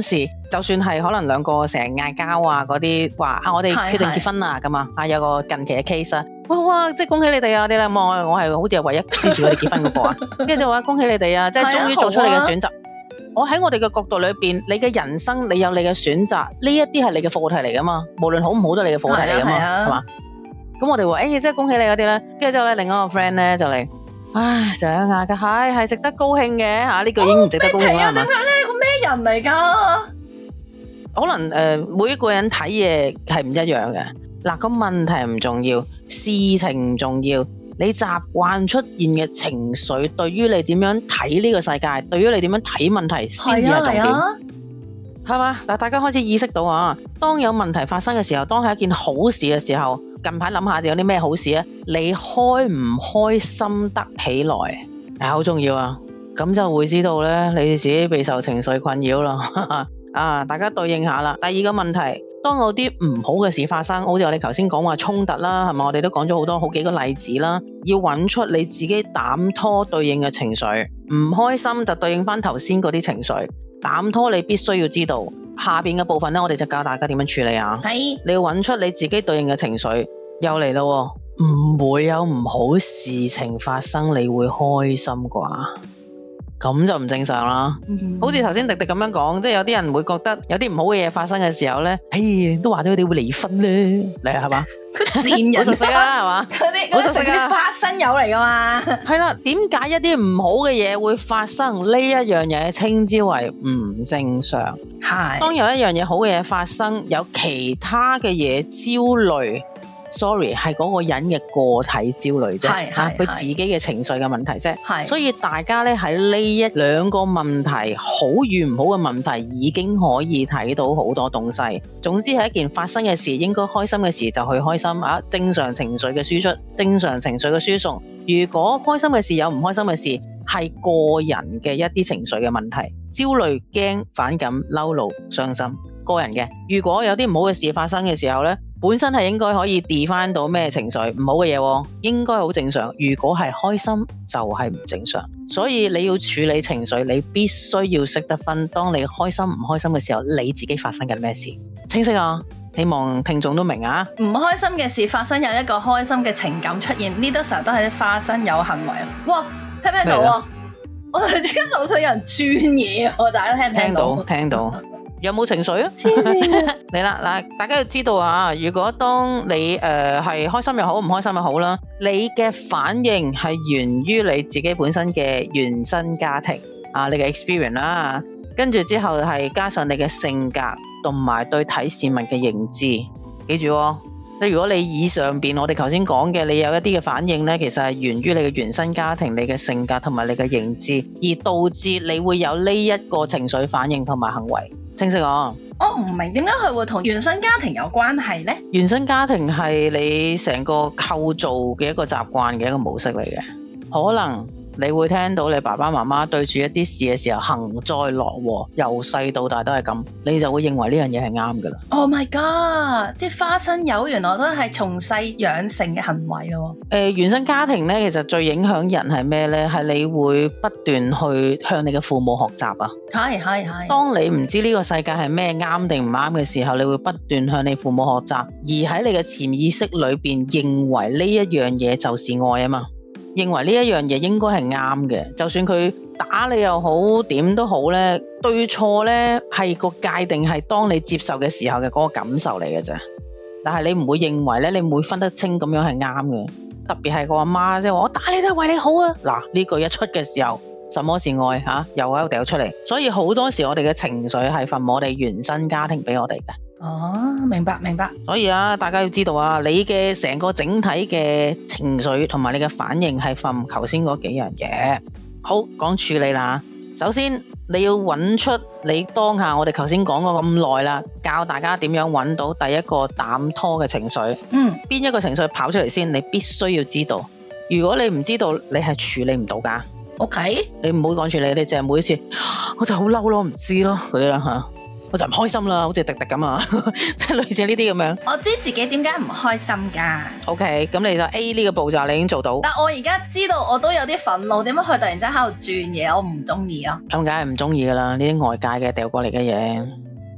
就算係可能兩個成日嗌交啊嗰啲，話啊我哋決定結婚啦咁啊，有個近期嘅 case 啊，哇即係恭喜你哋啊啲啦，我係好似係唯一支持佢哋結婚嗰個啊，跟住就話恭喜你哋啊，即係終於做出你嘅選擇。我喺我哋嘅角度裏邊，你嘅人生你有你嘅選擇，呢一啲係你嘅課題嚟噶嘛，無論好唔好都係你嘅課題嚟噶嘛，係嘛？咁我哋話即係恭喜你嗰啲咧，跟住之後咧，另一個 friend 咧就嚟，唉成日嗌嘅係值得高興嘅吓，呢句已經唔值得高興啦，係嘛？ 點解咧？個咩人嚟噶？ 可能每一個人睇嘢係唔一樣嘅。嗱，個問題唔重要，事情唔重要，你習慣出現嘅情緒，對於你點樣睇呢個世界，對於你點樣睇問題，先至係重點，係嘛？嗱，大家開始意識到啊，當有問題發生嘅時候，當係一件好事嘅時候，近排諗下有啲咩好事啊？你開唔開心得起來係好重要啊！咁就會知道咧，你自己備受情緒困擾啦。啊！大家對應下啦。第二個問題，當有啲唔好嘅事發生，好似我哋頭先講話衝突啦，係咪？我哋都講咗好幾個例子啦。要揾出你自己膽拖對應嘅情緒，唔開心就對應翻頭先嗰啲情緒。膽拖你必須要知道，下邊嘅部分呢，我哋就教大家點樣處理啊。係，你要揾出你自己對應嘅情緒，又嚟咯，唔會有唔好事情發生，你會開心啩？咁就唔正常啦，好似頭先迪迪咁樣講，即係有啲人會覺得有啲唔好嘅嘢發生嘅時候咧，都話咗佢哋會離婚咧，你係嘛？ 佢賤人， 好熟悉啊，係嘛？ 嗰啲啲花生友嚟噶嘛？ 係啦，點解一啲唔好嘅嘢會發生？呢一樣嘢稱之為唔正常。係，當有一樣嘢好嘅嘢發生，有其他嘅嘢焦慮。Sorry， 係嗰個人嘅個體焦慮啫，佢自己嘅情緒嘅問題啫。所以大家咧喺呢一兩個問題，好與唔好嘅問題，已經可以睇到好多東西。總之係一件發生嘅事，應該開心嘅事就去開心啊！正常情緒嘅輸出，正常情緒嘅輸送。如果開心嘅事有唔開心嘅事，係個人嘅一啲情緒嘅問題，焦慮、驚、反感、嬲怒、傷心，個人嘅。如果有啲唔好嘅事發生嘅時候咧，本身係應該可以 define 到咩情緒唔好嘅嘢，應該好正常。如果係開心就係唔正常，所以你要處理情緒，你必須要識得分，當你開心唔開心嘅時候，你自己發生緊咩事？清晰啊？希望聽眾都明啊！ 唔開心嘅事發生，有一個開心嘅情感出現，呢啲成日都係啲花生友行為。哇，聽唔聽到啊？我突然之間樓上有人轉嘢啊！大家聽唔聽到？ 聽到。有冇情緒啊？嚟啦嗱，大家要知道啊，如果當你係開心又好，唔開心又好啦，你嘅反應係源於你自己本身嘅原生家庭啊，你嘅 experience 啦，跟住之後係加上你嘅性格同埋對睇事物嘅認知，記住喎。如果你以上邊我哋頭先講嘅，你有一啲嘅反應呢，其實係源於你嘅原生家庭、你嘅性格同埋你嘅認知，而導致你會有呢一個情緒反應同埋行為。清晰啊！ 我唔明點解佢會同原生家庭有關係呢？ 原生家庭係你成個構造嘅一個習慣嘅一個模式嚟嘅，可能你會聽到你爸爸媽媽對住一啲事嘅時候幸災樂禍，由細到大都係咁，你就會認為呢樣嘢係啱噶啦。Oh my god！即係花生友原來都係從細養成嘅行為咯。原生家庭咧，其實最影響人係咩咧？係你會不斷去向你嘅父母學習啊。係。當你唔知呢個世界係咩啱定唔啱嘅時候，你會不斷向你父母學習，而喺你嘅潛意識裏邊認為呢一樣嘢就是愛啊嘛。認為呢一樣嘢應該係啱嘅，就算佢打你又好，點都好呢，對錯呢係個界定係當你接受嘅時候嘅嗰個感受嚟嘅啫。但係你唔會認為呢，你唔會分得清咁樣係啱嘅。特別係個阿媽即係話我打你都係為你好啊。嗱，呢句一出嘅時候，什麼是愛吓？又喺度掉出嚟。所以好多時我哋嘅情緒係from我哋原生家庭俾我哋嘅。 哦，明白。 所以啊，大家要知道啊，你嘅成個整體嘅情緒同埋你嘅反應係from頭先嗰幾樣嘢。好，講處理啦。首先你要揾出你當下我哋頭先講過咁耐啦，教大家點樣揾到第一個膽拖嘅情緒。邊一個情緒跑出嚟先？你必須要知道。如果你唔知道，你係處理唔到噶。OK，你唔好講處理，你淨係每一次我就好嬲咯，唔知咯嗰啲啦吓。我就唔開心啦，好似迪迪咁啊，即係類似呢啲咁樣。我知自己點解唔開心噶。OK，咁你就 A 呢個步驟你已經做到。但我而家知道我都有啲憤怒，點解佢突然之間喺度轉嘢？我唔中意啊。咁梗係唔中意噶啦，呢啲外界嘅掉過嚟嘅嘢。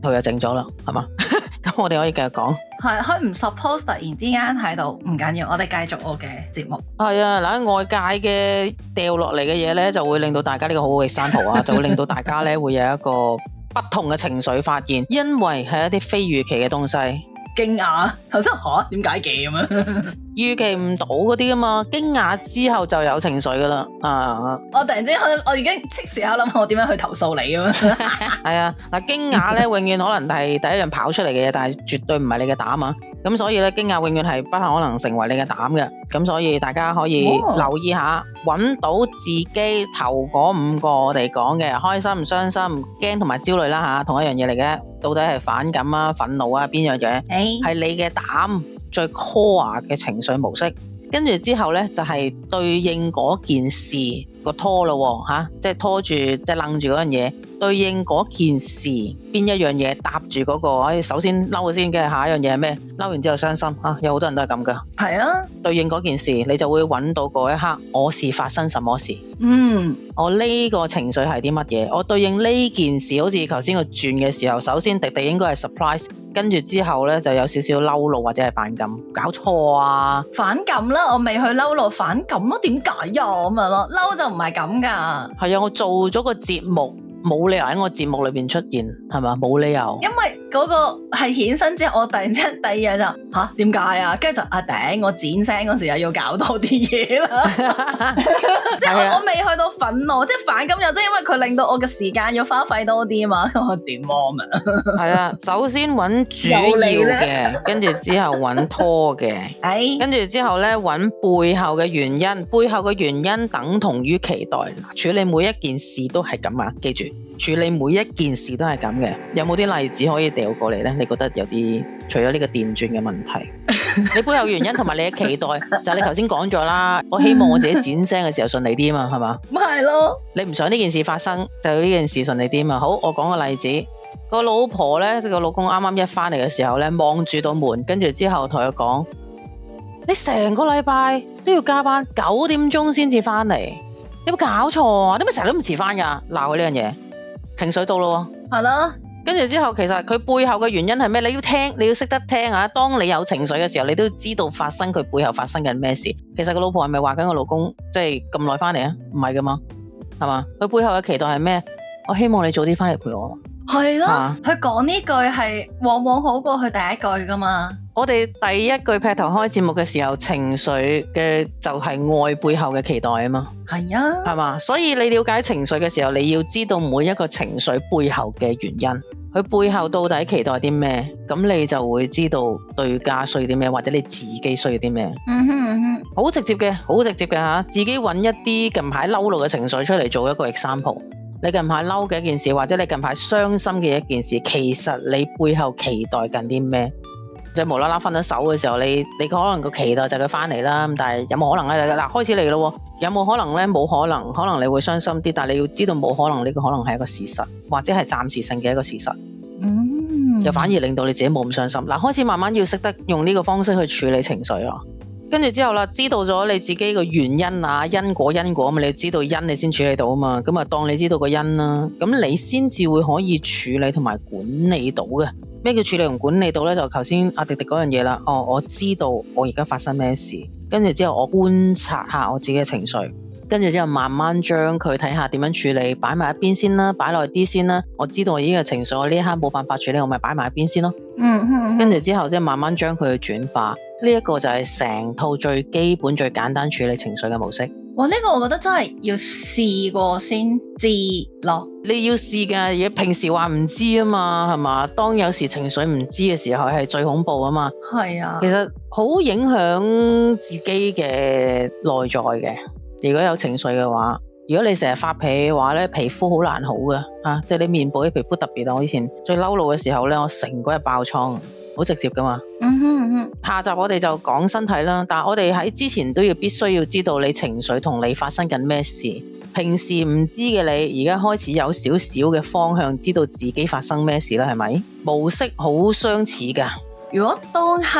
佢就靜咗啦，係嘛？咁我哋可以繼續講。 係佢唔 suppose 突然之間喺度，唔緊要，我哋繼續我嘅節目。 係啊，嗱，外界嘅掉落嚟嘅嘢咧，就會令到大家呢個好好嘅sample啊，就會令到大家咧會有一個不同嘅情緒發現，因為係一啲非預期嘅東西。 驚訝，頭先吓點解嘅咁樣？ 預期唔到嗰啲啊嘛，驚訝之後就有情緒噶啦啊！ 我突然之間我已經即時喺度諗我點樣去投訴你咁樣。 係啊，嗱，驚訝咧永遠可能係第一樣跑出嚟嘅嘢，但係絕對唔係你嘅膽啊！咁所以咧，驚訝永遠係不可能成為你嘅膽嘅。咁所以大家可以留意下，揾到自己頭嗰5個我哋講嘅開心、傷心、驚同埋焦慮啦吓，同一樣嘢嚟嘅。到底係反感啊、憤怒啊邊樣嘢？係你嘅膽最 core 嘅情緒模式。跟住之後咧，就係對應嗰件事個拖咯吓，即係拖住即係楞住嗰樣嘢，對應嗰件事邊一樣嘢搭住嗰個，首先嬲先嘅，下一樣嘢係咩？嬲完之後傷心啊，有好多人都係咁噶。係啊，對應嗰件事，你就會揾到嗰一刻，我是發生什麼事？我呢個情緒係啲乜嘢？我對應呢件事，好似頭先個轉嘅時候，首先迪迪應該係 surprise， 跟住之後咧就有少少嬲怒或者係反感，搞錯啊！反感啦，我未去嬲怒，反感咯，點解呀咁樣咯？嬲就唔係咁噶。係啊，我做咗個節目。冇理由喺我節目裏邊出現，係嘛？冇理由，因為嗰個係衍生之後，我突然之間第二日就吓點解啊？跟住就頂，我剪聲嗰時又要搞多啲嘢啦，即係我未去到憤怒，即係反感又即係因為佢令到我嘅時間要花費多啲啊嘛，咁我點啊？係啊，首先揾主要嘅，跟住之後揾拖嘅，跟住之後咧揾背後嘅原因，背後嘅原因等同於期待。處理每一件事都係咁啊，記住。處理每一件事都係咁嘅，有冇啲例子可以掉過嚟呢？你覺得有啲除咗呢個電鑽嘅問題，你背後原因同埋你嘅期待，就係你頭先講咗啦。我希望我自己剪聲嘅時候順利啲嘛，係嘛？咁係咯，你唔想呢件事發生，就呢件事順利啲嘛。好，我講個例子，個老婆呢，個老公啱啱一翻嚟嘅時候呢，望住道門，跟住之後同佢講：你成個禮拜都要加班，9點鐘先至翻嚟，你有冇搞錯啊？你咪成日都唔遲翻噶？鬧佢呢樣嘢。情緒到咯，係咯，跟住之後，其實佢背後嘅原因係咩？你要聽，你要識得聽啊！當你有情緒嘅時候，你都要知道發生佢背後發生緊咩事。其實個老婆係咪話緊個老公即係咁耐翻嚟啊？唔係噶嘛，係嘛？佢背後嘅期待係咩？我希望你早啲翻嚟陪我。係咯，佢講呢句係往往好過佢第一句噶嘛。我哋第一句劈頭開節目嘅時候，情緒嘅就係愛背後嘅期待啊嘛。係啊，係嘛？所以你了解情緒嘅時候，你要知道每一個情緒背後嘅原因，佢背後到底期待啲咩？咁你就會知道對家需要啲咩，或者你自己需要啲咩。好直接嘅，好直接嘅吓，自己揾一啲近排嬲怒嘅情緒出嚟做一個 example。你近排嬲嘅一件事，或者你近排傷心嘅一件事，其實你背後期待緊啲咩？即係無啦啦分咗手嘅時候，你可能個期待就係佢翻嚟啦，但係有冇可能咧？嗱，開始嚟咯，有冇可能咧？冇可能，可能你會傷心啲，但係你要知道冇可能，呢個可能係一個事實，或者係暫時性嘅一個事實。又反而令到你自己冇咁傷心。嗱，開始慢慢要識得用呢個方式去處理情緒咯。跟住之後啦，知道咗你自己個原因啊，因果嘛，你知道因你先處理到啊嘛，咁啊當你知道個因啦，咁你先至會可以處理同埋管理到嘅。咩叫處理同管理到呢？就頭先阿迪迪嗰樣嘢啦。哦，我知道我而家發生咩事，跟住之後我觀察下我自己嘅情緒，跟住之後慢慢將佢睇下點樣處理，擺埋一邊先啦，擺耐啲先啦。我知道我呢個情緒，我呢一刻冇辦法處理，我咪擺埋一邊先咯。跟住之後即係慢慢將佢轉化。呢一個就係成套最基本最簡單處理情緒嘅模式。哇！呢個我覺得真係要試過先知咯。你要試㗎，嘢平時話唔知啊嘛，係嘛？當有時情緒唔知嘅時候係最恐怖啊嘛。係啊，其實好影響自己嘅內在嘅。如果有情緒嘅話，如果你成日發脾氣嘅話咧，皮膚好難好㗎啊！即係你面部啲皮膚特別啊。我以前最嬲怒嘅時候咧，我成個日爆瘡。好直接噶嘛。下集我哋就講身體啦，但係我哋喺之前都必須要知道你情緒同你發生緊咩事。平時唔知嘅你，而家開始有少少嘅方向，知道自己發生咩事啦，係咪？模式好相似噶。如果當刻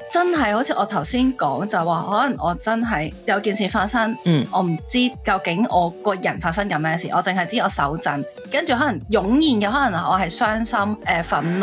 真係好似我頭先講就話，可能我真係有件事發生，我唔知究竟我個人發生緊咩事，我淨係知我手震，跟住可能湧現嘅可能我係傷心、憤怒，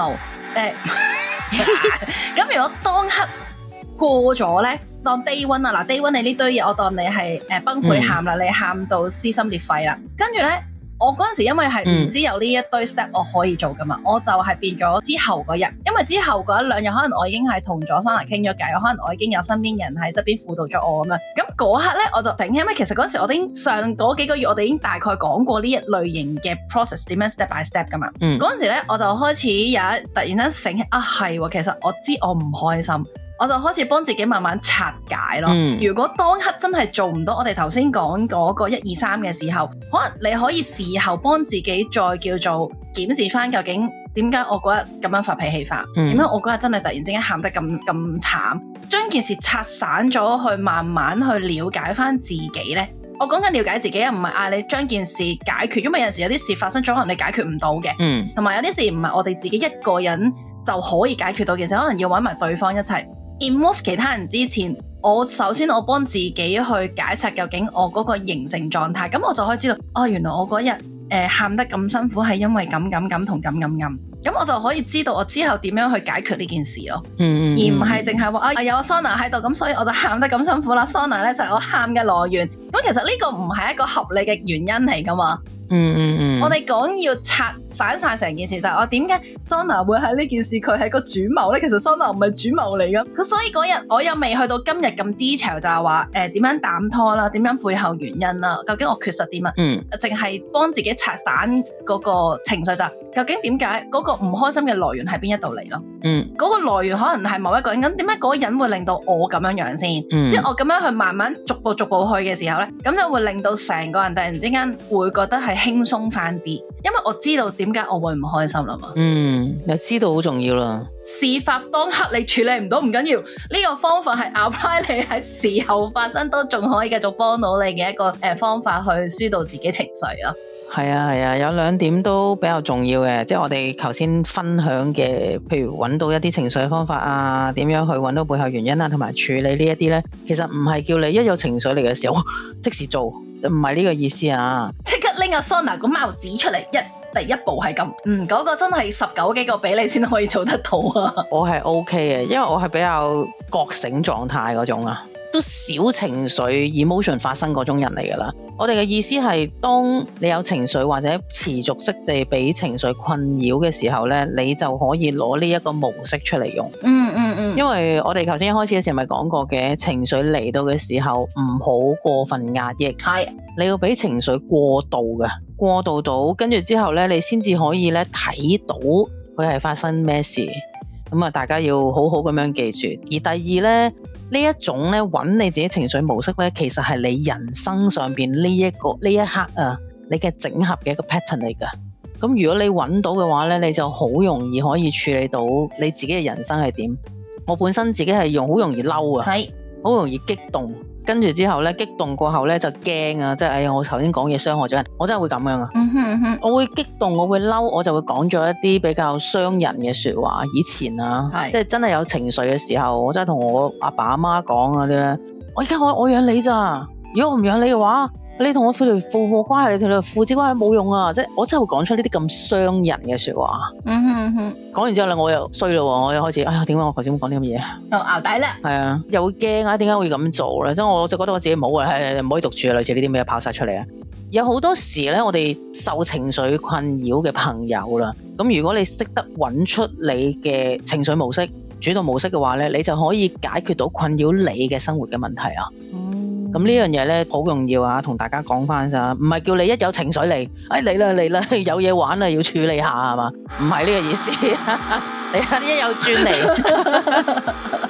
咁如果當刻過咗咧，當 day one 啊，嗱 day one 你呢堆嘢，我當你係崩潰喊啦，你喊到撕心裂肺啦，跟住咧。我嗰陣時因為係唔知有呢一堆 step 我可以做噶嘛，我就係變咗之後嗰日，因為之後嗰一兩日可能我已經係同咗 Sona 傾咗偈，可能我已經有身邊人喺側邊輔導咗我咁樣，咁嗰刻咧我就頂，因為其實嗰陣時我已經上嗰幾個月我哋已經大概講過呢一類型嘅 process 點樣 step by step 噶嘛，嗰陣時咧我就開始突然間醒起啊係喎，其實我知我唔開心。我就開始幫自己慢慢拆解咯。如果當刻真係做唔到我哋頭先講嗰個1、2、3嘅時候，可能你可以事後幫自己再叫做檢視翻究竟點解我嗰日咁樣發脾氣法，點解我嗰日真係突然之間喊得咁慘，將件事拆散咗去慢慢去了解翻自己呢。我講緊了解自己啊，唔係嗌你將件事解決，因為有陣時有啲事發生咗，可能你解決唔到嘅，同埋有啲事唔係我哋自己一個人就可以解決到件事，可能要揾埋對方一齊。involve 其他人之前，首先我幫自己去解拆究竟我嗰個形成狀態，咁我就可以知道，哦，原來我嗰日喊得咁辛苦係因為咁同咁，咁我就可以知道我之後點樣去解決呢件事咯，而唔係淨係話有 Sona 喺度，咁所以我就喊得咁辛苦啦。Sona 咧就係我喊嘅來源，咁其實呢個唔係一個合理嘅原因嚟噶嘛。我哋講要拆散晒成件事，就係我點解 Sona 會喺呢件事佢係個主謀咧？其實 Sona 唔係主謀嚟噶，所以嗰日我又未去到今日咁 detail，就係話點樣膽拖啦，點樣背後原因啦，究竟我缺失啲乜？淨係幫自己拆散嗰個情緒，就究竟點解嗰個唔開心嘅來源喺邊一度嚟咯？嗰個來源可能係某一個人，咁點解嗰個人會令到我咁樣先？即係我咁樣去慢慢逐步去嘅時候咧，咁就會令到成個人突然之間會覺得係輕鬆翻啲，因為我知道點解我會唔開心啦嘛。 你知道好重要啦。 事發當刻你處理唔到唔緊要，呢個方法係 apply 你喺事後發生都仲可以繼續幫到你嘅一個方法去疏導自己情緒咯。 係啊，有2點都比較重要嘅，即係我哋頭先分享嘅，譬如揾到一啲情緒嘅方法啊，點樣去揾到背後原因啊，同埋處理呢一啲呢，其實唔係叫你一有情緒嚟嘅時候即時做，唔係呢個意思啊！即刻拎阿 Sona 個帽子出嚟，第一步係咁， 嗰個真係19幾個俾你先可以做得到啊！ 我係 OK 嘅，因為我係比較覺醒狀態嗰種啊。都少情緒 emotion 發生嗰種人嚟噶啦。我哋嘅意思係，當你有情緒或者持續式地俾情緒困擾嘅時候咧，你就可以攞呢一個模式出嚟用。因為我哋頭先一開始嘅時候咪講過嘅，情緒嚟到嘅時候唔好過分壓抑，係你要俾情緒過渡嘅，過渡到跟住之後咧，你先至可以咧睇到佢係發生咩事。咁啊，大家要好好咁樣記住。而第二咧，呢一種咧揾你自己情緒模式咧，其實係你人生上邊呢一刻啊，你嘅整合嘅一個 pattern 嚟噶。咁如果你揾到嘅話咧，你就好容易可以處理到你自己嘅人生係點。我本身自己係好容易嬲啊，係好容易激動，跟住之後咧激動過後咧就驚啊，即係哎呀我頭先講嘢傷害咗人，我真係會咁樣啊。我會激動，我會嬲，我就會講咗一啲比較傷人嘅說話。以前啊，即係真係有情緒嘅時候，我真係同我阿爸阿媽講嗰啲咧，我而家我養你咋，如果我唔養你嘅話，你同我父母關係，你同你父子關係冇用啊！即係我真係會講出呢啲咁傷人嘅說話。講完之後咧，我又衰咯，我又開始哎呀，點解我頭先講啲咁嘅嘢？又淆底啦。係啊，又會驚啊，點解會咁做咧？即係我就覺得我自己冇啊，唔可以獨處啊，類似呢啲咩跑晒出嚟啊！有好多時咧，我哋受情緒困擾嘅朋友啦，咁如果你識得揾出你嘅情緒模式、主動模式嘅話咧，你就可以解決到困擾你嘅生活嘅問題啦。咁呢樣嘢咧好重要啊，同大家講翻咋，唔係叫你一有情緒嚟，嚟啦，有嘢玩啦，要處理下係嘛？唔係呢個意思，你一有轉嚟，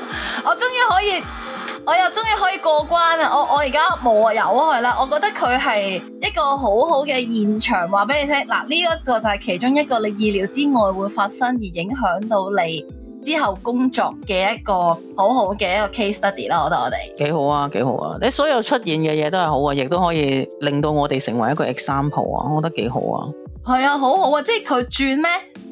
我又終於可以過關啦！我而家冇啊，有佢啦。我覺得佢係一個好好嘅現場，話俾你聽。嗱，呢一個就係其中一個你意料之外會發生而影響到你之後工作嘅一個好好嘅一個 case study 啦。我覺得我哋幾好啊！你所有出現嘅嘢都係好啊，亦都可以令到我哋成為一個 example 啊！我覺得幾好啊。 係啊，好好啊！即係佢轉咩？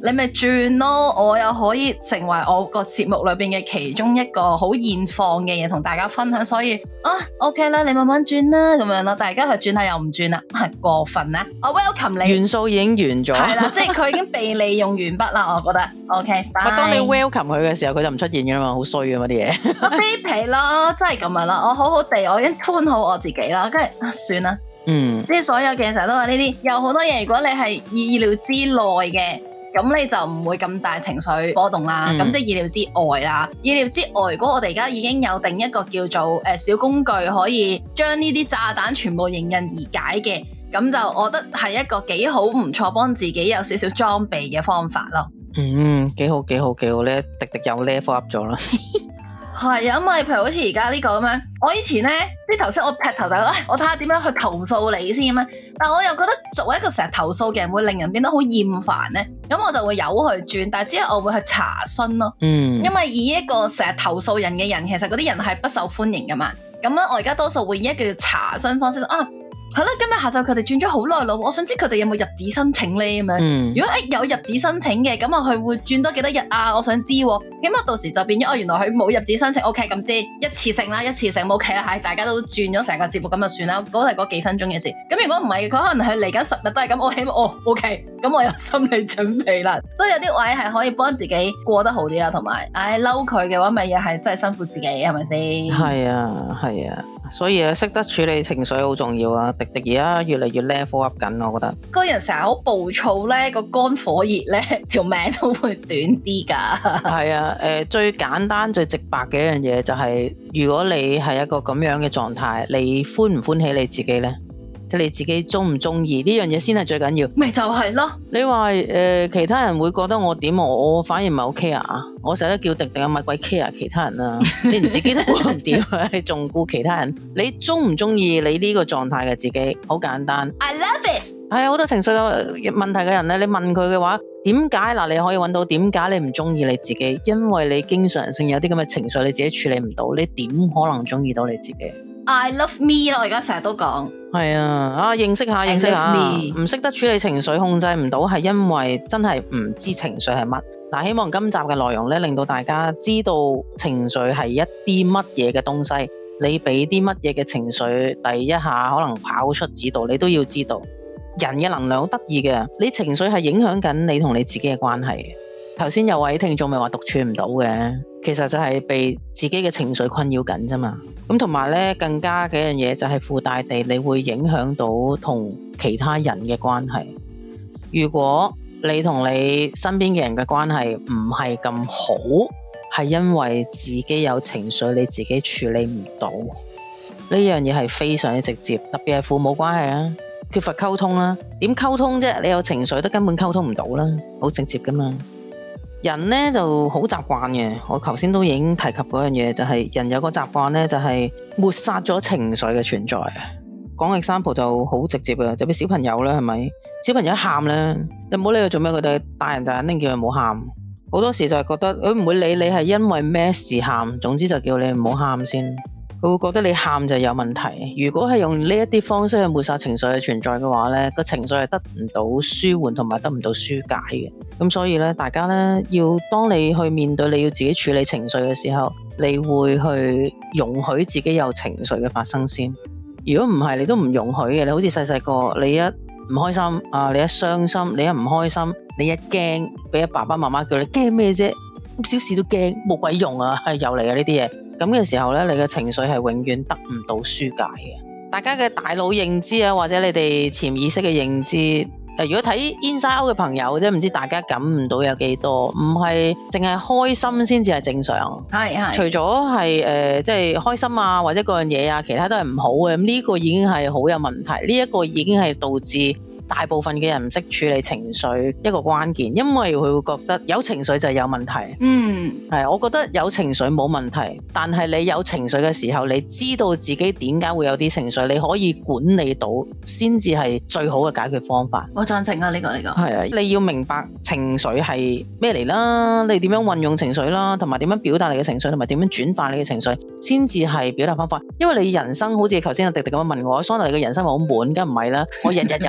你咪轉咯，我又可以成為我個節目裏邊嘅其中一個好現況嘅嘢同大家分享，所以OK 啦，你慢慢轉啦咁樣咯，大家去轉下又唔轉啦，係過分啦。我 welcome 你， 元素已經完咗， 係啦，即係佢已經被利用完畢啦，我覺得 OK。 當你 welcome 佢嘅時候，佢就唔出現噶啦嘛，好衰噶嘛啲嘢。 我卑鄙咯，真係咁樣啦，我好好地，我已經 tune 好我自己啦，跟住算啦。即係所有嘅成日都話呢啲，有好多嘢，如果你係意料之內嘅，咁你就唔會咁大情緒波動啦。咁即係意料之外啦。意料之外，如果我哋而家已經有定一個叫做小工具，可以將呢啲炸彈全部迎刃而解嘅，咁就我覺得係一個幾好唔錯，幫自己有少少裝備嘅方法咯。 幾好幾好幾好咧，迪迪又 level up 咗啦。 係啊，因為譬如好似而家呢個咁樣，我以前咧啲頭先我劈頭就覺得，我睇下點樣去投訴你先咁樣，但我又覺得作為一個成日投訴嘅人，會令人變得好厭煩咧，咁我就會由佢轉，但係之後我會去查詢咯，因為以一個成日投訴人嘅人，其實嗰啲人係不受歡迎噶嘛，咁咧我而家多數會以一個查詢方式係啦，今日下晝佢哋轉咗好耐咯，我想知佢哋有冇入紙申請咧咁樣。如果有入紙申請嘅，咁佢會轉多幾多日啊？我想知，起碼到時就變咗原來佢冇入紙申請 ，OK 咁知一次性啦，一次性冇 OK 啦，係大家都轉咗成個節目咁就算啦，嗰係嗰幾分鐘嘅事。咁如果唔係，佢可能係嚟緊10日都係咁，我起碼OK，咁我有心理準備啦。所以有啲位係可以幫自己過得好啲啦，同埋嬲佢嘅話，咪又係真係辛苦自己，係咪先？係啊。所以識得處理情緒好重要啊！迪迪而家越嚟越 level up 緊，我覺得個人成日好暴躁咧，個肝火熱咧，條命都會短啲噶。係啊，最簡單最直白嘅一樣嘢就係，如果你係一個咁樣嘅狀態，你歡唔歡喜你自己呢？即係你自己中唔中意呢樣嘢先係最緊要。 咪就係咯。你話其他人會覺得我點，我反而唔係好 care 啊！我成日都叫迪迪啊，咪鬼 care 其他人啊！你連自己都顧唔掂，你仲顧其他人？你中唔中意你呢個狀態嘅自己？好簡單。 I love it。 係啊，好多情緒嘅問題嘅人咧，你問佢嘅話，點解嗱？你可以揾到點解你唔中意你自己？因為你經常性有啲咁嘅情緒，你自己處理唔到，你點可能中意到你自己 ？I love me 咯，我而家成日都講。 係啊，認識下，唔識得處理情緒，控制唔到，係因為真係唔知情緒係乜。嗱，希望今集嘅內容咧，令到大家知道情緒係一啲乜嘢嘅東西，你俾啲乜嘢嘅情緒，第一下可能跑出指導，你都要知道。人嘅能量好得意嘅，你情緒係影響緊你同你自己嘅關係。頭先有位聽眾咪話獨處唔到嘅，其實就係被自己嘅情緒困擾緊啫嘛。咁同埋咧，更加嘅一樣嘢就係附帶地，你會影響到同其他人嘅關係。如果你同你身邊嘅人嘅關係唔係咁好，係因為自己有情緒，你自己處理唔到。呢樣嘢係非常之直接，特別係父母關係啦，缺乏溝通啦。點溝通啫？你有情緒都根本溝通唔到啦，好直接噶嘛。人呢就好習慣嘅，我頭先都已經提及嗰樣嘢，就係人有個習慣呢，就係抹殺咗情緒嘅存在。講 example 就好直接嘅，就俾小朋友啦，係咪？小朋友一喊呢，你唔好理佢做咩，佢哋大人就肯定叫佢唔好喊。好多時就係覺得佢唔會理你係因為咩事喊，總之就叫你唔好喊先。佢會覺得你喊就有問題。如果係用呢一啲方式去抹殺情緒嘅存在嘅話呢，個情緒係得唔到舒緩同埋得唔到紓解嘅。咁所以呢，大家呢，要當你去面對你要自己處理情緒嘅時候，你會去容許自己有情緒嘅發生先。如果唔係，你都唔容許嘅。你好似細細個，你一唔開心啊，你一傷心，你一唔開心，你一驚，俾爸爸媽媽叫你驚咩啫？咁小事都驚，冇鬼用啊！係又嚟啊呢啲嘢。咁嘅時候咧，你嘅情緒係永遠得唔到紓解嘅。大家嘅大腦認知啊，或者你哋潛意識嘅認知，如果睇 Inside Out 嘅朋友啫，唔知大家感唔到有幾多？唔係淨係開心先至係正常。係。除咗係即係開心啊，或者嗰樣嘢啊，其他都係唔好嘅。咁呢個已經係好有問題。呢一個已經係導致大部分嘅人唔識處理情緒一個關鍵，因為佢會覺得有情緒就係有問題。係，我覺得有情緒冇問題，但係你有情緒嘅時候，你知道自己點解會有啲情緒，你可以管理到，先至係最好嘅解決方法。我贊成啊，呢個係啊，你要明白情緒係咩嚟啦，你點樣運用情緒啦，同埋點樣表達你嘅情緒，同埋點樣轉化你嘅情緒，先至係表達方法。因為你人生好似頭先阿迪迪咁樣問我，Sona你嘅人生係好悶，梗唔係啦，我日日有大量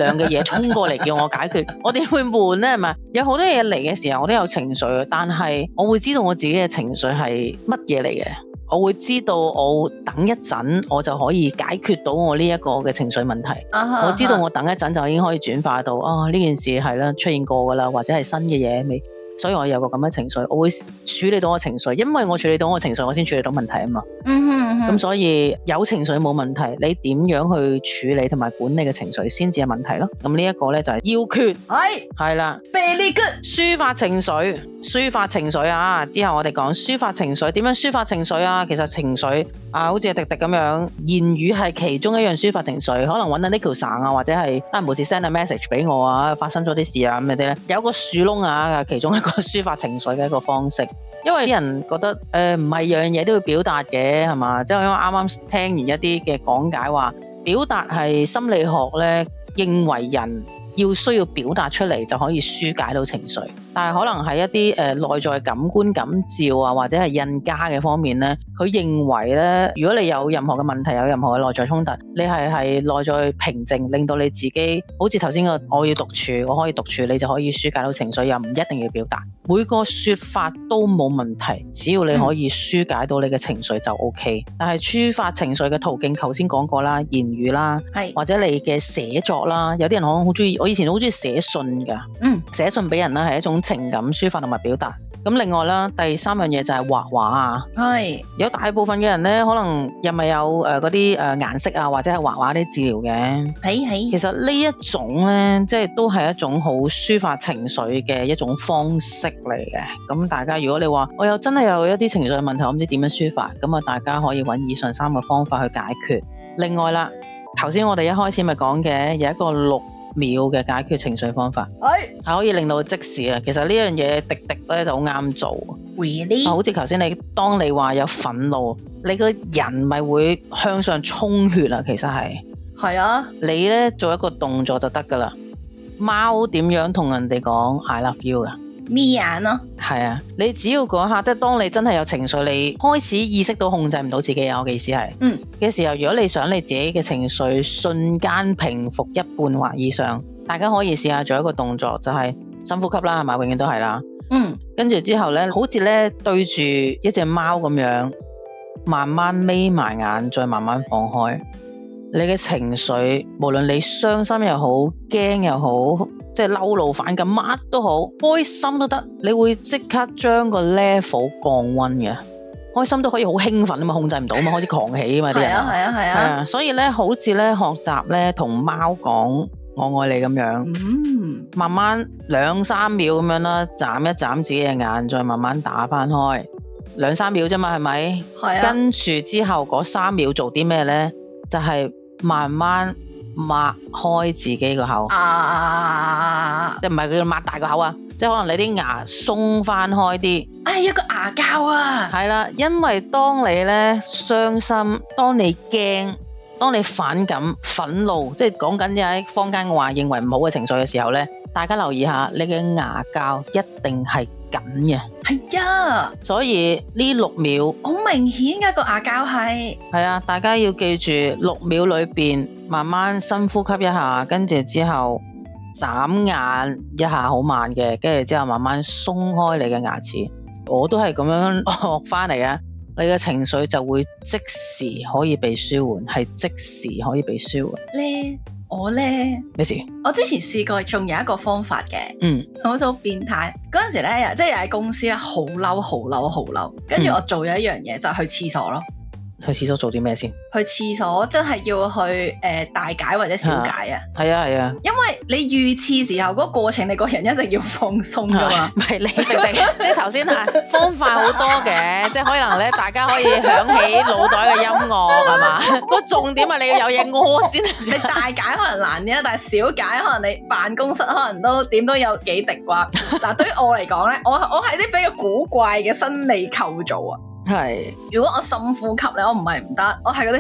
量嘅嘢衝過嚟叫我解決，我點會悶呢？係咪？有好多嘢嚟嘅時候，我都有情緒，但係我會知道我自己嘅情緒係乜嘢嚟嘅。我會知道我等一陣我就可以解決到我呢一個嘅情緒問題。我知道我等一陣就已經可以轉化到呢件事係啦出現過噶啦，或者係新嘅嘢未，所以我有個咁嘅情緒，我會處理到我情緒，因為我處理到我情緒，我先處理到問題啊嘛。咁所以有情緒冇問題，你點樣去處理同埋管理嘅情緒先至係問題咯。咁呢一個咧就係要訣，係啦 ，very good， 抒發情緒，抒發情緒啊！之後我哋講抒發情緒，點樣抒發情緒啊？其實情緒好似迪迪咁樣，言語係其中一樣抒發情緒，可能搵到 Nico 省啊，或者係無事 send 個 message 俾我啊，發生咗啲事啊咁嗰啲咧，有個樹窿啊，其中一個抒發情緒嘅一個方式。因為啲人覺得唔係樣嘢都要表達嘅係嘛，即係因為啱啱聽完一啲嘅講解話，表達係心理學咧認為人要需要表達出嚟就可以紓解到情緒，但係可能喺一啲內在感官感召啊，或者係印加嘅方面咧，佢認為咧，如果你有任何嘅問題，有任何嘅內在衝突，你係內在平靜，令到你自己好似頭先個我要獨處，我可以獨處，你就可以紓解到情緒，又唔一定要表達，每個說法都冇問題，只要你可以紓解到你嘅情緒就 OK。但係抒發情緒嘅途徑，頭先講過啦，言語啦，或者你嘅寫作啦，有啲人可能好中意。我以前好中意寫信噶，寫信俾人啦，係一種情感抒發同埋表達。咁另外啦，第三樣嘢就係畫畫啊，有大部分嘅人咧，可能又咪有嗰啲顏色啊，或者係畫畫啲治療嘅。其實呢一種咧，即係都係一種好抒發情緒嘅一種方式嚟嘅。咁大家如果你話我又真係有一啲情緒嘅問題，我唔知點樣抒發，咁啊大家可以揾以上3個方法去解決。另外啦，頭先我哋一開始咪講嘅有一個6秒嘅解決情緒方法，係可以令到即時啊。其實呢樣嘢迪迪咧就好啱做。 Really？ 好似頭先當你話有憤怒，你個人咪會向上衝血啊。其實係啊，你咧做一個動作就得噶啦。貓點樣同人哋講 I love you 噶？ 眯眼咯， 係啊，你只要嗰刻，即係當你真係有情緒，你開始意識到控制唔到自己啊，我嘅意思係，嘅時候，如果你想你自己嘅情緒瞬間平復一半或以上，大家可以試下做一個動作，就係深呼吸啦，係咪？永遠都係啦，跟住之後咧，好似咧對住一隻貓咁樣，慢慢眯埋眼，再慢慢放開你嘅情緒，無論你傷心又好，驚又好。即係嬲怒反感乜都好，開心都得，你會即刻將個 level 降溫嘅。開心都可以好興奮啊嘛，控制唔到嘛，開始狂起啊嘛啲人。係啊，所以咧好似咧學習咧同貓講我愛你咁樣，慢慢2-3秒咁樣啦，眨一眨自己嘅眼，再慢慢打翻開2-3秒啫嘛，係咪？係啊。跟住之後嗰3秒做啲咩咧？就係慢慢擘開自己個口，即係唔係佢擘大個口啊，即係可能你啲牙鬆翻開啲， 一個牙膠啊， 係啦，因為當你咧傷心，當你驚，當你反感、憤怒，即係講緊喺坊間話認為唔好嘅情緒嘅時候咧，大家留意下，你嘅牙膠一定係緊嘅， 係啊， 所以呢6秒好明顯嘅個牙膠係啊，大家要記住6秒裏邊慢慢深呼吸一下，跟住之後眨眼一下好慢嘅，跟住之後慢慢鬆開你嘅牙齒，我都係咁樣學翻嚟啊，你嘅情緒就會即時可以被舒緩，係即時可以被舒緩咧。我咧咩事？ 我之前試過，仲有一個方法嘅，好似好變態。嗰陣時咧，即係又喺公司咧，好嬲，跟住我做咗一樣嘢，就係去廁所咯。 去廁所做啲咩先？ 去廁所真係要去大解或者小解啊！ 係啊，因為你預廁時候嗰個過程，你個人一定要放鬆噶嘛。 唔係你頭先係方法好多嘅，即係可能咧，大家可以響起腦袋嘅音樂係嘛？個重點係你要有嘢屙先。 你大解可能難啲啦，但係小解可能你辦公室可能都點都有幾滴啩。嗱，對於我嚟講咧，我係啲比較古怪嘅生理構造啊。 係， 如果我深呼吸咧，我唔係唔得，我係嗰啲，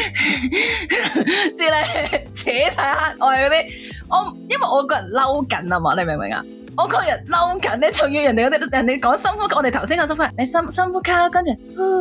即係咧扯晒黑，我係嗰啲，因為我個人嬲緊啊嘛，你明唔明啊？我個人嬲緊咧，仲要人哋講深呼吸，我哋頭先講深呼吸，你深呼吸，跟住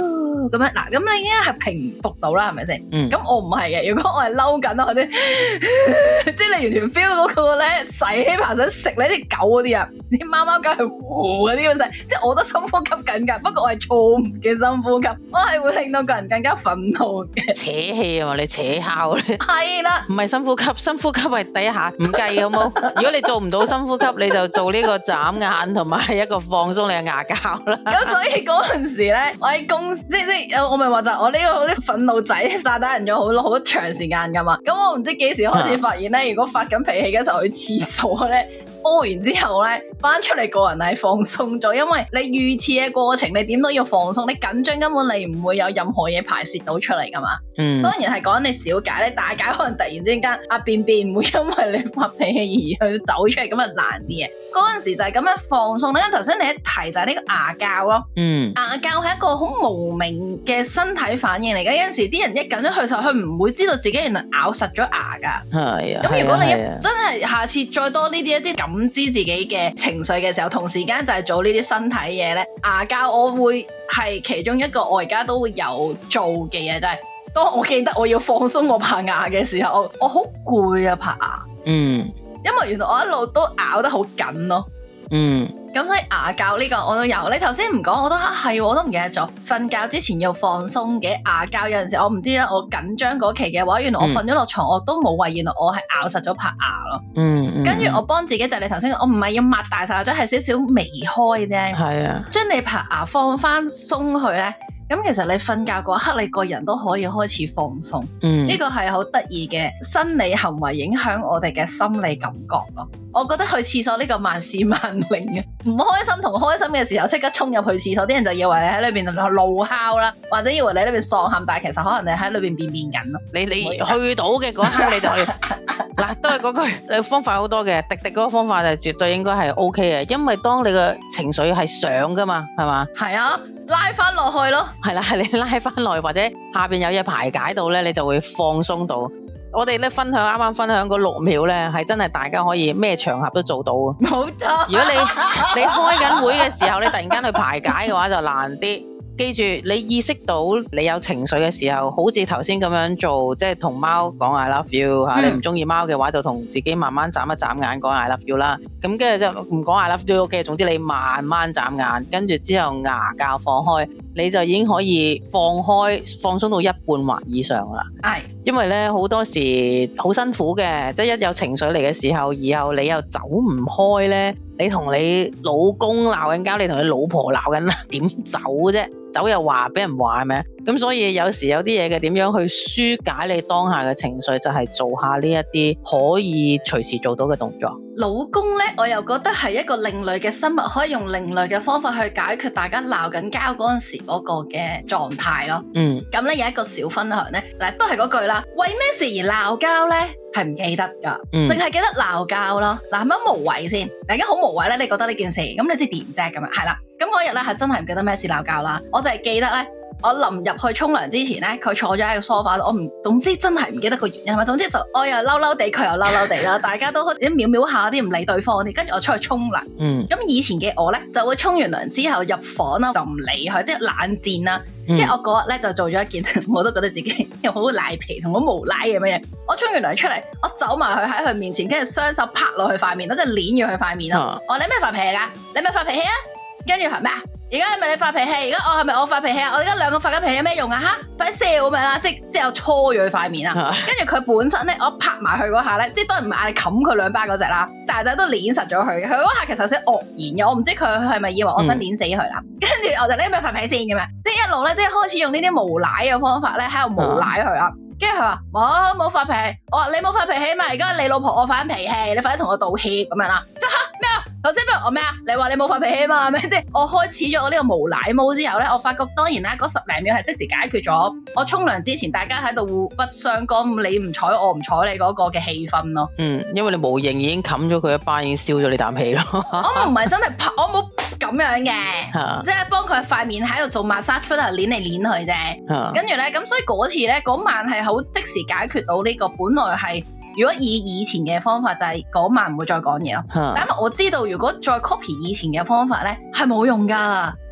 咁樣嗱，咁你已經係平復到啦，係咪先？ 嗯， 咁我唔係嘅，如果我係嬲緊我啲，即係你完全 feel 到嗰個咧洗起爬想食你啲狗嗰啲啊，啲貓貓狗係呼嗰啲咁細，即係我都深呼吸緊㗎，不過我係錯誤嘅深呼吸，我係會令到個人更加憤怒嘅。 扯氣啊嘛，你扯敲咧， 係啦， 唔係深呼吸，深呼吸係第一下唔計好冇？如果你做唔到深呼吸，你就做呢個眨眼同埋一個放鬆你嘅牙膠啦。 咁所以嗰陣時咧，我喺公即我咪話就係我呢個啲憤怒仔炸彈人咗好長時間噶嘛。咁我唔知幾時開始發現咧，如果發緊脾氣嘅時候去廁所咧，屙完之後咧，翻出嚟個人係放鬆咗，因為你預廁嘅過程，你點都要放鬆，你緊張根本你唔會有任何嘢排泄到出嚟噶嘛。 嗯， 當然係講你小解咧，大解可能突然之間便便唔會因為你發脾氣而去走出嚟，咁啊難啲嘅。嗰陣時就係咁樣放鬆咧。頭先你一提就係呢個牙膠咯，牙膠係一個好無名嘅身體反應嚟嘅。有陣時啲人一緊張去時候，佢唔會知道自己原來咬實咗牙噶。 係啊。 咁如果你真係下次再多呢啲即係感知自己嘅情緒嘅時候，同時間就係做呢啲身體嘢咧，牙膠我會係其中一個我而家都會有做嘅嘢，就係當我記得我要放鬆我拍牙嘅時候，我好攰啊拍牙。因為原來我一路都咬得好緊咯。咁所以牙膠呢個我都有。你頭先唔講，我都係，我都唔記得咗。瞓覺之前要放鬆嘅牙膠，有陣時我唔知啦。我緊張嗰期嘅話，原來我瞓咗落床，我都冇話，原來我係咬實咗拍牙咯。跟住我幫自己就係你頭先，我唔係要擘大晒，或者係少少微開啫。係啊，將你拍牙放翻鬆佢咧。咁其實你瞓覺嗰一刻，你個人都可以開始放鬆。呢個係好得意嘅生理行為影響我哋嘅心理感覺咯。我覺得去廁所呢個萬事萬靈嘅，唔開心同開心嘅時候即刻衝入去廁所，啲人就以為你喺裏邊怒哮啦，或者以為你喺裏邊喪喊，但係其實可能你喺裏邊便便緊咯。你去到嘅嗰刻你就嗱，都係嗰句方法好多嘅，滴滴嗰個方法就絕對應該係 OK 嘅，因為當你嘅情緒係上噶嘛，係嘛？係啊。拉翻落去咯，係啦，係你拉翻落去或者下邊有嘢排解到咧，你就會放鬆到。我哋咧啱啱分享嗰6秒咧，係真係大家可以咩場合都做到。冇錯，如果你開緊會嘅時候，你突然間去排解嘅話就難啲。記住，你意識到你有情緒嘅時候，好似頭先咁樣做，即係同貓講 I love you 吓。你唔中意貓嘅話，就同自己慢慢眨一眨眼講 I love you 啦。咁跟住就唔講 I love you OK。總之你慢慢眨眼，跟住之後牙膠放開，你就已經可以放鬆到一半或以上啦。係，因為咧好多時好辛苦嘅，即係一有情緒嚟嘅時候，以後你又走唔開咧，你同你老公鬧緊交，你同你老婆鬧緊啦，點走啫？走又話俾人話係咪？咁所以有時有啲嘢嘅點樣去紓解你當下嘅情緒，就係做下呢一啲可以隨時做到嘅動作。老公呢，我又覺得係一個另類嘅生物，可以用另類嘅方法去解決大家鬧緊交嗰陣時嗰個嘅狀態咯。咁呢有一個小分享呢，嗱都係嗰句啦，為咩事而鬧交呢？係唔記得噶，淨係記得鬧交咯。嗱，係咪無謂先？大家好無謂咧，你覺得呢件事，咁你知點啫？咁樣係啦。咁嗰日咧係真係唔記得咩事鬧交啦。我就係記得咧，我臨入去沖涼之前咧，佢坐咗喺個梳化度，總之真係唔記得個原因。總之就我又嬲嬲地，佢又嬲嬲地啦。大家都好似秒秒下啲唔理對方啲，跟住我出去沖涼。咁以前嘅我咧就會沖完涼之後入房啦，就唔理佢，即係冷戰啦。因為我嗰日咧就做咗一件，我都覺得自己又好賴皮同好無賴咁樣嘢。我沖完涼出嚟，我走埋去喺佢面前，跟住雙手拍落去塊面，跟住捏住佢塊面咯。我話你咩發脾氣噶？你咪發脾氣啊？跟住係咩啊？而家係咪你發脾氣？而家我係咪我發脾氣啊？我而家兩個發緊脾氣有咩用啊？吓，快笑咁樣啦！即係我搓咗佢塊面啦。跟住佢本身咧，我拍埋佢嗰下咧，即係當然唔係嗌你冚佢兩巴嗰隻啦，但係都捏實咗佢。佢嗰下其實有啲愕然嘅，我唔知佢係咪以為我想捏死佢啦。跟住我就你係咪發脾氣先咁樣？即係一路咧，即係開始用呢啲無賴嘅方法咧，喺度無賴佢啦。跟住佢話冇發脾氣，我話你冇發脾氣嘛，而家你老婆我發緊脾氣，你快啲同我道歉咁樣啦。咩啊？頭先不如我咩啊？你話你冇發脾氣嘛？咩？即係我開始咗我呢個無賴模之後咧，我發覺當然啦，嗰10零秒係即時解決咗我沖涼之前大家喺度互不相干，你唔睬我唔睬你嗰個嘅氣氛咯。因為你無形已經冚咗佢一巴，已經燒咗你啖氣咯。我唔係真係拍，我冇咁樣嘅，即係幫佢塊面喺度做 massage，喺度捻嚟捻去啫。跟住咧，咁所以嗰次咧，嗰晚係好即時解決到呢個，本來係。如果以前嘅方法就係嗰晚唔會再講嘢咯，但係我知道如果再 copy 以前嘅方法咧係冇用噶，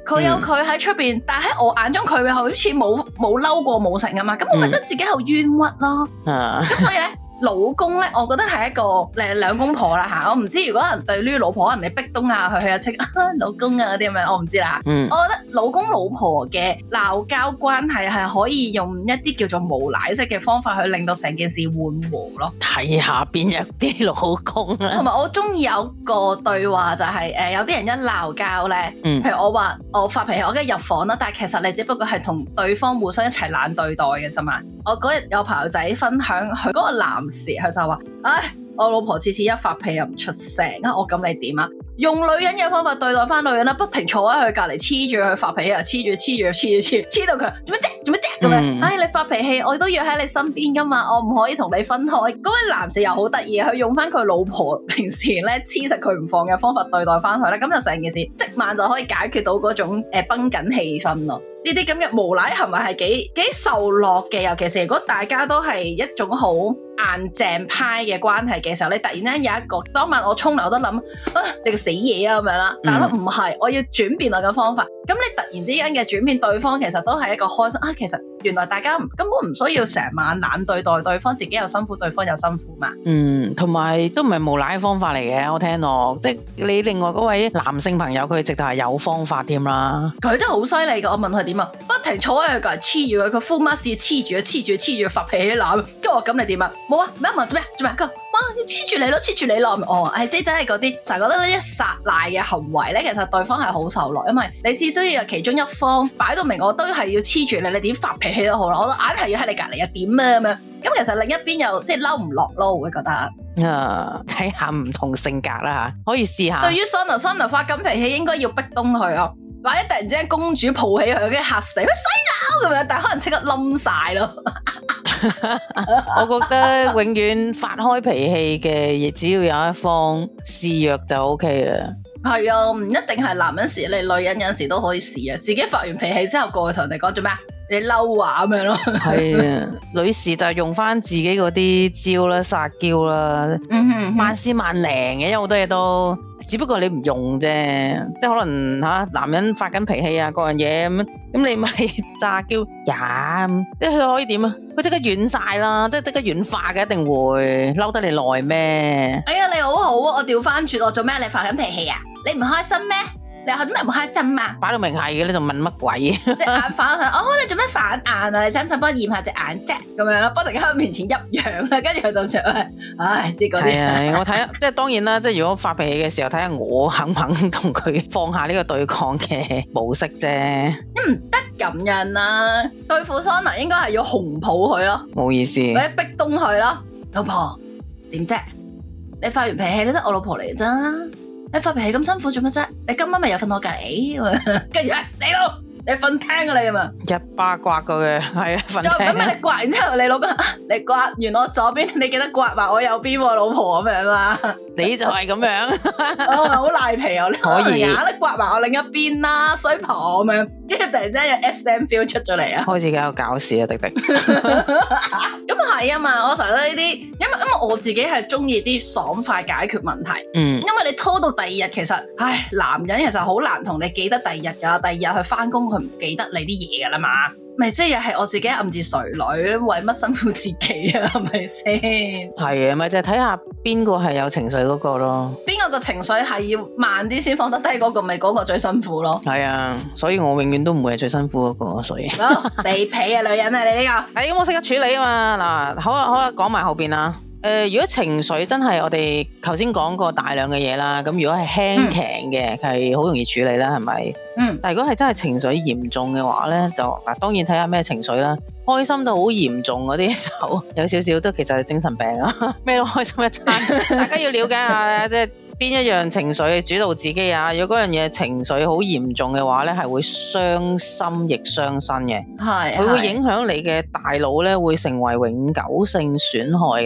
佢有佢喺出邊，但係喺我眼中佢好似冇嬲過冇成啊嘛，咁我覺得自己好冤屈咯。咁所以咧。老公咧，我覺得係一個兩公婆啦嚇，我唔知如果人對呢老婆，可能你逼東啊佢啊稱老公啊嗰啲咁樣，我唔知啦。我覺得老公老婆嘅鬧交關係係可以用一啲叫做無賴式嘅方法去令到成件事緩和咯。 睇下邊一啲老公啊。 同埋我中意有個對話就係、有啲人一鬧交咧，譬如我話我發脾氣，我梗係入房啦，但係其實你只不過係同對方互相一齊懶對待嘅啫嘛。我嗰日有朋友仔分享佢嗰個男士，佢就話：唉，我老婆次次一發脾氣又唔出聲啊！我咁你點啊？用女人嘅方法對待翻女人啦，不停坐喺佢隔離黐住佢發脾氣啊，黐到佢做乜啫咁樣？唉，你發脾氣我都要喺你身邊噶嘛，我唔可以同你分開。嗰位男士又好得意，佢用翻佢老婆平時咧黐實佢唔放嘅方法對待翻佢咧，咁就成件事即晚就可以解決到嗰種繃緊氣氛咯。呢啲咁嘅無賴行為係幾受落嘅，尤其是如果大家都係一種好硬淨派嘅關係嘅時候，你突然間有一個當晚我沖涼我都諗你個死嘢啊咁樣啦，但係唔係，我要轉變我嘅方法。咁你突然之間嘅轉變，對方其實都係一個開心啊！其實原來大家根本唔需要成晚懶對待對方，自己又辛苦，對方又辛苦嘛。 同埋都唔係無賴嘅方法嚟嘅，我聽落，即係你另外嗰位男性朋友，佢直頭係有方法添啦。佢真係好犀利㗎！我問佢點啊，不停坐喺佢隔籬黐住佢，佢 full mask 黐住發脾氣鬧，跟住我咁你點啊？冇啊，咩做咩？佢話哇要黐住你咯，哦，即係真係嗰啲就係覺得呢一撒賴嘅行為咧，其實對方係好受落，因為你始終要有其中一方擺到明，我都係要黐住你，你點發脾氣都好啦，我都硬係要喺你隔離啊點啊咁樣，咁其實另一邊又即係嬲唔落咯，我會覺得。 睇下唔同性格啦，可以試下。 對於 Sona 發緊脾氣，應該要逼東佢咯，或者突然之間公主抱起佢，跟住嚇死，乜細佬咁樣，但係可能即刻冧晒咯。 我覺得永遠發開脾氣嘅，亦只要有一方示弱就 OK 啦。 係啊，唔一定係男人示你，女人有時都可以示弱。自己發完脾氣之後，過去同人哋講做咩啊？你嬲啊咁樣咯。係啊，女士就用翻自己嗰啲招啦，撒嬌啦，萬絲萬靈嘅，因為好多嘢都。只不過你唔用啫，即係可能男人發緊脾氣啊，各樣嘢咁你咪詐嬌呀，佢可以點啊？佢即刻軟晒啦，即刻軟化嘅，一定會嬲得你耐咩？哎呀， 你好好啊，我調翻轉，我做咩？你發緊脾氣啊？你唔開心咩？你做咩唔開心啊？ 擺到明係嘅，你仲問乜鬼？ 隻眼反佢，你做咩反眼啊？你使唔使幫我驗下隻眼啫？咁樣啦，不停喺佢面前一樣啦，跟住佢就上去，即係嗰啲。係啊， 我睇下，即係當然啦，即係如果發脾氣嘅時候，睇下我肯唔肯同佢放下呢個對抗嘅模式啫。 唔得咁樣啊，對付 Sona 應該係要紅抱佢咯， 冇意思， 或者逼東佢咯。老婆點啫？你發完脾氣你都我老婆嚟咋？你發脾氣咁辛苦做乜啫？你今晚咪又瞓我隔籬，跟住死佬，你瞓廳啊你啊嘛？ 一巴刮過嘅，係啊，瞓廳。 咁你刮完之後，你老公你刮完我左邊，你記得刮埋我右邊，老婆咁樣嘛？ 你就係咁樣， 好賴皮啊！ 可以， 你刮埋我另一邊啦，衰婆咁樣，跟住突然之間有 SM feel 出咗嚟啊！ 開始搞搞事啊，迪迪。 咁係啊嘛，我成日都呢啲，因為我自己係中意啲爽快解決問題。因為你拖到第二日，其實，男人其實好難同你記得第二日噶，第二日去翻工佢唔記得你啲嘢噶啦嘛。咪即係又係我自己暗自垂淚，為乜辛苦自己啊？係咪先？ 係啊，咪就係睇下邊個係有情緒嗰個咯。 邊個個情緒係要慢啲先放得低嗰個，咪嗰個最辛苦咯。 係啊，所以我永遠都唔會係最辛苦嗰個，所以。 地皮啊，女人啊，你呢個。 咁我識得處理啊嘛。嗱，好啦，講埋後邊啦。如果情緒真係我哋頭先講過大量嘅嘢啦，咁如果係輕強嘅，係好容易處理啦，係咪？但係如果係真係情緒嚴重嘅話咧，就嗱，當然睇下咩情緒啦。開心到好嚴重嗰啲就有少少都其實係精神病啊，咩都開心一餐。大家要了解下即係邊一樣情緒主導自己啊。如果嗰樣嘢情緒好嚴重嘅話咧，係會傷心亦傷身嘅，佢會影響你嘅大腦咧，會成為永久性損害嘅。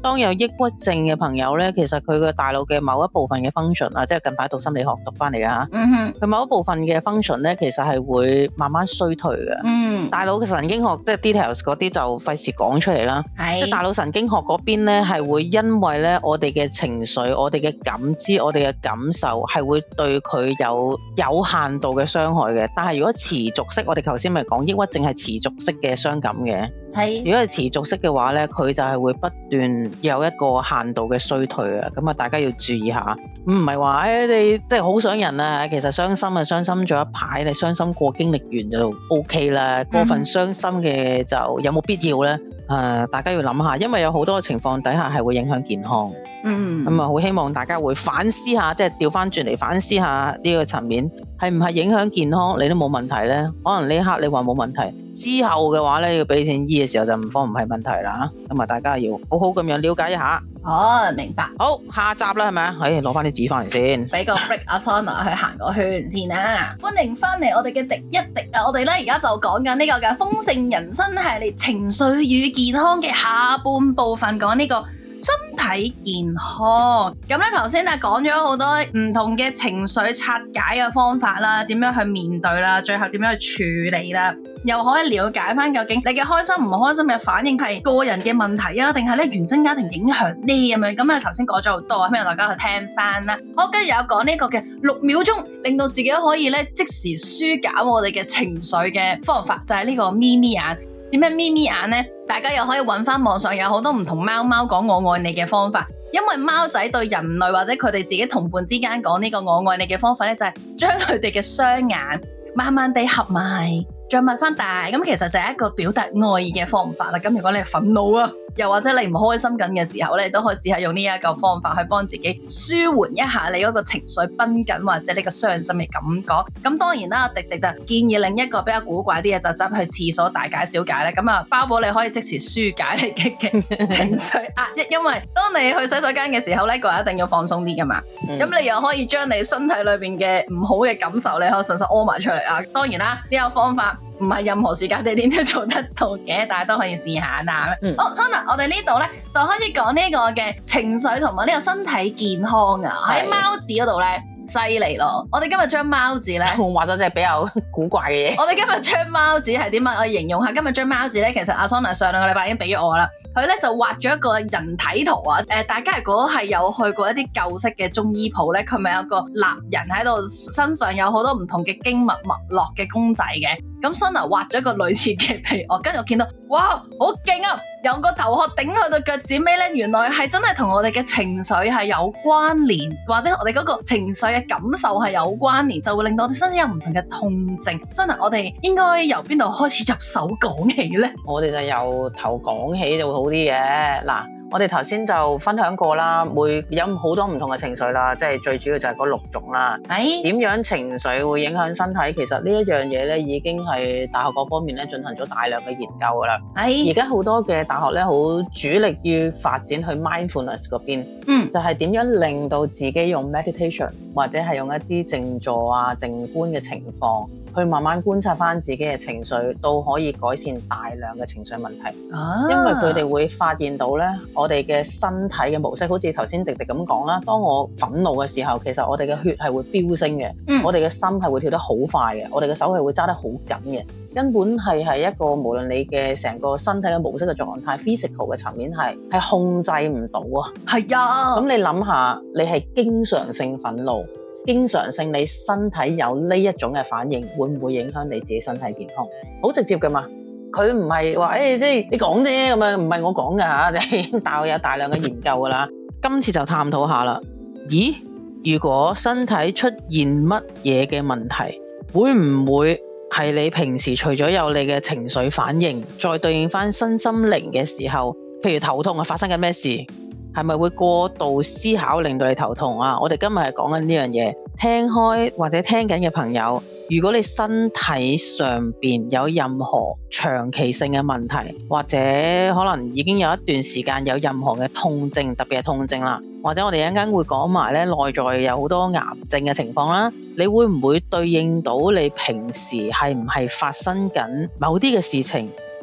當有抑鬱症嘅朋友咧，其實佢嘅大腦嘅某一部分嘅 function 啊，即係近排讀心理學讀翻嚟嘅嚇，佢某一部分嘅 function 咧，其實係會慢慢衰退嘅。大腦嘅神經學即係 details 嗰啲就費事講出嚟啦。即係大腦神經學嗰邊咧，係會因為咧我哋嘅情緒、我哋嘅感知、我哋嘅感受係會對佢有限度嘅傷害嘅。但係如果持續式，我哋頭先咪講抑鬱症係持續式嘅傷感嘅。如果係持續式嘅話咧，佢就係會不斷有一個限度嘅衰退啊！咁啊，大家要注意下，唔係話你即係好想人啊，其實傷心啊，傷心咗一排，你傷心過經歷完就 OK 啦。過分傷心嘅就有冇必要咧？大家要諗下，因為有好多情況底下係會影響健康。咁啊，好希望大家會反思下，即係調翻轉嚟反思下呢個層面係唔係影響健康，你都冇問題咧。可能呢一刻你話冇問題，之後嘅話咧要俾錢醫嘅時候就唔係問題啦。咁啊，大家要好好咁樣了解一下。 明白。 好，下集啦，係咪啊？攞翻啲紙翻嚟先， 俾個 break 阿 Sona 去行個圈先啦。歡迎翻嚟我哋嘅廸一廸啊！我哋咧而家就講緊呢個嘅豐盛人生系列情緒與健康嘅下半部分，講呢個身體健康。咁咧頭先講咗好多唔同嘅情緒拆解嘅方法啦，點樣去面對啦，最後點樣去處理啦，又可以了解翻究竟你嘅開心唔開心嘅反應係個人嘅問題啊，定係咧原生家庭影響呢咁樣。咁啊頭先講咗好多，希望大家去聽翻啦。好，跟住有講呢個嘅6秒鐘，令到自己可以咧即時舒減我哋嘅情緒嘅方法，就係呢個咪咪眼。點樣咪咪眼呢？大家又可以揾翻網上有好多唔同貓貓講我愛你嘅方法，因為貓仔對人類或者佢哋自己同伴之間講呢個我愛你嘅方法咧，就係將佢哋嘅雙眼慢慢地合埋，再擘翻大，咁其實就係一個表達愛意嘅方法啦。咁如果你係憤怒啊，又或者你唔開心緊嘅時候咧，都可以試下用呢一個方法去幫自己舒緩一下你嗰個情緒繃緊或者呢個傷心嘅感覺。咁當然啦，廸廸就建議另一個比較古怪啲嘅，就執去廁所大解小解咧。咁啊，包保你可以即時紓解你嘅情緒壓抑，因為當你去洗手間嘅時候咧，個人一定要放鬆啲噶嘛。咁你又可以將你身體裏邊嘅唔好嘅感受，你可以順手屙埋出嚟啊。當然啦，呢個方法唔係任何時間地點都做得到嘅，但係都可以試下啦。好，Sona，我哋呢度咧就開始講呢個嘅情緒同埋呢個身體健康啊。喺貓字嗰度咧，犀利咯！我哋今日將貓字咧， 我畫咗隻比較古怪嘅嘢。 我哋今日將貓字係點樣？我形容下今日將貓字咧，其實阿 Sona 上2個禮拜已經俾咗我啦。佢咧就畫咗一個人體圖啊！大家如果係有去過一啲舊式嘅中醫鋪咧，佢咪有個立人喺度，身上有好多唔同嘅經脈脈絡嘅公仔嘅。咁 Sona 畫咗一個類似嘅俾我，跟住我見到，哇，好勁啊！由個頭殼頂去到腳趾尾咧，原來係真係同我哋嘅情緒係有關聯，或者我哋嗰個情緒嘅感受係有關聯，就會令到我哋身體有唔同嘅痛症。Sona，我哋應該由邊度開始入手講起咧？我哋就由頭講起就會好啲嘅。嗱，我哋頭先就分享過啦，會有好多唔同嘅情緒啦，即係最主要就係嗰6種啦。點樣情緒會影響身體？其實呢一樣嘢咧，已經係大學嗰方面咧進行咗大量嘅研究噶啦。而家好多嘅大學咧，好主力於發展去 mindfulness 嗰邊，就係點樣令到自己用 meditation 或者係用一啲靜坐啊、靜觀嘅情況，去慢慢觀察翻自己嘅情緒，都可以改善大量嘅情緒問題。因為佢哋會發現到咧，我哋嘅身體嘅模式，好似頭先廸廸咁講啦。當我憤怒嘅時候，其實我哋嘅血係會飆升嘅，我哋嘅心係會跳得好快嘅，我哋嘅手係會揸得好緊嘅。根本係一個無論你嘅成個身體嘅模式嘅狀態 physical 嘅層面係控制唔到啊。係啊，咁你諗下，你係經常性憤怒，經常性你身體有呢一種嘅反應，會唔會影響你自己身體健康？好直接噶嘛，佢唔係話即係你講啫咁樣，唔係我講噶吓，但係有大量嘅研究噶啦。今次就探討下啦。咦，如果身體出現乜嘢嘅問題，會唔會係你平時除咗有你嘅情緒反應，再對應翻身心靈嘅時候，譬如頭痛啊，發生緊咩事？係咪會過度思考令到你頭痛啊？我哋今日係講緊呢樣嘢，聽開或者聽緊嘅朋友，如果你身體上邊有任何長期性嘅問題，或者可能已經有一段時間有任何嘅痛症，特別係痛症啦，或者我哋一陣間會講埋咧內在有好多癌症嘅情況啦，你會唔會對應到你平時係唔係發生緊某啲嘅事情，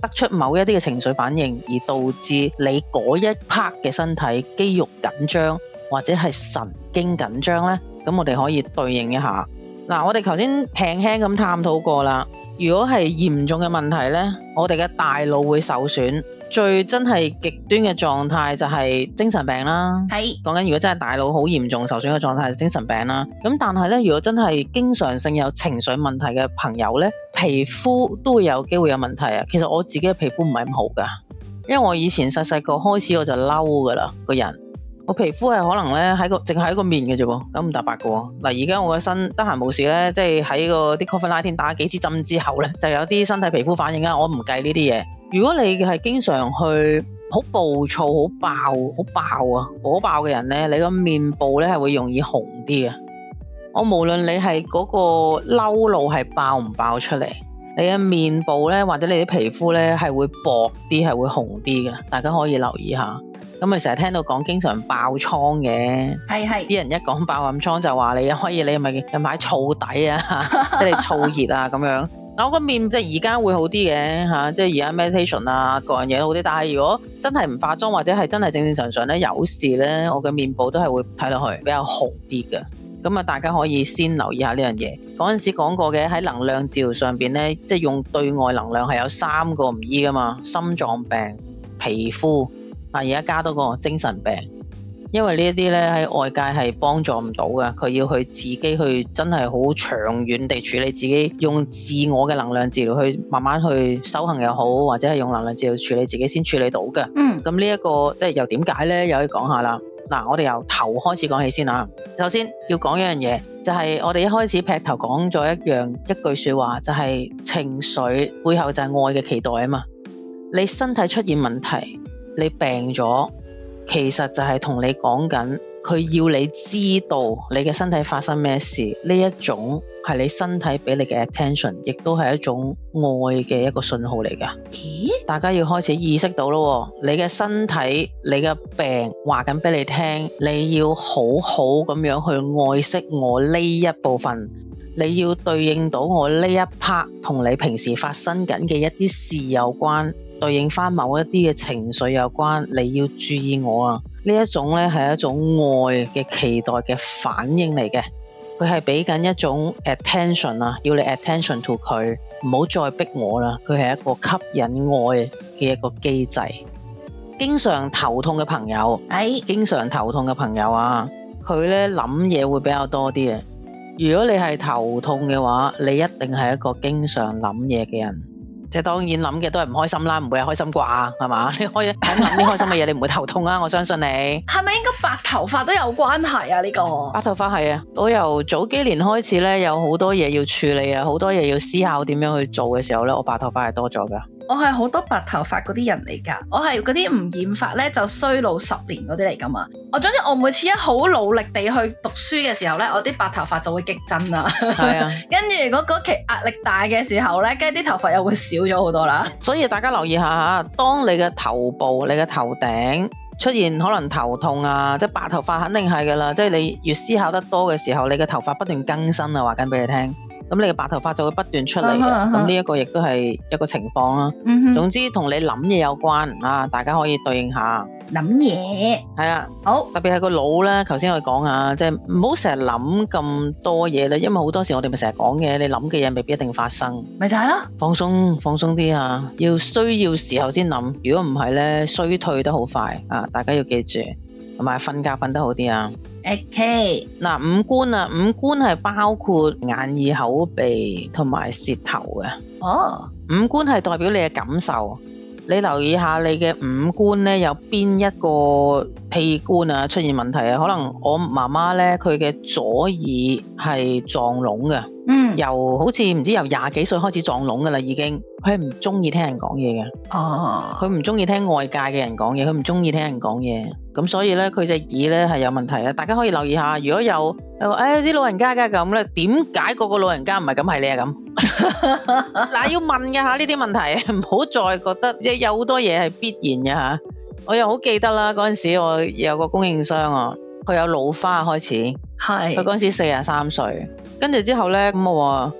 得出某一啲嘅情緒反應，而導致你嗰一 part 嘅身體肌肉緊張或者係神經緊張呢？咁我哋可以對應一下。嗱，我哋頭先輕輕咁探討過啦。如果係嚴重嘅問題呢，我哋嘅大腦會受損，最真係極端嘅狀態就係精神病啦。 係講緊如果真係大腦好嚴重受損嘅狀態係精神病啦。咁但係呢，如果真係經常性有情緒問題嘅朋友呢，皮膚都會有機會有問題啊。其實我自己嘅皮膚唔係咁好噶，因為我以前細細個開始我就嬲噶啦，個人我皮膚係可能咧淨係喺個面嘅啫喎，咁唔搭白嘅喎。嗱，而家我個身得閒冇事咧，即係喺個啲 COVID-19 打幾支針之後咧，就有啲身體皮膚反應啦。我唔計呢啲嘢。如果你係經常去好暴躁、好爆啊、火爆嘅人咧，你個面部咧係會容易紅啲嘅。我無論你係嗰個嬲怒係爆唔爆出嚟，你嘅面部咧或者你啲皮膚咧係會薄啲，係會紅啲嘅。大家可以留意下。咁咪成日聽到講經常爆瘡嘅， 係啲人一講爆暗瘡就話你可以，你咪近排燥底啊，即係燥熱啊咁樣。嗱，我個面即係而家會好啲嘅嚇，即係而家 meditation 啊各樣嘢都好啲。但係如果真係唔化妝或者係真係正正常常咧有事咧，我嘅面部都係會睇落去比較紅啲嘅。咁啊，大家可以先留意下呢樣嘢。嗰陣時講過嘅喺能量治療上邊咧，即係用對外能量係有3個唔醫噶嘛，心臟病、皮膚。而家加多個精神病，因為呢一啲咧喺外界係幫助唔到嘅，佢要去自己去真係好長遠地處理自己，用自我嘅能量治療去慢慢去修行又好，或者係用能量治療處理自己先處理到嘅。咁呢一個即係又點解咧？又可以講下啦。嗱，我哋由頭開始講起先啊。首先要講一樣嘢，就係我哋一開始劈頭講咗一句說話，就係情緒背後就係愛嘅期待啊嘛。你身體出現問題，你病咗，其實就係同你講緊，佢要你知道你嘅身體發生咩事，呢一種係你身體俾你嘅 attention， 亦都係一種愛嘅一個信號嚟㗎。大家要開始意識到咯，你嘅身體，你嘅病話緊俾你聽，你要好好咁樣去愛惜我呢一部分，你要對應到我呢一 part 同你平時發生緊嘅一啲事有關。對應翻某一啲嘅情緒有關，你要注意我啊！呢一種咧係一種愛嘅期待嘅反應嚟嘅，佢係俾緊一種 attention 啊，要你 attention to 佢，唔好再逼我啦。佢係一個吸引愛嘅一個機制。經常頭痛嘅朋友，經常頭痛嘅朋友啊，佢咧諗嘢會比較多啲嘅。如果你係頭痛嘅話，你一定係一個經常諗嘢嘅人。即係當然諗嘅都係唔開心啦，唔會係開心啩，係嘛？你可以諗啲開心嘅嘢，你唔會頭痛啊！我相信你。 係咪應該白頭髮都有關係啊？呢個白頭髮係啊，我由早幾年開始咧，有好多嘢要處理啊，好多嘢要思考點樣去做嘅時候咧，我白頭髮係多咗噶。 我係好多白頭髮嗰啲人嚟噶，我係嗰啲唔染髮咧就衰老10年嗰啲嚟噶嘛。總之我每次一好努力地去讀書嘅時候咧，我啲白頭髮就會激增啦。係啊，跟住如果嗰期壓力大嘅時候咧，跟住啲頭髮又會少咗好多啦。所以大家留意下吓，當你嘅頭部、你嘅頭頂出現可能頭痛啊，即係白頭髮肯定係噶啦。即係你越思考得多嘅時候，你嘅頭髮不斷更新啊，話緊俾你聽。咁你嘅白頭髮就會不斷出嚟嘅，咁呢一個亦都係一個情況啦。總之同你諗嘢有關啊，大家可以對應下。諗嘢係啊，好，特別係個腦咧。頭先我講下，即係唔好成日諗咁多嘢啦，因為好多時我哋咪成日講嘅，你諗嘅嘢未必一定發生，咪就係咯。放鬆啲啊，要需要時候先諗，如果唔係咧，衰退得好快啊！大家要記住，同埋瞓覺瞓得好啲啊。OK， 嗱，五官啊，五官係包括眼耳口鼻同埋舌頭嘅。哦，五官係代表你嘅感受。你留意下你嘅五官咧，有邊一個器官啊出現問題啊？可能我媽媽咧，佢嘅左耳係撞聾嘅。由好似唔知由20幾歲開始撞聾噶啦，已經佢係唔中意聽人講嘢嘅。哦，佢唔中意聽外界嘅人講嘢，佢唔中意聽人講嘢。咁所以咧，佢隻耳咧係有問題啊！大家可以留意下，如果有啲老人家嘅咁咧，點解個老人家唔係咁，係你係咁？嗱，要問嘅吓呢啲問題，唔好再覺得有好多嘢係必然嘅吓。我又好記得啦，嗰陣時我有個供應商啊，佢有老花開始，係佢嗰陣時43歲。跟住之後咧，咁我話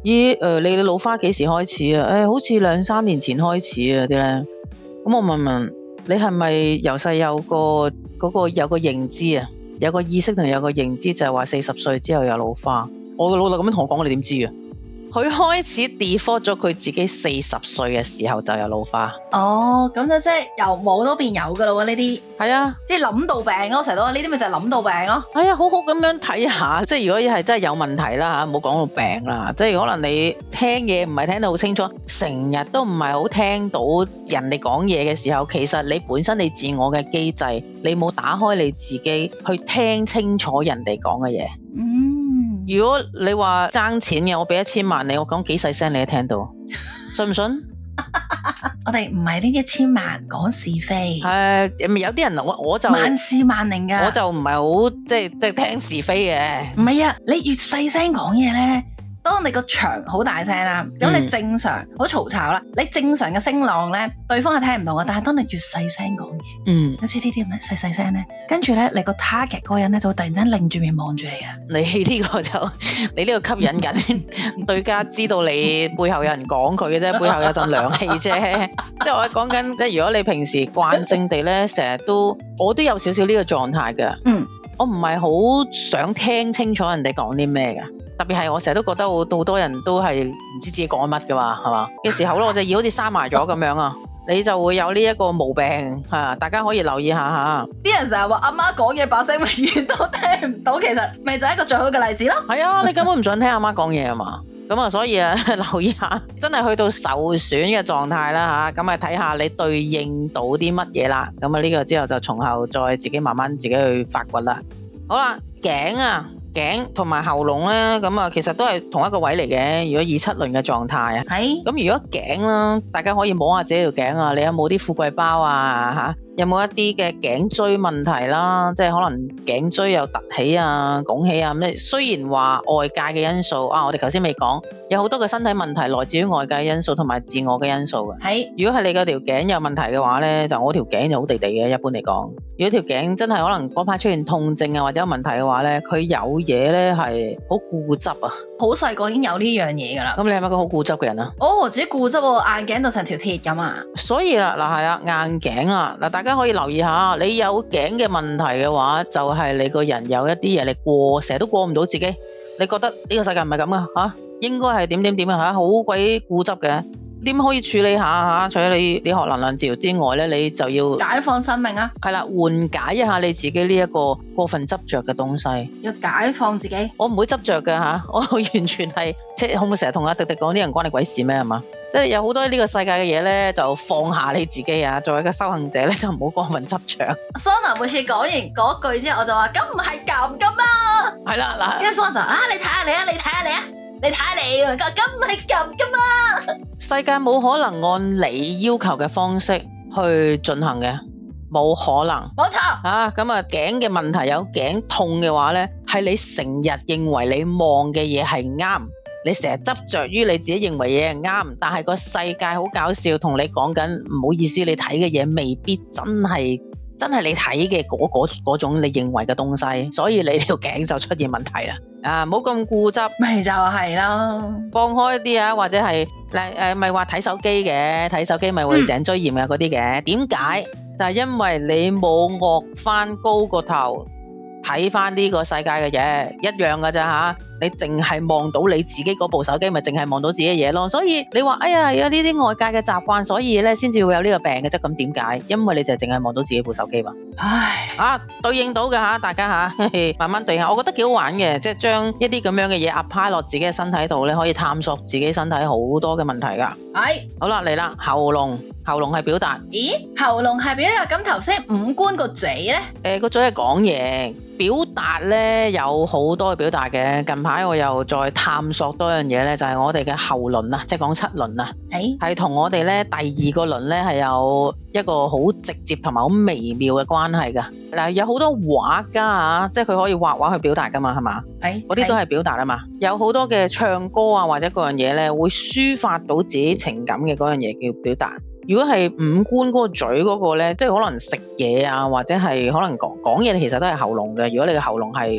咦你老花幾時開始啊？好似2-3年前開始啊啲咧。咁我問你係咪由細有個認知啊？有個意識同有個認知就係話40歲之後有老花。我個老豆咁樣同我講，你點知啊？佢開始 default 咗佢自己40歲嘅時候就有老花。 哦，咁就即係由冇都變有噶啦喎，呢啲係啊， 即係諗到病咯，成日都話呢啲咪就係諗到病咯。 係啊，好好咁樣睇下，即係如果係真係有問題啦吓，唔好講到病啦，即係可能你聽嘢唔係聽得好清楚，成日都唔係好聽到人哋講嘢嘅時候，其實你本身你自我嘅機制，你冇打開你自己去聽清楚人哋講嘅嘢。如果你話爭錢嘅，我俾1000萬你，我講幾細聲你都聽到，信唔信？ 我哋唔係呢1000萬講是非， 有啲人我就萬事萬靈噶， 我就唔係好即係聽是非嘅。 唔係啊，你越細聲講嘢咧，當你個場好大聲啦，咁你正常好嘈吵啦，你正常嘅聲浪咧，對方係聽唔到嘅。但係當你越細聲講嘢，好似呢啲咁樣細聲咧，跟住咧你個 target 嗰個人咧就會突然間擰住面望住你啊！ 你呢個吸引緊對家知道你背後有人講佢嘅啫，背後有陣涼氣啫。即係我講緊，即係如果你平時慣性地咧，成日我都有少少呢個狀態嘅。我唔係好想聽清楚人哋講啲咩嘅。特別係我成日都覺得好多人都係唔知自己講乜㗎嘛，係嘛嘅時候咧，我就要好似閂埋咗咁樣啊，你就會有呢一個毛病吓，大家可以留意下吓。 啲人成日話阿媽講嘢把聲永遠都聽唔到，其實咪就係一個最好嘅例子咯。 係啊，你根本唔想聽阿媽講嘢啊嘛，咁啊，所以啊，留意下，真係去到受損嘅狀態啦吓，咁啊睇下你對應到啲乜嘢啦，咁啊呢個之後就從後再自己慢慢自己去發掘啦。好啦，頸同埋喉嚨咧，咁啊，其實都係同一個位嚟嘅。如果以7輪嘅狀態啊，係咁。如果頸啦，大家可以摸下自己條頸啊，你有冇啲富貴包啊？吓，有冇一啲嘅頸椎問題啦？即係可能頸椎又凸起啊、拱起啊咁。雖然話外界嘅因素啊，我哋頭先未講，有好多嘅身體問題來自於外界嘅因素同埋自我嘅因素嘅。係，如果係你嗰條頸有問題嘅話咧，就我條頸就好地地嘅。一般嚟講，如果條頸真係可能嗰排出現痛症啊或者有問題嘅話咧，佢有嘢咧係好固執啊。 好細個已經有呢樣嘢噶啦。咁你係咪個好固執嘅人啊？ 哦，自己固執喎，硬頸就成條鐵咁啊。所以啦，嗱係啦，硬頸啊，嗱大家可以留意下，你有頸嘅問題嘅話，就係你個人有一啲嘢你成日都過唔到自己，你覺得呢個世界唔係咁啊吓，應該係點啊吓，好鬼固執嘅。點可以處理下吓？除咗你學能量治療之外咧，你就要解放生命啊！ 係啦，緩解一下你自己呢一個過分執着嘅東西。 要解放自己。我唔會執着嘅吓，我完全係即係可唔可以成日同阿迪迪講啲人關你鬼事咩係嘛？即係有好多呢個世界嘅嘢咧，就放下你自己啊！作為一個修行者咧，就唔好過分執着。 Sona 每次講完嗰句之後，我就話：咁唔係咁噶嘛。 係啦嗱， 跟住 Sona 就你睇下你啊，你睇下你啊。你睇下你啊，咁唔係咁噶嘛？ 世界冇可能按你要求嘅方式去進行嘅，冇可能。 冇錯啊，咁啊頸嘅問題有頸痛嘅話咧，係你成日認為你望嘅嘢係啱，你成日執着於你自己認為嘢係啱，但係個世界好搞笑，同你講緊唔好意思，你睇嘅嘢未必真係你睇嘅嗰種你認為嘅東西，所以你條頸就出現問題啦。啊，唔好咁固執， 咪就係咯， 放開啲啊，或者係咪話睇手機嘅，睇手機咪會頸椎炎啊嗰啲嘅。點解？就係因為你冇臥翻高個頭睇翻呢個世界嘅嘢，一樣噶咋吓？你淨係望到你自己嗰部手機，咪淨係望到自己嘅嘢咯。所以你話哎呀，有呢啲外界嘅習慣，所以咧先至會有呢個病嘅啫。咁點解？因為你就淨係望到自己部手機嘛。唉，對應到嘅吓，大家吓慢慢對下，我覺得幾好玩嘅，即係將一啲咁樣嘅嘢 apply 落自己嘅身體度咧，可以探索自己身體好多嘅問題噶。係，好啦，嚟啦，喉嚨係表達。 咦，喉嚨係表達，咁頭先五官個嘴咧？ 個嘴係講嘢。表達咧有好多嘅表達嘅，近排我又再探索多樣嘢咧，就係我哋嘅喉輪啊，即係講7輪啊，係同我哋咧第2個輪咧係有一個好直接同埋好微妙嘅關係噶。嗱，有好多畫家啊，即係佢可以畫畫去表達噶嘛，係嘛？嗰啲都係表達啊嘛。有好多嘅唱歌啊或者嗰樣嘢咧，會抒發到自己情感嘅嗰樣嘢叫表達。如果係五官嗰個嘴嗰個咧，即係可能食嘢啊，或者係可能講嘢，其實都係喉嚨嘅。如果你嘅喉嚨係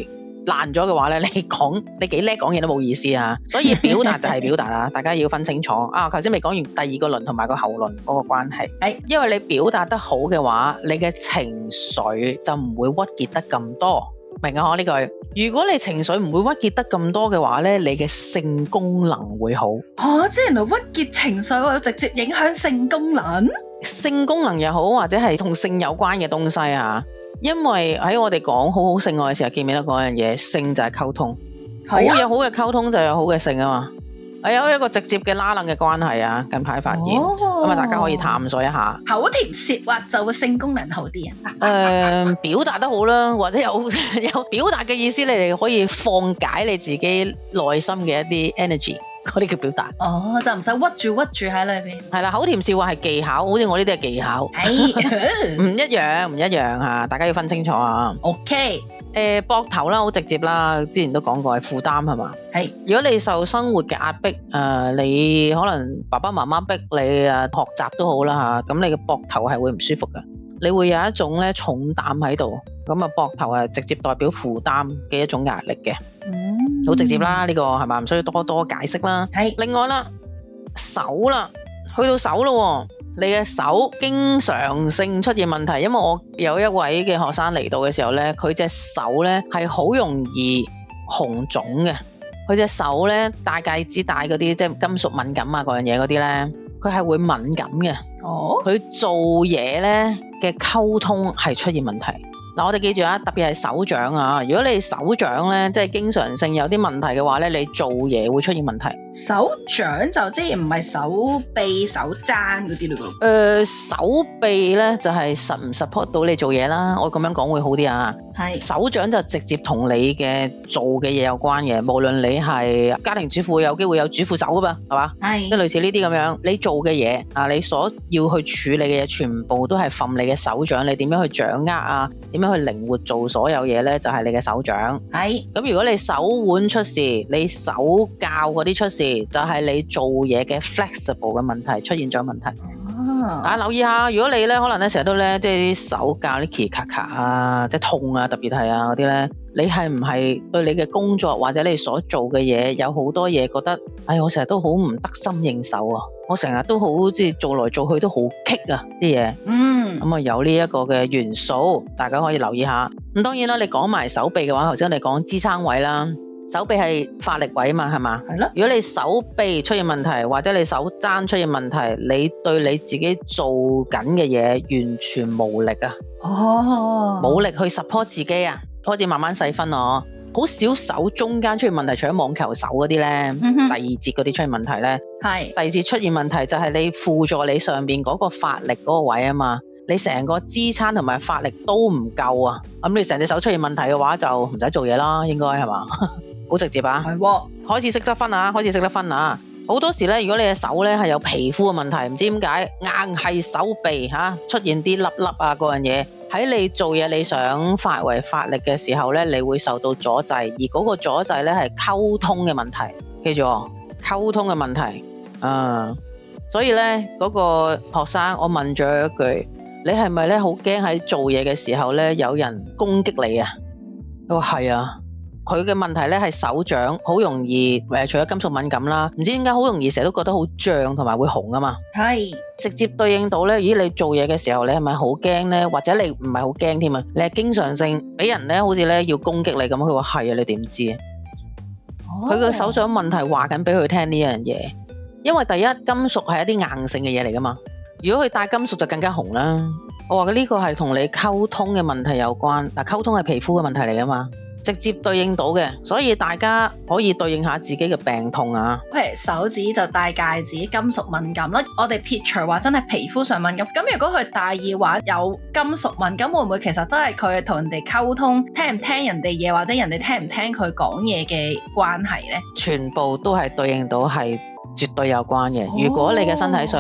爛咗嘅話咧，你幾叻講嘢都冇意思啊。所以表達就係表達啦，大家要分清楚啊。頭先未講完第二個輪同埋個後輪嗰個關係， 係因為你表達得好嘅話，你嘅情緒就唔會鬱結得咁多，明啊？呢句，如果你情緒唔會鬱結得咁多嘅話咧，你嘅性功能會好。 即係原來鬱結情緒會直接影響性功能， 性功能又好，或者係同性有關嘅東西啊。因為喺我哋講好好性愛嘅時候，記唔記得嗰樣嘢？性就係溝通， 係啊有好嘅溝通就有好嘅性啊嘛。係有一個直接嘅拉楞嘅關係啊。近排發現，咁啊大家可以探索一下。 口甜舌滑就會性功能好啲啊。 表達得好啦，或者有表達嘅意思，你哋可以放解你自己內心嘅一啲 energy。嗰啲叫表達， 就唔使屈住喺裏邊。 係啦，口甜笑話係技巧，好似我呢啲係技巧，唔一樣吓，大家要分清楚啊。 OK， 膊頭啦，好直接啦，之前都講過係負擔係嘛。 係， 如果你受生活嘅壓迫，你可能爸爸媽媽逼你啊學習都好啦吓，咁你嘅膊頭係會唔舒服嘅，你會有一種咧重擔喺度，咁啊膊頭係直接代表負擔嘅一種壓力嘅。好直接啦，呢個係咪唔需要多多解釋啦？ 係。 另外啦，手啦，去到手咯，你嘅手經常性出現問題，因為我有一位嘅學生嚟到嘅時候咧，佢隻手咧係好容易紅腫嘅，佢隻手咧戴戒指戴嗰啲即係金屬敏感啊嗰樣嘢嗰啲咧，佢係會敏感嘅。佢做嘢咧嘅溝通係出現問題。嗱，我哋記住啊，特別係手掌啊，如果你手掌咧，即係經常性有啲問題嘅話咧，你做嘢會出現問題。 手掌就即係唔係手臂、手踭嗰啲咯？ 手臂咧就係實唔 support 到你做嘢啦，我咁樣講會好啲啊。 係手掌就直接同你嘅做嘅嘢有關嘅，無論你係家庭主婦，有機會有主婦手噶嘛，係嘛？ 係即係類似呢啲咁樣，你做嘅嘢啊，你所要去處理嘅嘢，全部都係憑你嘅手掌，你點樣去掌握啊？點樣去靈活做所有嘢咧？就係你嘅手掌。 係咁如果你手腕出事，你手教嗰啲出事，就係你做嘢嘅 flexible 嘅問題出現咗問題。留意下，如果你咧可能咧成日都咧即係啲手教啲咔咔啊，即係痛啊，特別係啊嗰啲咧，你係唔係對你嘅工作或者你所做嘅嘢有好多嘢覺得，我成日都好唔得心應手啊，我成日都好即係做來做去都好棘啊啲嘢。咁啊有呢一個嘅元素，大家可以留意下。咁當然啦，你講埋手臂嘅話，頭先我哋講支撐位啦。手臂係發力位嘛，係嘛？係咯。如果你手臂出現問題，或者你手踭出現問題，你對你自己做緊嘅嘢完全無力啊！冇力去 support 自己啊！開始慢慢細分咯。好少手中間出現問題，除咗網球手嗰啲咧，第二節嗰啲出現問題咧，係第二節出現問題就係你輔助你上邊嗰個發力嗰個位啊嘛，你成個支撐同埋發力都唔夠啊！咁你成隻手出現問題嘅話，就唔使做嘢啦，應該係嘛？好直接啊，係喎，開始識得分啊，好多時咧，如果你嘅手咧係有皮膚嘅問題，唔知點解硬係手臂出現啲粒粒啊嗰樣嘢，喺你做嘢你想發揮發力嘅時候咧，你會受到阻滯，而嗰個阻滯咧係溝通嘅問題，記住溝通嘅問題，所以咧嗰個學生我問咗一句，你係咪咧好驚喺做嘢嘅時候咧有人攻擊你啊？佢話係啊。佢嘅問題咧係手掌好容易除咗金屬敏感啦，唔知點解好容易成日都覺得好脹同埋會紅啊嘛。係直接對應到咧，咦你做嘢嘅時候你係咪好驚咧？或者你唔係好驚添啊？你係經常性俾人咧好似咧要攻擊你咁，佢話係啊，你點知啊？佢嘅手掌問題話緊俾佢聽呢樣嘢，因為第一金屬係一啲硬性嘅嘢嚟噶嘛，如果佢帶金屬就更加紅啦。我話嘅呢個係同你溝通嘅問題有關，嗱溝通係皮膚嘅問題嚟噶嘛。直接對應到嘅，所以大家可以對應下自己嘅病痛啊。 譬如手指就戴戒指，金屬敏感啦。我哋撇除話真係皮膚上敏感，咁如果佢戴耳環有金屬敏感，會唔會其實都係佢同人哋溝通，聽唔聽人哋嘢，或者人哋聽唔聽佢講嘢嘅關係呢？ 全部都係對應到係絕對有關嘅。如果你嘅身體上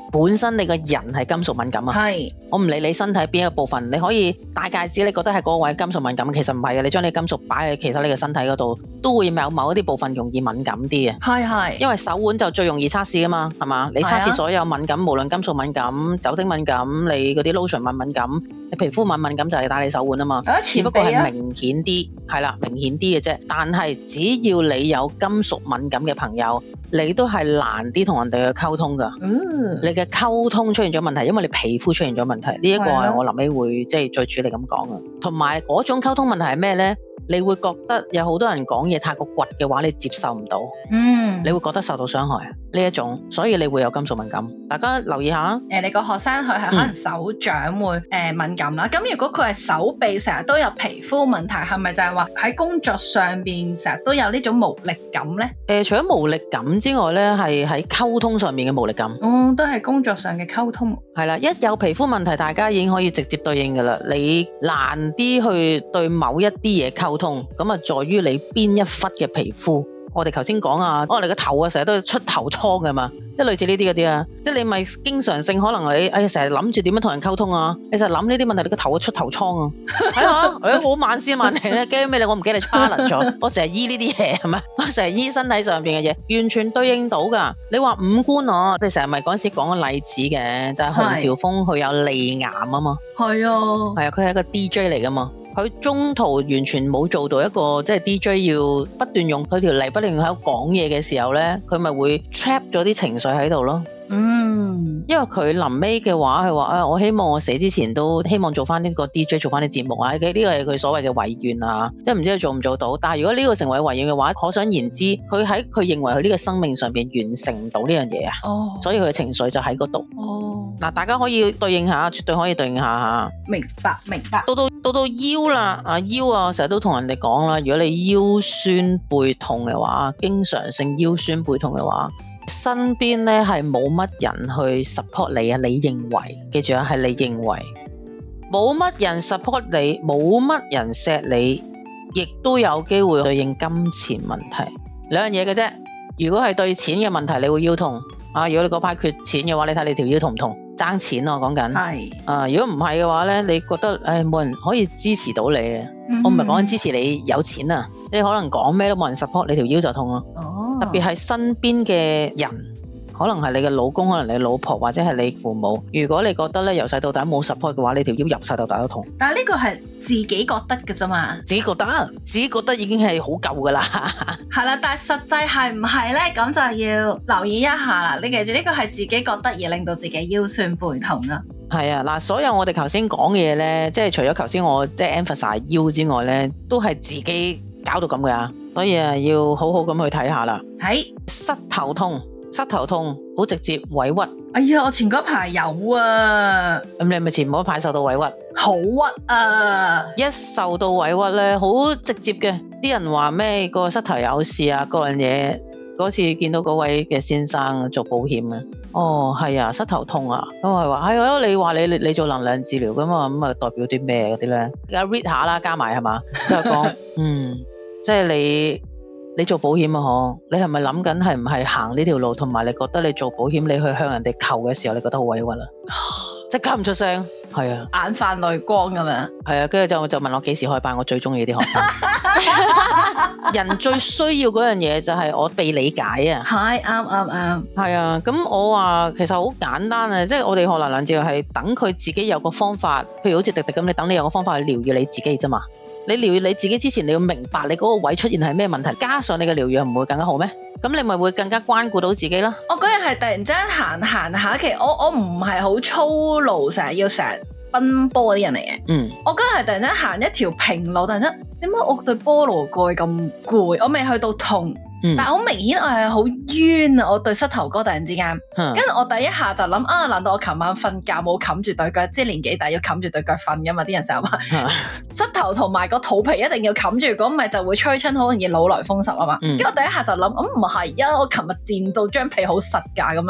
本身你個人係金屬敏感啊。 係， 我唔理你身體邊一個部分，你可以戴戒指，你覺得係嗰個位金屬敏感，其實唔係嘅。你將你金屬擺喺其實你嘅身體嗰度，都會有某一啲部分容易敏感啲嘅。 係， 因為手腕就最容易測試噶嘛，係嘛？你測試所有敏感，無論金屬敏感、酒精敏感，你嗰啲 lotion 敏感，你皮膚敏感就係戴你手腕啊嘛。只不過係明顯啲，係啦，明顯啲嘅啫。但係只要你有金屬敏感嘅朋友，你都係難啲同人哋去溝通噶。你嘅溝通出現咗問題，因為你皮膚出現咗問題，呢一個係我臨尾會即係最主力咁講嘅。同埋嗰種溝通問題係咩呢？你會覺得有好多人講嘢太過倔嘅話，你接受唔到，你會覺得受到傷害呢一種，所以你會有金屬敏感。大家留意下， 你個學生佢係可能手掌會敏感啦。咁如果佢係手臂成日都有皮膚問題，係咪就係話喺工作上邊成日都有呢種無力感呢？ 除咗無力感之外呢，係喺溝通上面嘅無力感。 都係工作上嘅溝通。 係啦，一有皮膚問題，大家已經可以直接對應噶啦。你難啲去對某一啲嘢溝通，咁啊在於你邊一忽嘅皮膚。我哋頭先講啊，我哋個頭啊成日都出頭瘡噶嘛，即係類似呢啲嗰啲啊，即係你咪經常性可能你成日諗住點樣同人溝通啊，你就諗呢啲問題，你個頭會出頭瘡啊，睇下我萬事萬靈咧，驚咩咧？我唔驚你 challenge 咗，我成日醫呢啲嘢係咪？我成日醫身體上邊嘅嘢，完全對應到噶。你話五官我哋成日咪嗰陣時講個例子嘅，就係洪朝豐佢有脷癌啊嘛，係啊，佢係一個 DJ 嚟噶嘛。佢中途完全冇做到一個即係 DJ 要不斷用佢條脷不斷喺度講嘢嘅時候呢，佢咪會 trap 咗啲情緒喺度咯。因為佢臨尾嘅話，佢話我希望我死之前都希望做翻呢個 DJ， 做翻啲節目啊。呢個係佢所謂嘅遺願啊，即係唔知佢做唔做到。但係如果呢個成為遺願嘅話，可想而知，佢喺佢認為佢呢個生命上邊完成唔到呢樣嘢啊。所以佢嘅情緒就喺嗰度。嗱，大家可以對應下，絕對可以對應下吓。明白。到腰啦，腰啊，成日都同人哋講啦，如果你腰酸背痛嘅話，經常性腰酸背痛嘅話，身邊咧係冇乜人去 support 你啊，你認為，記住啊，係你認為，冇乜人 support 你，冇乜人錫你，亦都有機會對應金錢問題，兩樣嘢嘅啫。如果係對錢嘅問題，你會腰痛啊。如果你嗰排缺錢嘅話，你睇你條腰痛唔痛？爭錢啊，我講緊。係如果唔係嘅話咧，你覺得冇人可以支持到你啊。我唔係講緊支持你有錢啊，你可能講咩都冇人 support，你條腰就痛咯。特別係身邊嘅人，可能係你嘅老公，可能你老婆，或者係你父母。如果你覺得咧由細到大冇 support 嘅話，你條腰由細到大都痛。但係呢個係自己覺得嘅啫嘛，自己覺得已經係好夠噶啦。係啦，但係實際係唔係咧？咁就要留意一下啦。你記住呢個係自己覺得而令到自己腰酸背痛啊。係啊，嗱，所有我哋頭先講嘅嘢咧，即係除咗頭先我即係 emphasize 腰之外咧，都係自己搞到咁噶。所以要好好咁去睇下啦。係膝頭痛好直接委屈。哎呀，我前嗰排有啊。咁你係咪前嗰排受到委屈？好屈啊！一受到委屈咧，好直接嘅。啲人話咩個膝頭有事啊，嗰樣嘢。嗰次見到嗰位嘅先生做保險啊。係啊，膝頭痛啊。咁我話係啊，你話你做能量治療噶嘛，咁啊代表啲咩嗰啲咧？而家 read 下啦，加埋係嘛，都係講即係你做保險啊，你係咪諗緊係唔係行呢條路？同埋你覺得你做保險，你去向人哋求嘅時候，你覺得好委屈啦，即刻唔出聲。係啊，眼泛淚光咁樣。係啊，跟住就問我幾時開班，我最中意啲學生。人最需要嗰樣嘢就係我被理解啊。係啱。係啊，咁我話其實好簡單啊，即係我哋學能量治療係等佢自己有個方法，譬如好似迪迪咁，你等你有個方法去療愈你自己啫嘛。你療愈你自己之前，你要明白你嗰個位出現係咩問題，加上你嘅療愈唔會更加好咩？咁你咪會更加關顧到自己咯。我嗰日係突然之間行下，其實我唔係好粗魯，成日奔波啲人嚟嘅。我嗰日係突然間行一條平路，突然間點解我對菠蘿蓋咁攰？我未去到痛。但係好明顯我係好冤啊！我對膝頭哥突然之間，跟住我第一下就諗難道我琴晚瞓覺冇冚住對腳？即係年紀大要冚住對腳瞓噶嘛？啲人成日話膝頭同埋個肚皮一定要冚住，咁咪就會吹親，好容易老來風濕啊嘛。跟住我第一下就諗，唔係啊！我琴日墊到張被好實噶咁樣啦。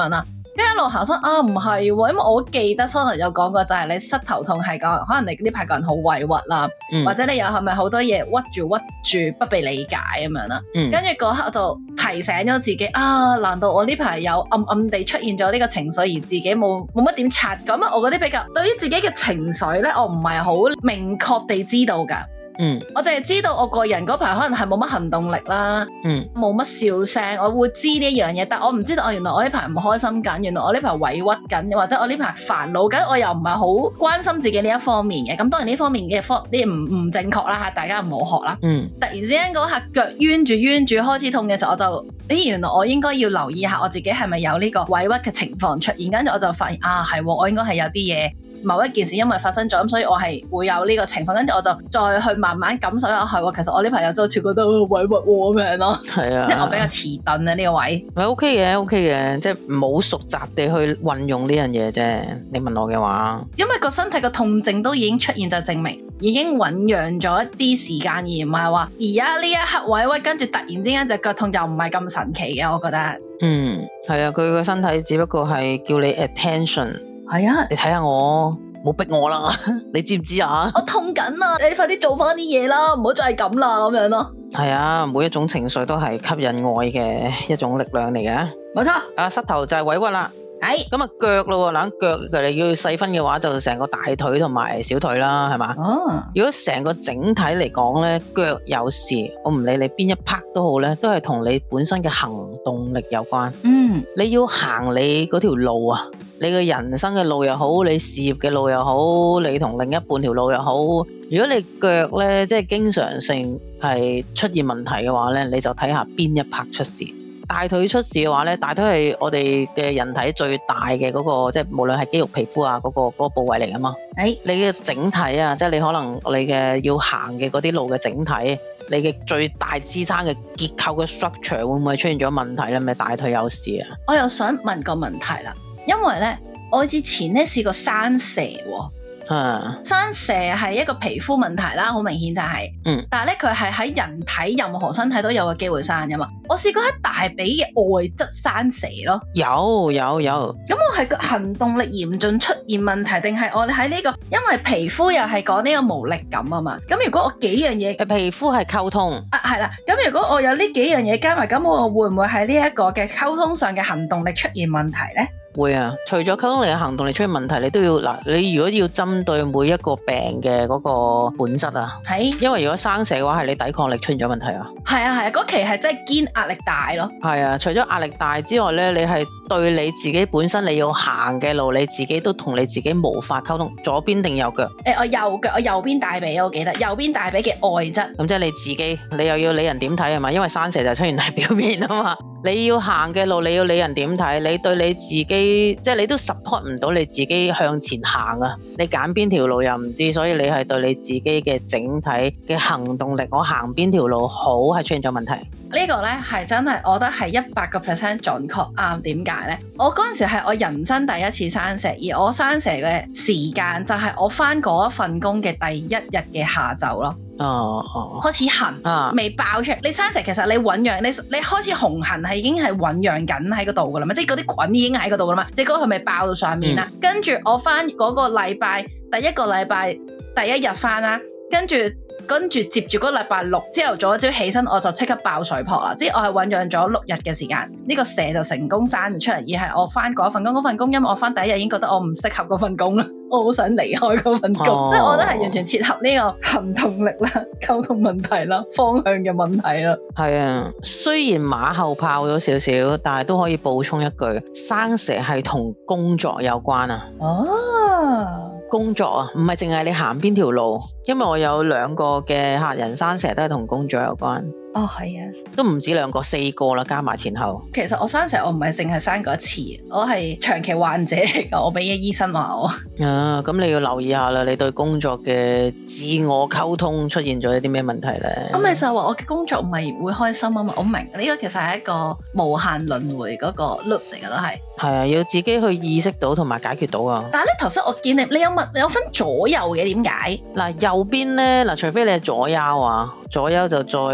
跟住一路行身啊，唔係喎，因為我記得 Sona 有講過，就係你膝頭痛係講，可能你呢排個人好委屈啦，或者你又係咪好多嘢屈住不被理解咁樣啦？跟住嗰刻我就提醒咗自己啊，難道我呢排有暗暗地出現咗呢個情緒，而自己冇乜點察覺？咁我嗰啲比較對於自己嘅情緒咧，我唔係好明確地知道㗎。我淨係知道我個人嗰排可能係冇乜行動力啦，冇乜笑聲，我會知呢一樣嘢，但我唔知道原來我呢排唔開心緊，原來我呢排委屈緊，或者我呢排煩惱緊，我又唔係好關心自己呢一方面嘅。咁當然呢方面嘅啲唔正確啦嚇，大家唔好學啦。突然之間嗰下腳冤住開始痛嘅時候，我就原來我應該要留意下我自己係咪有呢個委屈嘅情況出現，跟住我就發現係喎，我應該係有啲嘢。某一件事因為發生咗，咁所以我係會有呢個情況，跟住我就再去慢慢感受一下，係喎，其實我呢排有就好似覺得委屈咁樣咯。係啊，即係我比較遲鈍啊呢個位。 係 OK 嘅，即係冇熟習地去運用呢樣嘢啫。你問我嘅話， 因為個身體個痛症都已經出現，就證明已經醞釀咗一啲時間，而唔係話而家呢一刻委屈，跟住突然之間隻腳痛，又唔係咁神奇嘅，我覺得。 係啊，佢個身體只不過係叫你 attention。 係啊， 你睇下我，冇逼我啦，你知唔知啊？ 我痛緊啊，你快啲做翻啲嘢啦，唔好再係咁啦，咁樣咯。 係啊，每一種情緒都係吸引愛嘅一種力量嚟嘅。 冇錯。 膝頭就係委屈啦。係。咁腳咯，嗱腳就你要細分嘅話，就成個大腿同埋小腿啦，係嘛？如果成個整體嚟講咧，腳有事，我唔理你邊一 part 都好咧，都係同你本身嘅行動力有關。你要行你嗰條路啊。你嘅人生嘅路又好，你事業嘅路又好，你同另一半條路又好，如果你腳咧即係經常性係出現問題嘅話咧，你就睇下邊一 part 出事。大腿出事嘅話咧，大腿係我哋嘅人體最大嘅嗰個，即係無論係肌肉皮膚啊嗰個部位嚟㗎嘛。你嘅整體啊，即係你可能你嘅要行嘅嗰啲路嘅整體，你嘅最大支撐嘅結構嘅 structure 會唔會出現咗問題咧？咪大腿有事啊？我又想問個問題啦。因為咧，我之前咧試過生蛇喎。生蛇係一個皮膚問題啦，好明顯就係。但係咧，佢係喺人體任何身體都有個機會生噶嘛。我試過喺大髀嘅外側生蛇咯。有。咁我係個行動力嚴重出現問題，定係我喺呢個？因為皮膚又係講呢個無力感啊嘛。咁如果我幾樣嘢，皮膚係溝通。係啦。咁如果我有呢幾樣嘢加埋，咁我會唔會喺呢一個嘅溝通上嘅行動力出現問題咧？ 會啊，除咗溝通力嘅行動力出現問題，你都要嗱，你如果要針對每一個病嘅嗰個本質啊，因為如果生蛇嘅話，係你抵抗力出現咗問題啊。係啊，嗰期係真係堅壓力大咯。係啊，除咗壓力大之外咧，你係對你自己本身你要行嘅路，你自己都同你自己無法溝通。左邊定右腳？我右腳，我右邊大髀，我記得右邊大髀嘅外側。咁即係你自己，你又要理人點睇係嘛？因為生蛇就出現喺表面啊嘛。你要行嘅路，你要理人點睇？你對你自己，即係你都 support 唔到你自己向前行啊！你揀邊條路又唔知，所以你係對你自己嘅整體嘅行動力，我行邊條路好係出現咗問題。呢個呢係真係，我覺得係100%準確啱。點解呢？我嗰陣時係我人生第一次生蛇，而我生蛇嘅時間就係我返嗰一份工嘅第一日嘅下晝咯。開始痕，未爆出嚟。你生蛇其實你醞釀，你開始紅痕係已經係醞釀緊喺嗰度噶啦嘛，即係嗰啲菌已經喺嗰度噶啦嘛，即係嗰個係咪爆到上面啦？跟住我翻嗰個禮拜，第一個禮拜第一日翻啦，跟住接住嗰個禮拜六朝頭早一朝起身，我就即刻爆水泡啦！即係我係醞釀咗6日嘅時間，呢個蛇就成功生咗出嚟，而係我翻嗰份工，因為我翻第一日已經覺得我唔適合嗰份工啦，我好想離開嗰份工，即係我覺得係完全切合呢個行動力啦、溝通問題啦、方向嘅問題啦。係啊，雖然馬後炮咗少少，但係都可以補充一句，生蛇係同工作有關啊。工作啊，唔係淨係你行邊條路，因為我有2個嘅客人生蛇都係同工作有關。係啊，都唔止2個，4個啦，加埋前後。其實我生蛇我唔係淨係生過一次，我係長期患者嚟噶，我俾醫生話我。咁你要留意下啦，你對工作嘅自我溝通出現咗一啲咩問題咧？咁咪就係話我嘅工作唔係會開心啊嘛，我明呢個其實係一個無限輪迴嗰個 loop 嚟噶都係。係啊，要自己去意識到同埋解決到啊。但係咧，頭先我見你有分左右嘅，點解？嗱，右邊咧，除非你係左腰啊，左腰就再慢慢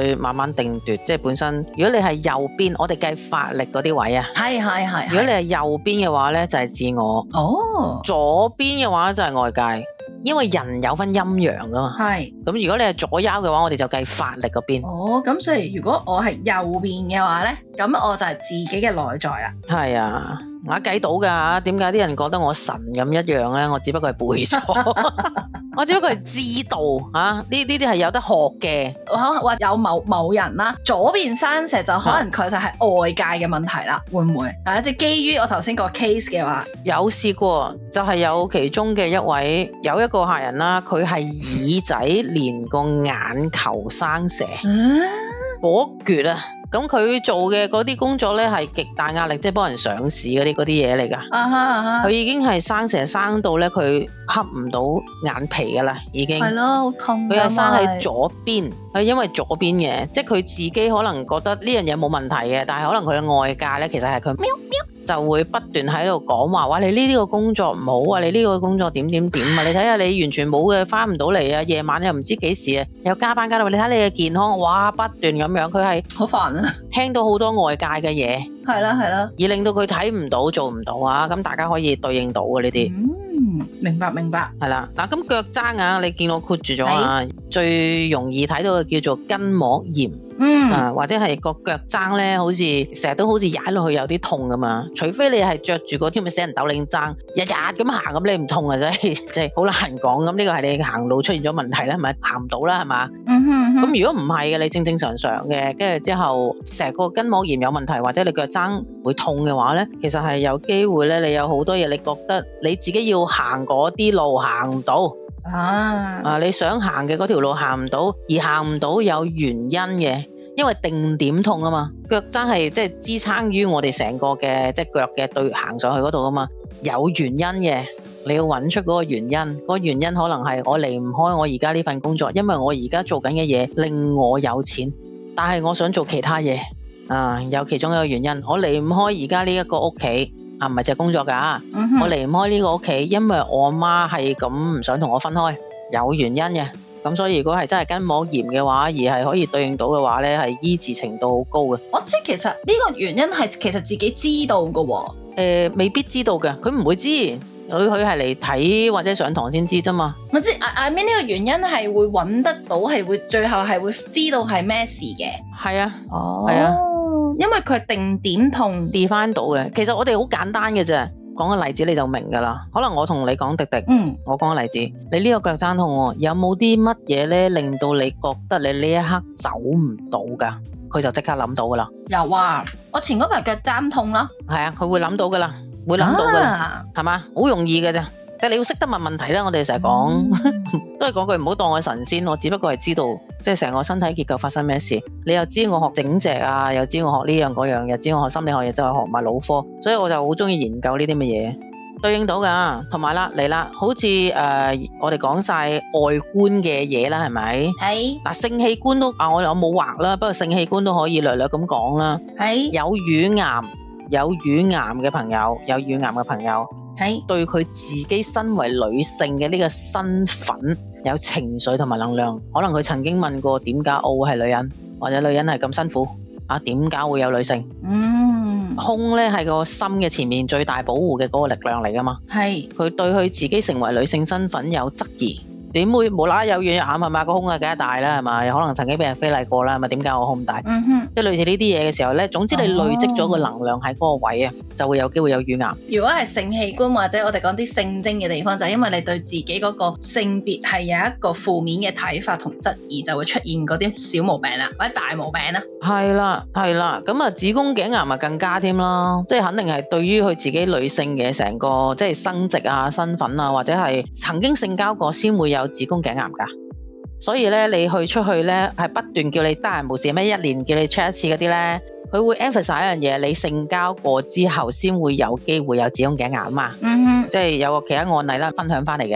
關定奪，即係本身如果你係右邊，我哋計法力嗰啲位啊， 係。 如果你係右邊嘅話咧，就係自我； 哦， 左邊嘅話就係外界。因為人有分陰陽噶嘛， 係。 咁如果你係左腰嘅話，我哋就計法力嗰邊。 哦，咁所以如果我係右邊嘅話咧，咁我就係自己嘅內在啦。 係啊，我計到噶，點解啲人覺得我神咁一樣咧？我只不過係背咗，我只不過係知道啊，呢啲係有得學嘅。 可能話有某人啦，左邊生蛇就可能佢就係外界嘅問題啦，會唔會？即係基於我頭先個 case 嘅話， 有試過，就係有其中嘅一位有一個客人啦，佢係耳仔連個眼球生蛇，嗰橛啊！咁佢做嘅嗰啲工作咧係極大壓力，即係幫人上市嗰啲嘢嚟噶。佢已經係生蛇生到咧，佢恰唔到眼皮噶啦，已經。係咯， 好痛。 佢係生喺左邊，佢因為左邊嘅，即係佢自己可能覺得呢樣嘢冇問題嘅，但係可能佢嘅外界咧，其實係佢喵就會不斷喺度講話，哇！你呢個工作唔好啊，你呢個工作點啊？你睇下你完全冇嘅，翻唔到嚟啊，夜晚又唔知幾時啊，又加班加到，你睇你嘅健康，哇！不斷咁樣，佢係好煩啊， 聽到好多外界嘅嘢， 係啦，而令到佢睇唔到做唔到啊，咁大家可以對應到嘅呢啲。 明白，係啦，嗱，咁腳踭啊，你見我括住咗啊，最容易睇到嘅叫做筋膜炎。或者係個腳踭咧，好似成日都好似踩落去有啲痛噶嘛，除非你係着住嗰啲咪死人斗領踭，日日咁行咁你唔痛啊，真係即係好難講。咁呢個係你行路出現咗問題啦，係咪行唔到啦，係嘛？咁如果唔係嘅，你正正常常嘅，跟住之後成個筋膜炎有問題，或者你腳踭會痛嘅話咧，其實係有機會咧，你有好多嘢，你覺得你自己要行嗰啲路行唔到。你想行嘅嗰條路行唔到，而行唔到有原因嘅，因為定點痛啊嘛，腳踭係即係支撐於我哋成個嘅即係腳嘅對行上去嗰度啊嘛，有原因嘅，你要揾出嗰個原因，嗰個原因可能係我離唔開我而家呢份工作，因為我而家做緊嘅嘢令我有錢，但係我想做其他嘢有其中一個原因，我離唔開而家呢一個屋企。唔係就係工作噶，我離唔開呢個屋企，因為我媽係咁唔想同我分開，有原因嘅。咁所以如果係真係筋膜炎嘅話，而係可以對應到嘅話咧，係醫治程度好高嘅。 我知其實呢個原因係其實自己知道嘅， 未必知道嘅，佢唔會知，佢係嚟睇或者上堂先知啫嘛。 我知I mean 呢個原因係會揾得到，係會最後係會知道係咩事嘅。 係啊， 係啊。因為佢係定點痛 define 到嘅，其實我哋好簡單嘅啫，講個例子你就明噶啦。可能我同你講迪迪，我講個例子，你呢個腳踭痛，有冇啲乜嘢咧令到你覺得你呢一刻走唔到噶？佢就即刻諗到噶啦。 有啊，我前嗰排腳踭痛啦。 係啊，佢會諗到噶啦，會諗到噶啦，係嘛？好容易嘅啫。即係你要識得問問題啦，我哋成日講都係講句唔好當我神仙，我只不過係知道即係成個身體結構發生咩事。你又知我學整脊啊，又知我學呢樣嗰樣，又知我學心理學，又就係學埋腦科，所以我就好中意研究呢啲乜嘢對應到噶。同埋啦嚟啦，好似我哋講晒外觀嘅嘢啦，係咪？係嗱，性器官都我冇畫啦，不過性器官都可以略略咁講啦。係有乳癌嘅朋友，係對佢自己身為女性嘅呢個身份有情緒同埋能量，可能佢曾經問過點解我會係女人，或者女人係咁辛苦啊？點解會有女性？胸咧係個心嘅前面最大保護嘅嗰個力量嚟噶嘛？係佢對佢自己成為女性身份有質疑。點會無啦啦有軟弱係嘛？個胸啊梗係大啦係嘛？有可能曾經俾人非禮過啦係咪？點解我胸大？即係類似呢啲嘢嘅時候咧，總之你累積咗個能量喺嗰個位啊，就會有機會有乳癌。如果係性器官或者我哋講啲性徵嘅地方，就係因為你對自己嗰個性別係有一個負面嘅睇法同質疑，就會出現嗰啲小毛病啦，或者大毛病啦。係啦，咁啊子宮頸癌咪更加添啦，即係肯定係對於佢自己女性嘅成個即係生殖啊、身份啊，或者係曾經性交過先會有子宮頸癌噶。所以咧，你去出去咧，係不斷叫你得閒無事咩，一年叫你 check 一次嗰啲咧，佢會 emphasize 一樣嘢，你性交過之後先會有機會有子宮頸癌啊嘛。即係有個其他案例啦，分享翻嚟嘅，就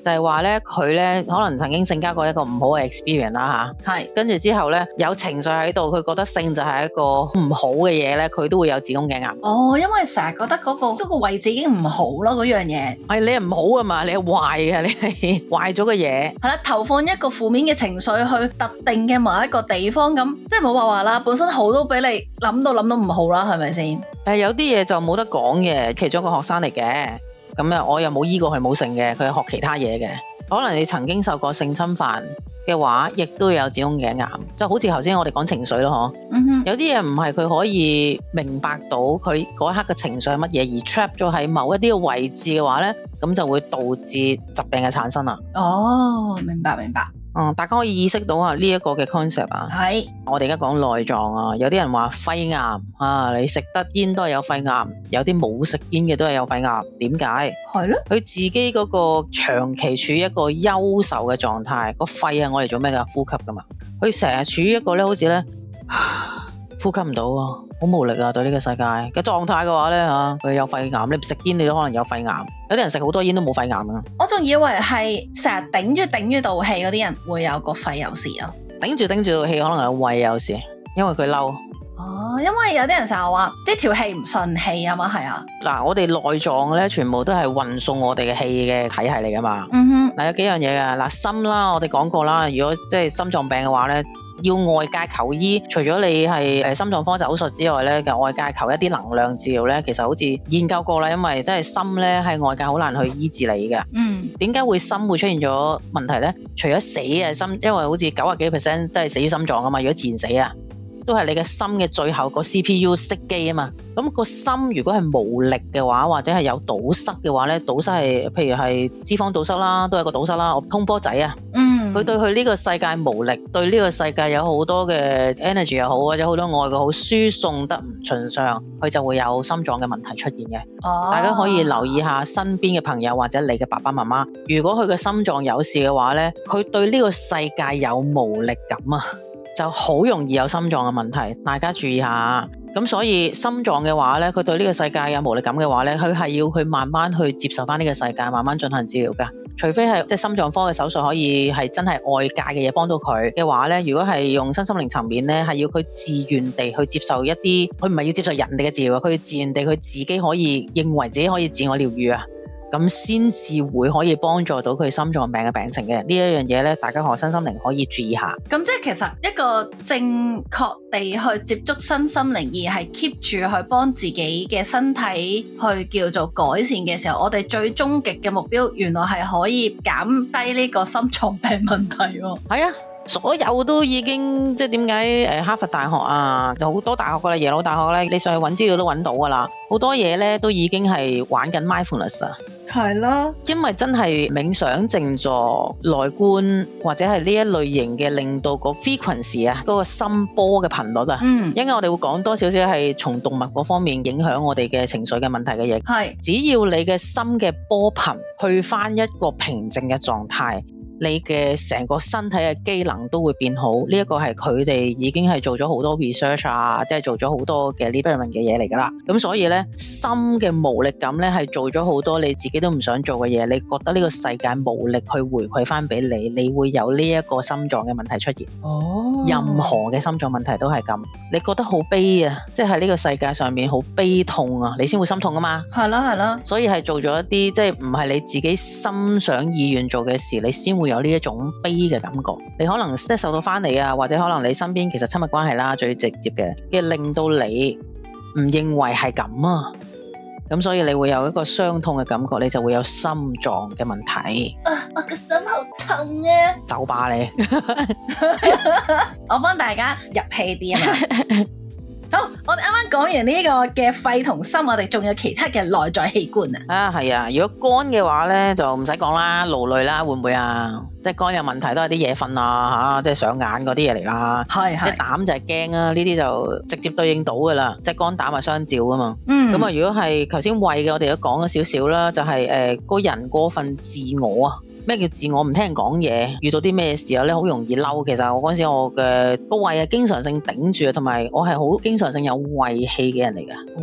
就係話咧佢咧可能曾經性交過一個唔好嘅 experience 啦吓， 係跟住之後咧有情緒喺度，佢覺得性就係一個唔好嘅嘢咧，佢都會有子宮頸癌。 哦，因為成日覺得嗰個位置已經唔好咯，嗰樣嘢係你係唔好啊嘛，你係壞嘅，你係壞咗嘅嘢。 係啦，投放一個負面嘅情緒去特定嘅某一個地方，咁即係冇話啦，本身好都俾你諗到唔好啦，係咪先？ 有啲嘢就冇得講嘅，其中一個學生嚟嘅，咁啊我又冇醫過佢冇性嘅，佢係學其他嘢嘅，可能你曾經受過性侵犯嘅話，亦都有子宮頸癌，就好似頭先我哋講情緒咯，有啲嘢唔係佢可以明白到佢嗰一刻嘅情緒係乜嘢，而 trap 咗喺某一啲嘅位置嘅話呢，咁就會導致疾病嘅產生啦。 哦，明白。 大家可以意識到啊呢一個嘅 concept 啊。 係我哋而家講內臟啊，有啲人話肺癌啊，你食得煙都係有肺癌，有啲冇食煙嘅都係有肺癌，點解？ 係咯， 佢自己嗰個長期處於一個優秀嘅狀態，個肺係我嚟做咩噶？呼吸噶嘛，佢成日處於一個咧，好似咧呼吸唔到啊，好無力啊，對呢個世界嘅狀態嘅話咧吓，佢有肺癌，你唔食煙你都可能有肺癌，有啲人食好多煙都冇肺癌啊。我仲以為係成日頂住道氣嗰啲人會有個肺有事啊， 頂住道氣可能係胃有事，因為佢嬲。 哦，因為有啲人成日話即係條氣唔順氣啊嘛，係啊。 嗱，我哋內臟咧全部都係運送我哋嘅氣嘅體系嚟噶嘛。嗱，有幾樣嘢噶，嗱，心啦，我哋講過啦，如果即係心臟病嘅話咧，要外界求醫，除咗你係心臟科手術之外咧，外界求一啲能量治療咧，其實好似研究過啦，因為即係心咧係外界好難去醫治你嘅。點解會心會出現咗問題咧？除咗死啊心，因為好似90幾%都係死於心臟啊嘛，如果自然死啊，都係你嘅心嘅最後個 CPU 熄機啊嘛。咁個心如果係無力嘅話，或者係有堵塞嘅話咧，堵塞係譬如係脂肪堵塞啦，都係個堵塞啦。我通波仔啊，佢對佢呢個世界無力，對呢個世界有好多嘅 energy 又好，或者好多愛嘅好，輸送得唔順暢，佢就會有心臟嘅問題出現嘅。大家可以留意下身邊嘅朋友或者你嘅爸爸媽媽，如果佢嘅心臟有事嘅話咧，佢對呢個世界有無力感啊，就好容易有心臟嘅問題，大家注意下。咁所以心臟嘅話咧，佢對呢個世界有無力感嘅話咧，佢係要去慢慢去接受翻呢個世界，慢慢進行治療噶。除非係即係心臟科嘅手術可以係真係外界嘅嘢幫到佢嘅話咧，如果係用身心靈層面咧，係要佢自願地去接受一啲，佢唔係要接受人哋嘅治療，佢要自願地佢自己可以認為自己可以自我療愈啊。咁先至會可以幫助到佢心臟病嘅病情嘅。呢一樣嘢咧，大家學身心靈可以注意下。 咁即係其實一個正確地去接觸身心靈，而係 keep 住去幫自己嘅身體去叫做改善嘅時候，我哋最終極嘅目標原來係可以減低呢個心臟病問題喎。 係啊，所有都已經即係點解哈佛大學啊，有好多大學噶啦，耶魯大學咧，你上去揾資料都揾到噶啦，好多嘢咧都已經係玩緊 mindfulness 啊。 係咯，因為真係冥想靜坐內觀或者係呢一類型嘅，令到個 frequency 啊，嗰個心波嘅頻率啊，因為我哋會講多少少係從動脈嗰方面影響我哋嘅情緒嘅問題嘅嘢。係，只要你嘅心嘅波頻去翻一個平靜嘅狀態，你嘅成個身體嘅機能都會變好。呢一個係佢哋已經係做咗好多 research 啊，即係做咗好多嘅 liberation 嘅嘢嚟噶啦。咁所以咧，心嘅無力感咧係做咗好多你自己都唔想做嘅嘢，你覺得呢個世界無力去回饋翻俾你，你會有呢一個心臟嘅問題出現。任何嘅心臟問題都係咁，你覺得好悲啊，即係喺呢個世界上面好悲痛啊，你先會心痛啊嘛。係啦，所以係做咗一啲即係唔係你自己心想意願做嘅事，你先會有呢一種悲嘅感覺。你可能即係受到翻嚟啊，或者可能你身邊其實親密關係啦，最直接嘅令到你唔認為係咁啊，咁所以你會有一個傷痛嘅感覺，你就會有心臟嘅問題。 我個心好痛啊！ 就霸你， 我幫大家入氣啲啊嘛。好，我哋啱啱講完呢個嘅肺同心，我哋仲有其他嘅內在器官啊。 係啊，如果肝嘅話咧，就唔使講啦，勞累啦，會唔會啊？即係肝有問題都係啲夜瞓啊，即係上眼嗰啲嘢嚟啦。係，啲膽就係驚啊，呢啲就直接對應到噶啦，即係肝膽係相照噶嘛。咁啊，如果係頭先胃嘅，我哋都講咗少少啦，就係個人過分自我啊。咩叫自我？唔聽人講嘢，遇到啲咩事咧，好容易嬲。其實我嗰陣時我嘅個胃係經常性頂住，同埋我係好經常性有胃氣嘅人嚟嘅。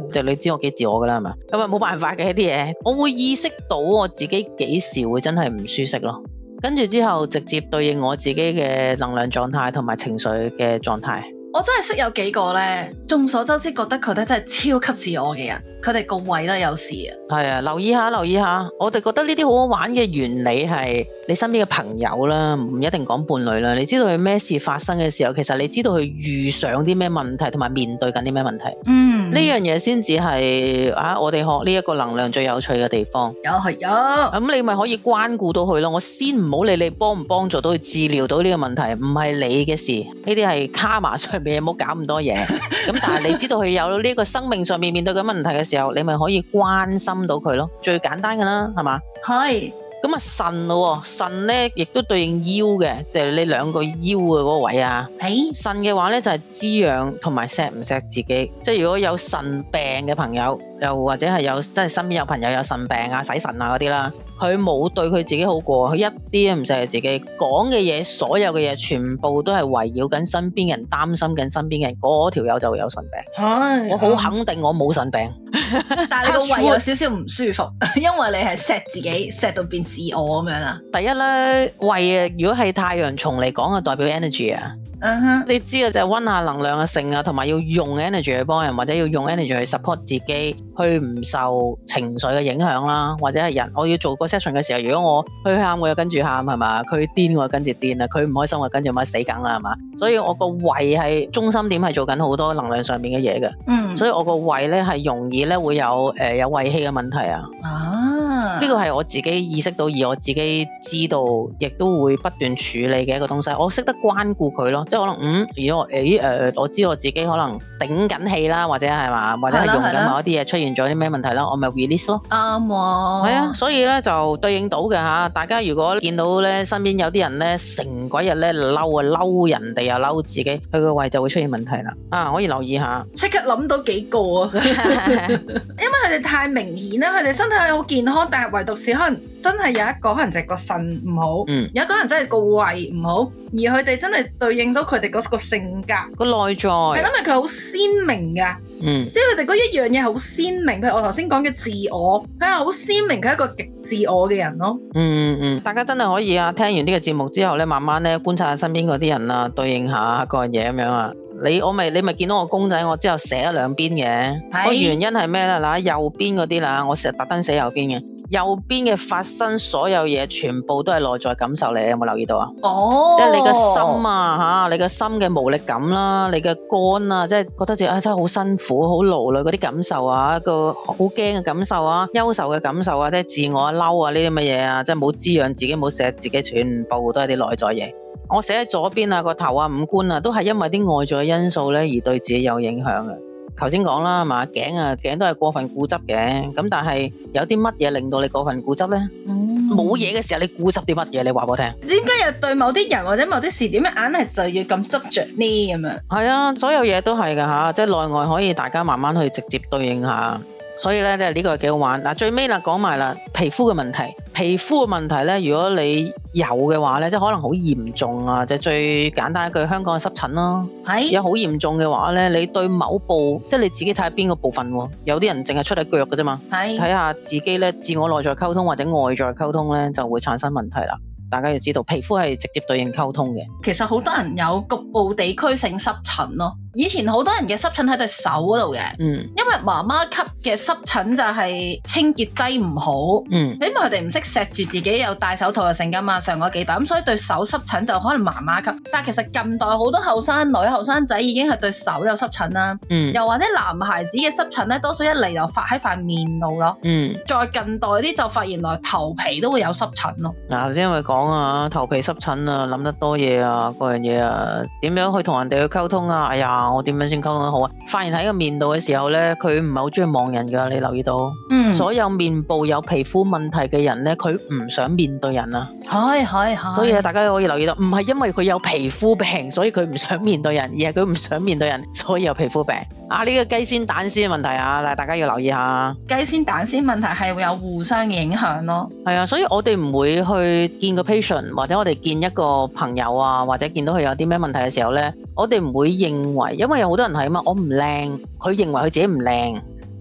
就你知我幾自我噶啦，係咪？咁啊冇辦法嘅一啲嘢，我會意識到我自己幾時會真係唔舒適咯。跟住之後直接對應我自己嘅能量狀態同埋情緒嘅狀態。 我真係識有幾個咧，眾所周知覺得佢哋真係超級自我嘅人，佢哋個胃都有事啊。 係啊，留意下，我哋覺得呢啲好好玩嘅原理係你身邊嘅朋友啦，唔一定講伴侶啦。你知道佢咩事發生嘅時候，其實你知道佢遇上啲咩問題，同埋面對緊啲咩問題。呢樣嘢先至係我哋學呢一個能量最有趣嘅地方。 有咁你咪可以關顧到佢咯。我先唔好理你幫唔幫助到佢治療到呢個問題，唔係你嘅事，呢啲係卡瑪上面，唔好搞咁多嘢。咁但係你知道佢有呢個生命上面面對緊問題嘅時候，你咪可以關心到佢咯。最簡單噶啦，係嘛？ 係。 咁啊腎咯，腎咧亦都對應腰嘅，就係你兩個腰嘅嗰個位啊。腎嘅話咧就係滋養同埋錫唔錫自己。即係如果有腎病嘅朋友，又或者係有即係身邊有朋友有腎病啊、洗腎啊嗰啲啦，佢冇對佢自己好過，佢一啲都唔錫自己，講嘅嘢，所有嘅嘢全部都係圍繞緊身邊人，擔心緊身邊人，嗰條友就會有腎病。我好肯定我冇腎病。 但係你個胃有少少唔舒服，因為你係錫自己錫到變自我咁樣啊。 第一咧，胃啊，如果係太陽蟲嚟講啊，代表 energy 啊。你知啊，就係溫下能量嘅性啊，同埋要用 energy 去幫人，或者要用 energy 去 support 自己，去唔受情緒嘅影響啦，或者係人。我要做個 session 嘅時候，如果我佢喊，我又跟住喊，係嘛？佢癲我又跟住癲啊！佢唔開心我跟住咪死梗啦，係嘛？所以我個胃係中心點，係做緊好多能量上面嘅嘢嘅。所以我個胃咧係容易咧會有胃氣嘅問題啊。呢個係我自己意識到，而我自己知道，亦都會不斷處理嘅一個東西。我識得關顧佢咯，即係可能如果我知我自己可能頂緊氣啦，或者係嘛，或者係用緊某一啲嘢出現咗啲咩問題啦，我咪 release 咯。啱喎。係啊，所以咧就對應到嘅吓。大家如果見到咧身邊有啲人咧成鬼日咧嬲人哋又嬲自己，佢個胃就會出現問題啦。可以留意下。即刻諗到幾個啊！因為佢哋太明顯啦，佢哋身體好健康，但係唯獨是可能真係有一個可能就係個腎唔好，有一個人真係個胃唔好，而佢哋真係對應到佢哋嗰個性格個內在，係因為佢好鮮明噶，即係佢哋嗰一樣嘢好鮮明。譬如我頭先講嘅自我，佢係好鮮明，佢係一個極自我嘅人咯。大家真係可以啊，聽完呢個節目之後咧，慢慢咧觀察下身邊嗰啲人啊，對應下各樣嘢咁樣啊。你咪見到我公仔，我之後寫咗兩邊嘅，個原因係咩咧？嗱，右邊嗰啲啦，我成日特登寫右邊嘅。右邊嘅發生所有嘢，全部都係內在感受嚟，有冇留意到啊？即係你嘅心啊，你嘅心嘅無力感啦，你嘅肝啊，即係覺得自己真係好辛苦、好勞累嗰啲感受啊，一個好驚嘅感受啊，憂愁嘅感受啊，即係自我嬲啊呢啲乜嘢啊，即係冇滋養自己、冇錫自己，全部都係啲內在嘢。我寫喺左邊啊，個頭啊、五官啊，都係因為啲外在嘅因素咧而對自己有影響嘅。頭先講啦，係嘛，頸都係過分固執嘅，咁但係有啲乜嘢令到你過分固執咧？冇嘢嘅時候你固執啲乜嘢？你話俾我聽。點解又對某啲人或者某啲事點樣硬係就要咁執着呢？咁樣係啊，所有嘢都係噶吓，即係內外可以大家慢慢去直接對應下。所以咧，呢個係幾好玩。嗱，最尾啦，講埋啦，皮膚嘅問題。皮膚嘅問題咧，如果你有嘅話咧，即係可能好嚴重啊，就最簡單一句，香港嘅濕疹咯。有好嚴重嘅話咧，你對某部，即係你自己睇下邊個部分喎。有啲人淨係出喺腳嘅啫嘛。睇下自己咧，自我內在溝通或者外在溝通咧，就會產生問題啦。大家要知道，皮膚係直接對應溝通嘅。其實好多人有局部地區性濕疹咯。以前好多人嘅濕疹喺對手嗰度嘅，因為媽媽級嘅濕疹就係清潔劑唔好，因為佢哋唔識錫住自己，有戴手套嘅性㗎嘛，上個幾代咁，所以對手濕疹就可能媽媽級。但係其實近代好多後生女、後生仔已經係對手有濕疹啦，又或者男孩子嘅濕疹咧，多數一嚟就發喺塊面度咯，再近代啲就發現原來頭皮都會有濕疹咯。嗱，頭先因為講啊，頭皮濕疹啊，諗得多嘢啊，嗰樣嘢啊，點樣去同人哋去溝通啊？哎呀〜我點樣先溝通得好啊？發現喺個面度嘅時候咧，佢唔係好中意望人噶，你留意到？所有面部有皮膚問題嘅人咧，佢唔想面對人啊。係。所以大家可以留意到，唔係因為佢有皮膚病，所以佢唔想面對人，而係佢唔想面對人，所以有皮膚病。呢個雞先蛋先嘅問題啊，大家要留意下。雞先蛋先問題係會有互相嘅影響咯。係啊，所以我哋唔會去見個 patient，或者我哋見一個朋友啊，或者見到佢有啲咩問題嘅時候咧，我哋唔會認為，因為有好多人係啊嘛，我唔靚，佢認為佢自己唔靚，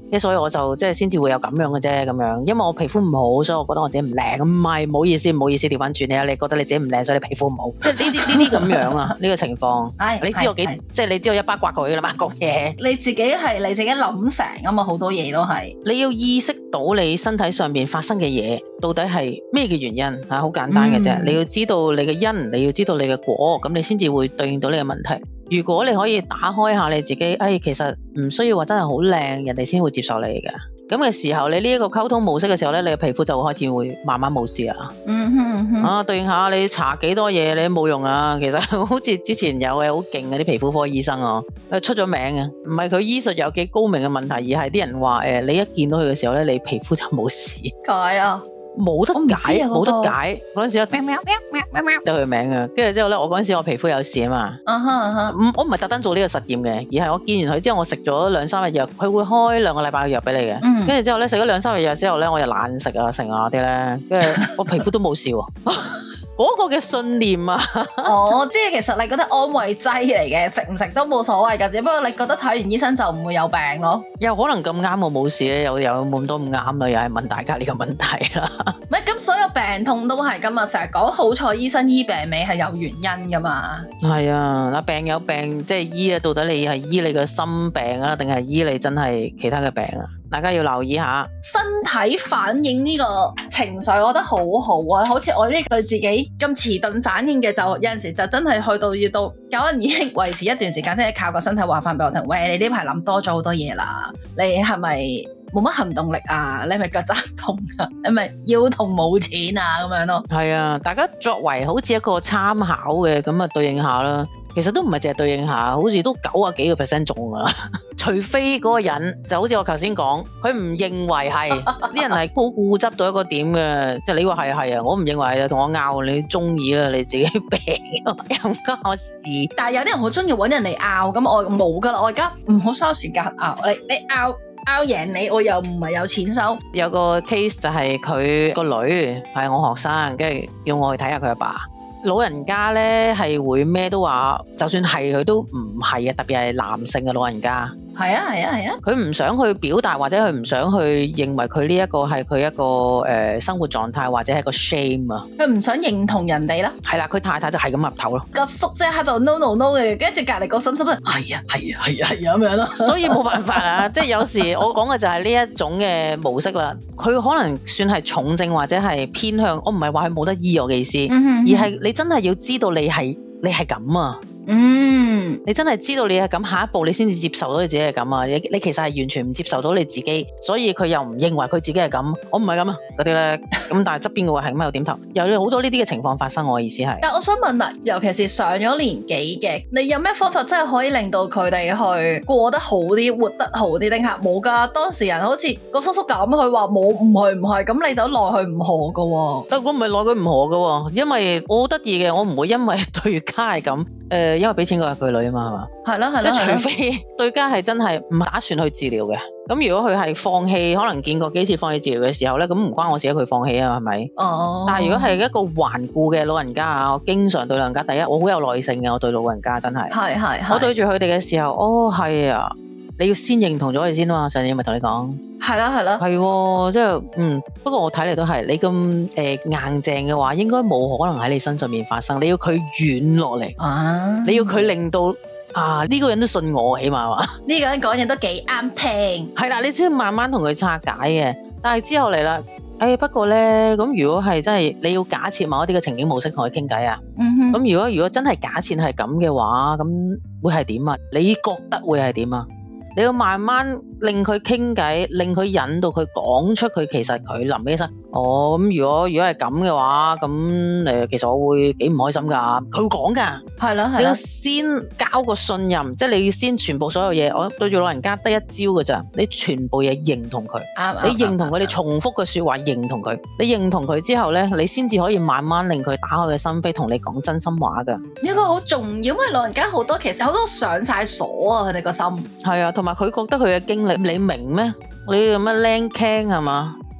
即係所以我就即係先至會有咁樣嘅啫咁樣，因為我皮膚唔好，所以我覺得我自己唔靚，唔係，唔好意思，唔好意思，調翻轉你啊，你覺得你自己唔靚，所以你皮膚唔好，即係呢啲咁樣啊，呢個情況，你知我幾，即係你知我一巴刮佢噶啦嘛，講嘢， 你自己諗成啊嘛，好多嘢都係， 你要意識到你身體上邊發生嘅嘢到底係咩嘅原因吓，好簡單嘅啫，你要知道你嘅因，你要知道你嘅果，咁你先至會對應到呢個問題。如果你可以打開下你自己，其實唔需要話真係好靚，人哋先會接受你嘅。咁嘅時候，你呢一個溝通模式嘅時候咧，你嘅皮膚就會開始會慢慢冇事啊。對應下你搽幾多嘢，你都冇用啊。其實好似之前有嘅好勁嘅啲皮膚科醫生出咗名嘅，唔係佢醫術有幾高明嘅問題，而係啲人話你一見到佢嘅時候咧，你皮膚就冇事。 解啊！ 冇得解，冇得解。嗰陣時得佢名啊，跟住之後咧，我嗰陣時我皮膚有事啊嘛。我唔係特登做呢個實驗嘅，而係我見完佢之後，我食咗2-3日藥，佢會開2個禮拜嘅藥俾你嘅。跟住之後咧，食咗2-3日藥之後咧，我又懶食啊，成啊啲咧，跟住我皮膚都冇事喎。嗰個嘅信念啊， 即係其實你覺得安慰劑嚟嘅，食唔食都冇所謂噶，只不過你覺得睇完醫生就唔會有病咯。 有可能咁啱我冇事咧，有冇咁多咁啱啦，又係問大家呢個問題啦。 唔係咁，所有病痛都係噶嘛，成日講好彩醫生醫病尾係有原因噶嘛。係啊，嗱，病有病即係醫啊，到底你係醫你個心病啊，定係醫你真係其他嘅病啊？大家要留意下身體反應呢個情緒，我覺得好好啊。好似我呢對自己咁遲鈍反應嘅，就有陣時就真係去到要到可能已經維持一段時間，即係靠個身體話翻俾我聽，喂，你呢排諗多咗好多嘢啦，你係咪冇乜行動力啊？你係咪腳踭痛啊？你係咪腰痛冇錢啊？咁樣咯。係啊，大家作為好似一個參考嘅咁啊，對應下啦。其實都唔係淨係對應下，好似都90幾個% 中噶啦。除非嗰個人就好似我頭先講，佢唔認為係啲人係好固執到一個點嘅，即係你話係啊，我唔認為啊，同我拗，你中意啦，你自己病又唔關我事。 但係有啲人好中意揾人嚟拗，咁我冇噶啦，我而家唔好嘥時間拗，你拗贏你，我又唔係有錢收。 有個 case 就係佢個女係我學生，跟住叫我去睇下佢阿爸。老人家咧係會咩都話，就算係佢都唔係啊，特別係男性嘅老人家。 係啊，佢唔想去表達，或者佢唔想去認為佢呢一個係佢一個生活狀態，或者係個 shame 啊。 佢唔想認同人哋啦。 係啦，佢太太就係咁岌頭咯。 個叔即係喺度 no no no 嘅，跟住隔籬個嬸嬸都係啊咁樣咯。 所以冇辦法啊，即係有時我講嘅就係呢一種嘅模式啦。佢可能算係重症或者係偏向，我唔係話佢冇得醫我嘅意思，而係你真係要知道你係咁啊。你真係知道你係咁，下一步你先至接受到你自己係咁啊！你其實係完全唔接受到你自己，所以佢又唔認為佢自己係咁，我唔係咁啊嗰啲咧。咁但係側邊嘅話係咁又點頭，有好多呢啲嘅情況發生。我意思係， 但我想問啦，尤其是上咗年紀嘅，你有咩方法真係可以令到佢哋去過得好啲、活得好啲？定係冇噶？當事人好似個叔叔咁，佢話冇，唔係，咁你就奈佢唔何噶喎。 但我唔係奈佢唔何噶，因為我好得意嘅，我唔會因為對家係咁。因為俾錢個係佢女啊嘛，係嘛？係咯。即係除非對家係真係唔打算去治療嘅，咁如果佢係放棄，可能見過幾次放棄治療嘅時候咧，咁唔關我事，佢放棄啊，係咪？但係如果係一個頑固嘅老人家啊，我經常對老人家，第一我好有耐性嘅，我對老人家真係。係。我對住佢哋嘅時候，係啊，你要先認同咗佢先啊嘛。上次咪同你講。係即係不過我睇嚟都係你咁硬淨嘅話，應該冇可能喺你身上面發生。你要佢軟落嚟你要佢令到呢個人都信我，起碼話呢個人講嘢都幾啱聽。 係啦，你先慢慢同佢拆解嘅。但係之後嚟啦，不過咧，咁如果係真係你要假設某一啲嘅情景模式同佢傾偈啊，咁如果真係假設係咁嘅話，咁會係點啊？你覺得會係點啊？你要慢慢令佢傾偈，令佢引導佢講出佢其實佢臨起身。咁如果係咁嘅話，咁其實我會幾唔開心噶。佢會講噶，係啦。你要先交個信任，即係你要先全部所有嘢。我對住老人家得一招噶咋，你全部嘢認同佢，你認同佢，你重複嘅說話認同佢，你認同佢之後咧，你先至可以慢慢令佢打開嘅心扉，同你講真心話噶。呢個好重要，因為老人家好多其實好多上晒鎖啊，佢哋個心係啊，同埋佢覺得佢嘅經歷你明咩？你咁樣靚傾係嘛？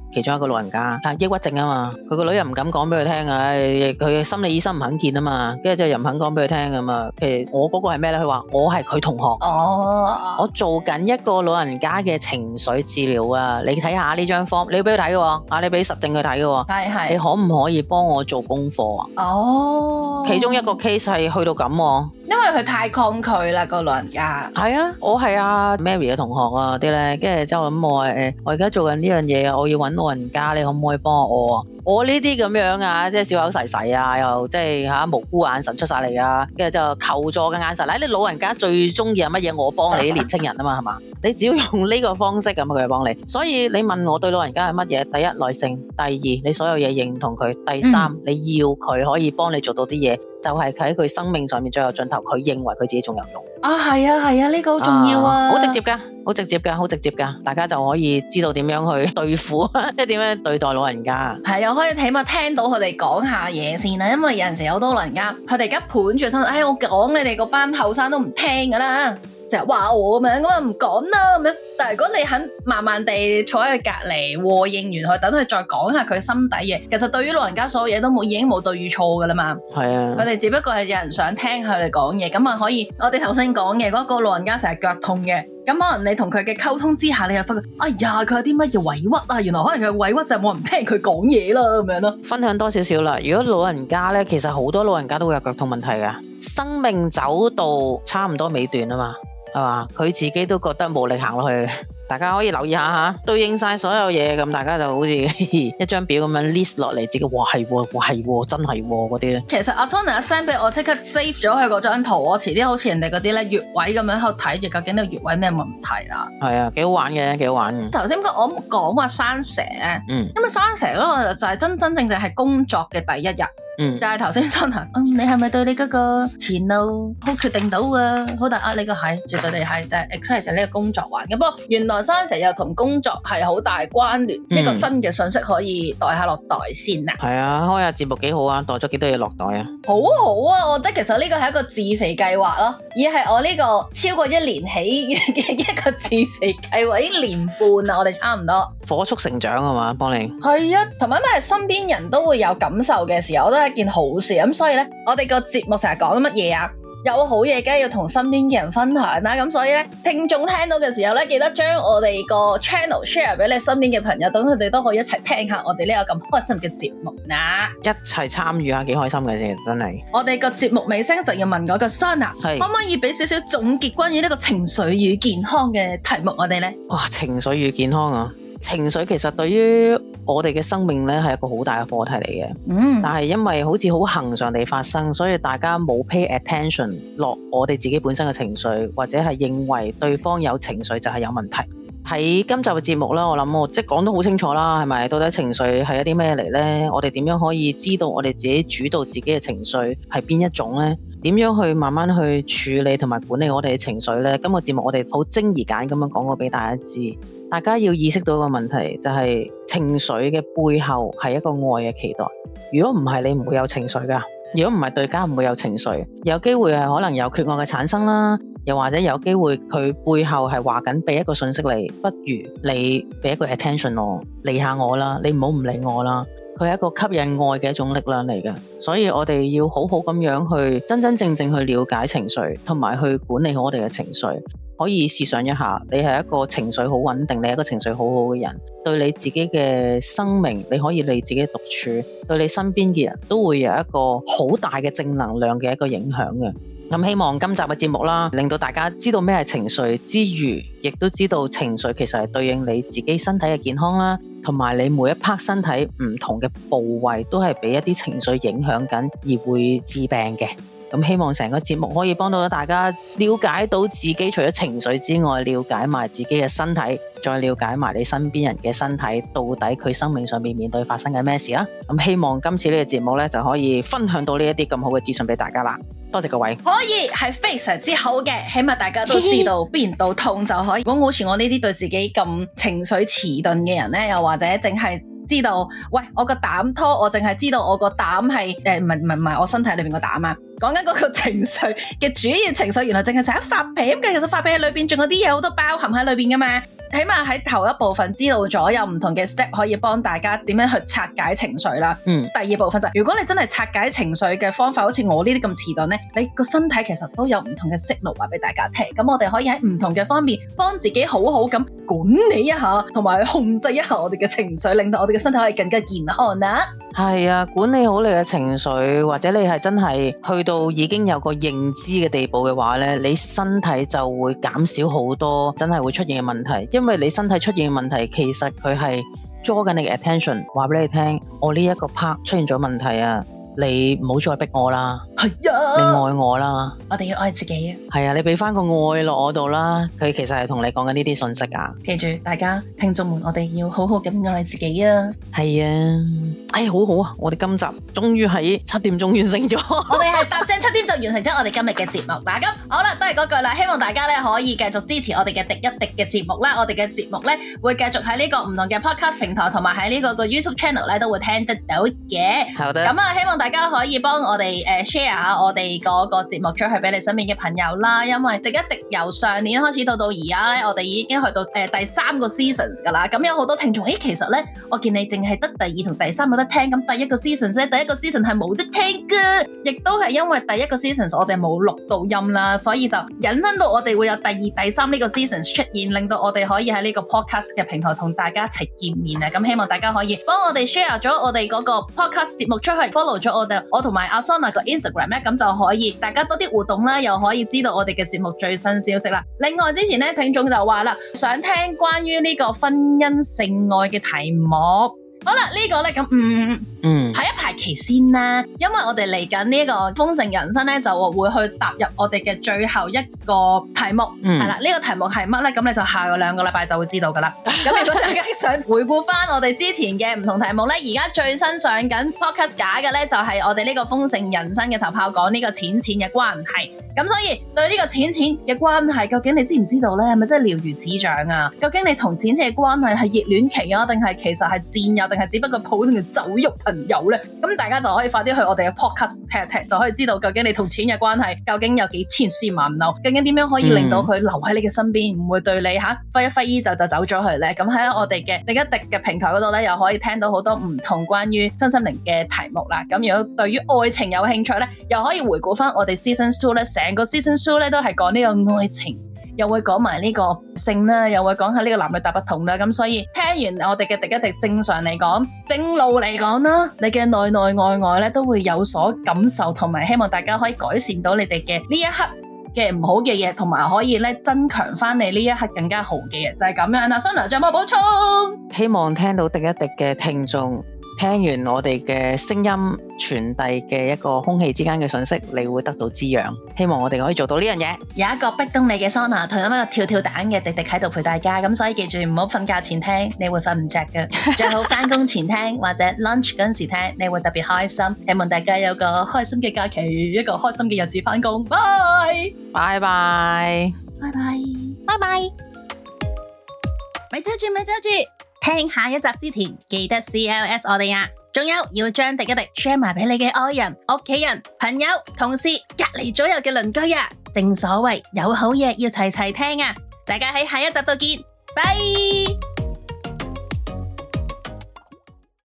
其中一個老人家，抑鬱症啊嘛，佢個女又唔敢講俾佢聽啊，佢心理醫生唔肯見啊嘛，跟住之後又唔肯講俾佢聽啊嘛。其實我嗰個係咩咧？佢話我係佢同學，我做緊一個老人家嘅情緒治療啊，你睇下呢張 form， 你要俾佢睇嘅，你俾實證佢睇嘅， 係， 你可唔可以幫我做功課啊？其中一個 case 係去到咁， 因為佢太抗拒啦，個老人家。 係啊，我係阿 Mary 嘅同學啊啲咧，跟住之後諗我而家做緊呢樣嘢啊，我要搵老人家，你可唔可以幫我啊？我呢啲咁樣啊，即係小口噬噬啊，又即係無辜眼神出晒嚟啊，跟住就求助嘅眼神。你老人家最中意係乜嘢？我幫你啲年青人啊嘛，係嘛？你只要用呢個方式咁，佢就幫你。所以你問我對老人家係乜嘢？第一，耐性；第二，你所有嘢認同佢；第三，你要佢可以幫你做到啲嘢，就係佢喺佢生命上面最後盡頭，佢認為佢自己仲有用。 係啊，呢個好重要啊！ 好直接噶，好直接噶，好直接噶，大家就可以知道點樣去對付，即係點樣對待老人家。 係，又可以起碼聽到佢哋講下嘢先啦，因為有陣時有好多老人家，佢哋而家盤住身，我講你哋嗰班後生都唔聽噶啦，成日話我咁樣，咁啊唔講啦咁樣。但係如果你肯慢慢地坐喺佢隔籬和應完佢，等佢再講下佢心底嘢，其實對於老人家所有嘢都已經冇對與錯噶啦嘛。係啊，佢哋只不過係有人想聽佢哋講嘢，咁啊可以。我哋頭先講嘅嗰個老人家成日腳痛嘅，咁可能你同佢嘅溝通之下，你又發覺，哎呀，佢有啲乜嘢委屈啊？原來可能佢嘅委屈就係冇人聽佢講嘢啦，咁樣咯。分享多少少啦。如果老人家咧，其實好多老人家都會有腳痛問題噶，生命走到差唔多尾段啊嘛。係嘛？佢自己都覺得冇力行落去，大家可以留意下吓，對應晒所有嘢，咁大家就好似一張表咁樣 list 落嚟，自己哇係真係嗰啲咧。其實阿 Sona send 俾我，即刻 save 咗佢嗰張圖，我遲啲好似人哋嗰啲咧穴位咁樣喺度睇住，究竟呢個穴位咩問題啦？係啊，幾好玩嘅，幾好玩嘅。頭先我講話生蛇咧，因為生蛇嗰個就係真正係工作嘅第一日。但係頭先 Sona，你係咪對你嗰個前路好決定到啊？好大壓力嘅係，絕對地係就係 exactly 就係呢個工作環嘅。不過原來生蛇又同工作係好大關聯，呢個新嘅信息可以袋下落袋先啊。係啊，開下節目幾好啊，袋咗幾多嘢落袋啊？好好啊，我覺得其實呢個係一個自肥計劃咯，而係我呢個超過1年起嘅一個自肥計劃，已經1年半啦，我哋差唔多火速成長啊嘛，幫你係啊，同埋因為身邊人都會有感受嘅時候，我都係一件好事咁，所以咧，我哋個節目成日講乜嘢啊？有好嘢梗係要同身邊嘅人分享啦，咁所以咧，聽眾聽到嘅時候咧，記得將我哋個 channel share 俾你身邊嘅朋友，等佢哋都可以一齊聽下我哋呢個咁開心嘅節目啦，一齊參與下幾開心嘅啫，真係。我哋個節目尾聲就要問嗰個 Sona，可唔可以俾少少總結關於呢個情緒與健康嘅題目我哋咧？哇，情緒與健康啊！情緒其實對於我哋嘅生命咧係一個好大嘅課題嚟嘅，但係因為好似好恆常地發生，所以大家冇 pay attention 落我哋自己本身嘅情緒，或者係認為對方有情緒就係有問題。喺今集嘅節目啦，我諗我即係講得好清楚啦，係咪？到底情緒係一啲咩嚟呢？我哋點樣可以知道我哋自己主導自己嘅情緒係邊一種呢？點樣去慢慢去處理同埋管理我哋嘅情緒呢？今個節目我哋好精而簡咁樣講過俾大家知，大家要意識到一個問題，就係情緒嘅背後係一個愛嘅期待。如果唔係，你唔會有情緒噶。如果唔係，對家唔會有情緒，有機會係可能有缺愛嘅產生啦。又或者有機會佢背後係話緊俾一個信息你，不如你俾一個 attention 我，理下我啦，你唔好唔理我啦。佢係一個吸引愛嘅一種力量嚟嘅，所以我哋要好好咁樣去真真正正去了解情緒，同埋去管理好我哋嘅情緒。可以試想一下，你係一個情緒好穩定，你係一個情緒好好嘅人，對你自己嘅生命，你可以你自己獨處，對你身邊嘅人都會有一個好大嘅正能量嘅一個影響嘅。咁希望今集嘅節目啦，令到大家知道咩係情緒之餘，亦都知道情緒其實係對應你自己身體嘅健康啦，同埋你每一 part 身體唔同嘅部位都係俾一啲情緒影響緊而會致病嘅。咁希望成個節目可以幫到大家了解到自己除咗情緒之外，了解埋自己嘅身體，再了解埋你身邊人嘅身體，到底佢生命上面面對發生緊咩事啦。咁希望今次呢個節目呢，就可以分享到呢一啲咁好嘅資訊俾大家啦。多謝各位，可以係非常之好嘅，起碼大家都知道邊度痛就可以。如果好似我呢啲對自己咁情緒遲鈍嘅人呢，又或者淨係知道，喂，我個膽拖，我淨係知道我個膽係唔係我身體裏邊個膽啊，講緊嗰個情緒嘅主要情緒，原來淨係成日發脾氣嘅，其實發脾氣裏邊仲有啲嘢好多包含喺裏邊噶嘛。 起碼喺頭一部分知道咗有唔同嘅 step 可以幫大家點樣去拆解情緒啦。第二部分就係如果你真係拆解情緒嘅方法，好似我呢啲咁遲鈍咧，你個身體其實都有唔同嘅 signal 話俾大家聽。咁我哋可以喺唔同嘅方面幫自己好好咁管理一下，同埋控制一下我哋嘅情緒，令到我哋嘅身體可以更加健康啊。 係啊，管理好你嘅情緒，或者你係真係去到已經有個認知嘅地步嘅話咧，你身體就會減少好多真係會出現嘅問題。因為你身體出現嘅問題，其實佢係捉緊你嘅 attention， 話俾你聽，我呢一個 part 出現咗問題啊，你唔好再逼我啦，係啊，你愛我啦， 我哋要愛自己啊， 係啊，你俾翻個愛落我度啦，佢其實係同你講緊呢啲信息啊。 記住大家聽眾們，我哋要好好咁愛自己啊。 係啊，好好啊，我哋今集終於喺7點鐘完成咗， 我哋係踏正7點就完成咗我哋今日嘅節目啦。咁好啦，都係嗰句啦，希望大家咧可以繼續支持我哋嘅廸一廸嘅節目啦。我哋嘅節目咧會繼續喺呢個唔同嘅 podcast 平台同埋喺呢個 YouTube channel 咧都會聽得到嘅。好的。咁啊，希望大家可以幫我哋share 下我哋嗰個節目出去俾你身邊嘅朋友啦。因為廸一廸由上年開始到而家咧，我哋已經去到第3個 seasons 噶啦。咁有好多聽眾，其實咧我見你淨係得第2同第3有得聽，咁第1個 season 咧，第1個 season 係冇得聽噶，亦都係因為第1個 season 我哋冇錄到音啦，所以就引申到我哋會有第2、第3呢個 season 出現，令到我哋可以喺呢個 podcast 嘅平台同大家一齊見面啊！咁希望大家可以幫我哋 share 咗我哋嗰個 podcast 節目出去 ，follow 咗我同埋阿 Sona 個 Instagram 咧，咁就可以大家多啲互動啦，又可以知道我哋嘅節目最新消息啦。另外之前咧，聽眾就話啦，想聽關於呢個婚姻性愛嘅題目。好啦，呢個咧咁排一排期先啦，因為我哋嚟緊呢個豐盛人生咧，就會去踏入我哋嘅最後一個題目，係啦，呢個題目係乜咧？咁你就下個2個禮拜就會知道噶啦。咁如果大家想回顧翻我哋之前嘅唔同題目咧，而家最新上緊 podcast 假嘅咧，就係我哋呢個豐盛人生嘅頭炮講呢個錢嘅關係。咁所以對呢個錢嘅關係，究竟你知唔知道咧？係咪真係了如指掌啊？究竟你同錢嘅關係係熱戀期啊，定係其實係戰友，定係只不過普通嘅酒肉朋友咧？咁大家就可以快啲去我哋嘅 podcast 聽一聽，就可以知道究竟你同錢嘅關係究竟有幾千絲萬縷，究竟點樣可以令到佢留喺你嘅身邊，唔會對你揮一揮衣就走咗去咧？咁喺我哋嘅廸一廸嘅平台嗰度咧，又可以聽到好多唔同關於身心靈嘅題目啦。咁如果對於愛情有興趣咧，又可以回顧翻我哋 season 2咧，成個 season 2咧都係講呢個愛情，又會講埋呢個性啦，又會講下呢個男女大不同啦。咁所以聽完我哋嘅廸一廸，正常嚟講，正路嚟講啦，你嘅內內外外咧都會有所感受，同埋希望大家可以改善到你哋嘅呢一刻嘅唔好嘅嘢，同埋可以咧增強翻你呢一刻更加好嘅嘢，就係咁樣啦。Sona 仲有冇補充？ 希望聽到廸一廸嘅聽眾，聽完我哋嘅聲音傳遞嘅一個空氣之間嘅訊息，你會得到滋養。希望我哋可以做到呢樣嘢。有一個逼動你嘅 Sona， 同一個跳跳蛋嘅廸廸喺度陪大家，咁所以記住唔好瞓覺前聽，你會瞓唔着嘅。最好翻工前聽或者 lunch 嗰陣時聽，你會特別開心。希望大家有個開心嘅假期，一個開心嘅日子翻工。拜拜拜拜拜拜拜。咪遮住咪遮住，聽下一集之前記得 CLS 我哋啊！仲有要將廸一廸 share 埋俾你嘅愛人、屋企人、朋友、同事、隔離左右嘅鄰居啊！正所謂有好嘢要齊齊聽啊！大家喺下一集度見，拜。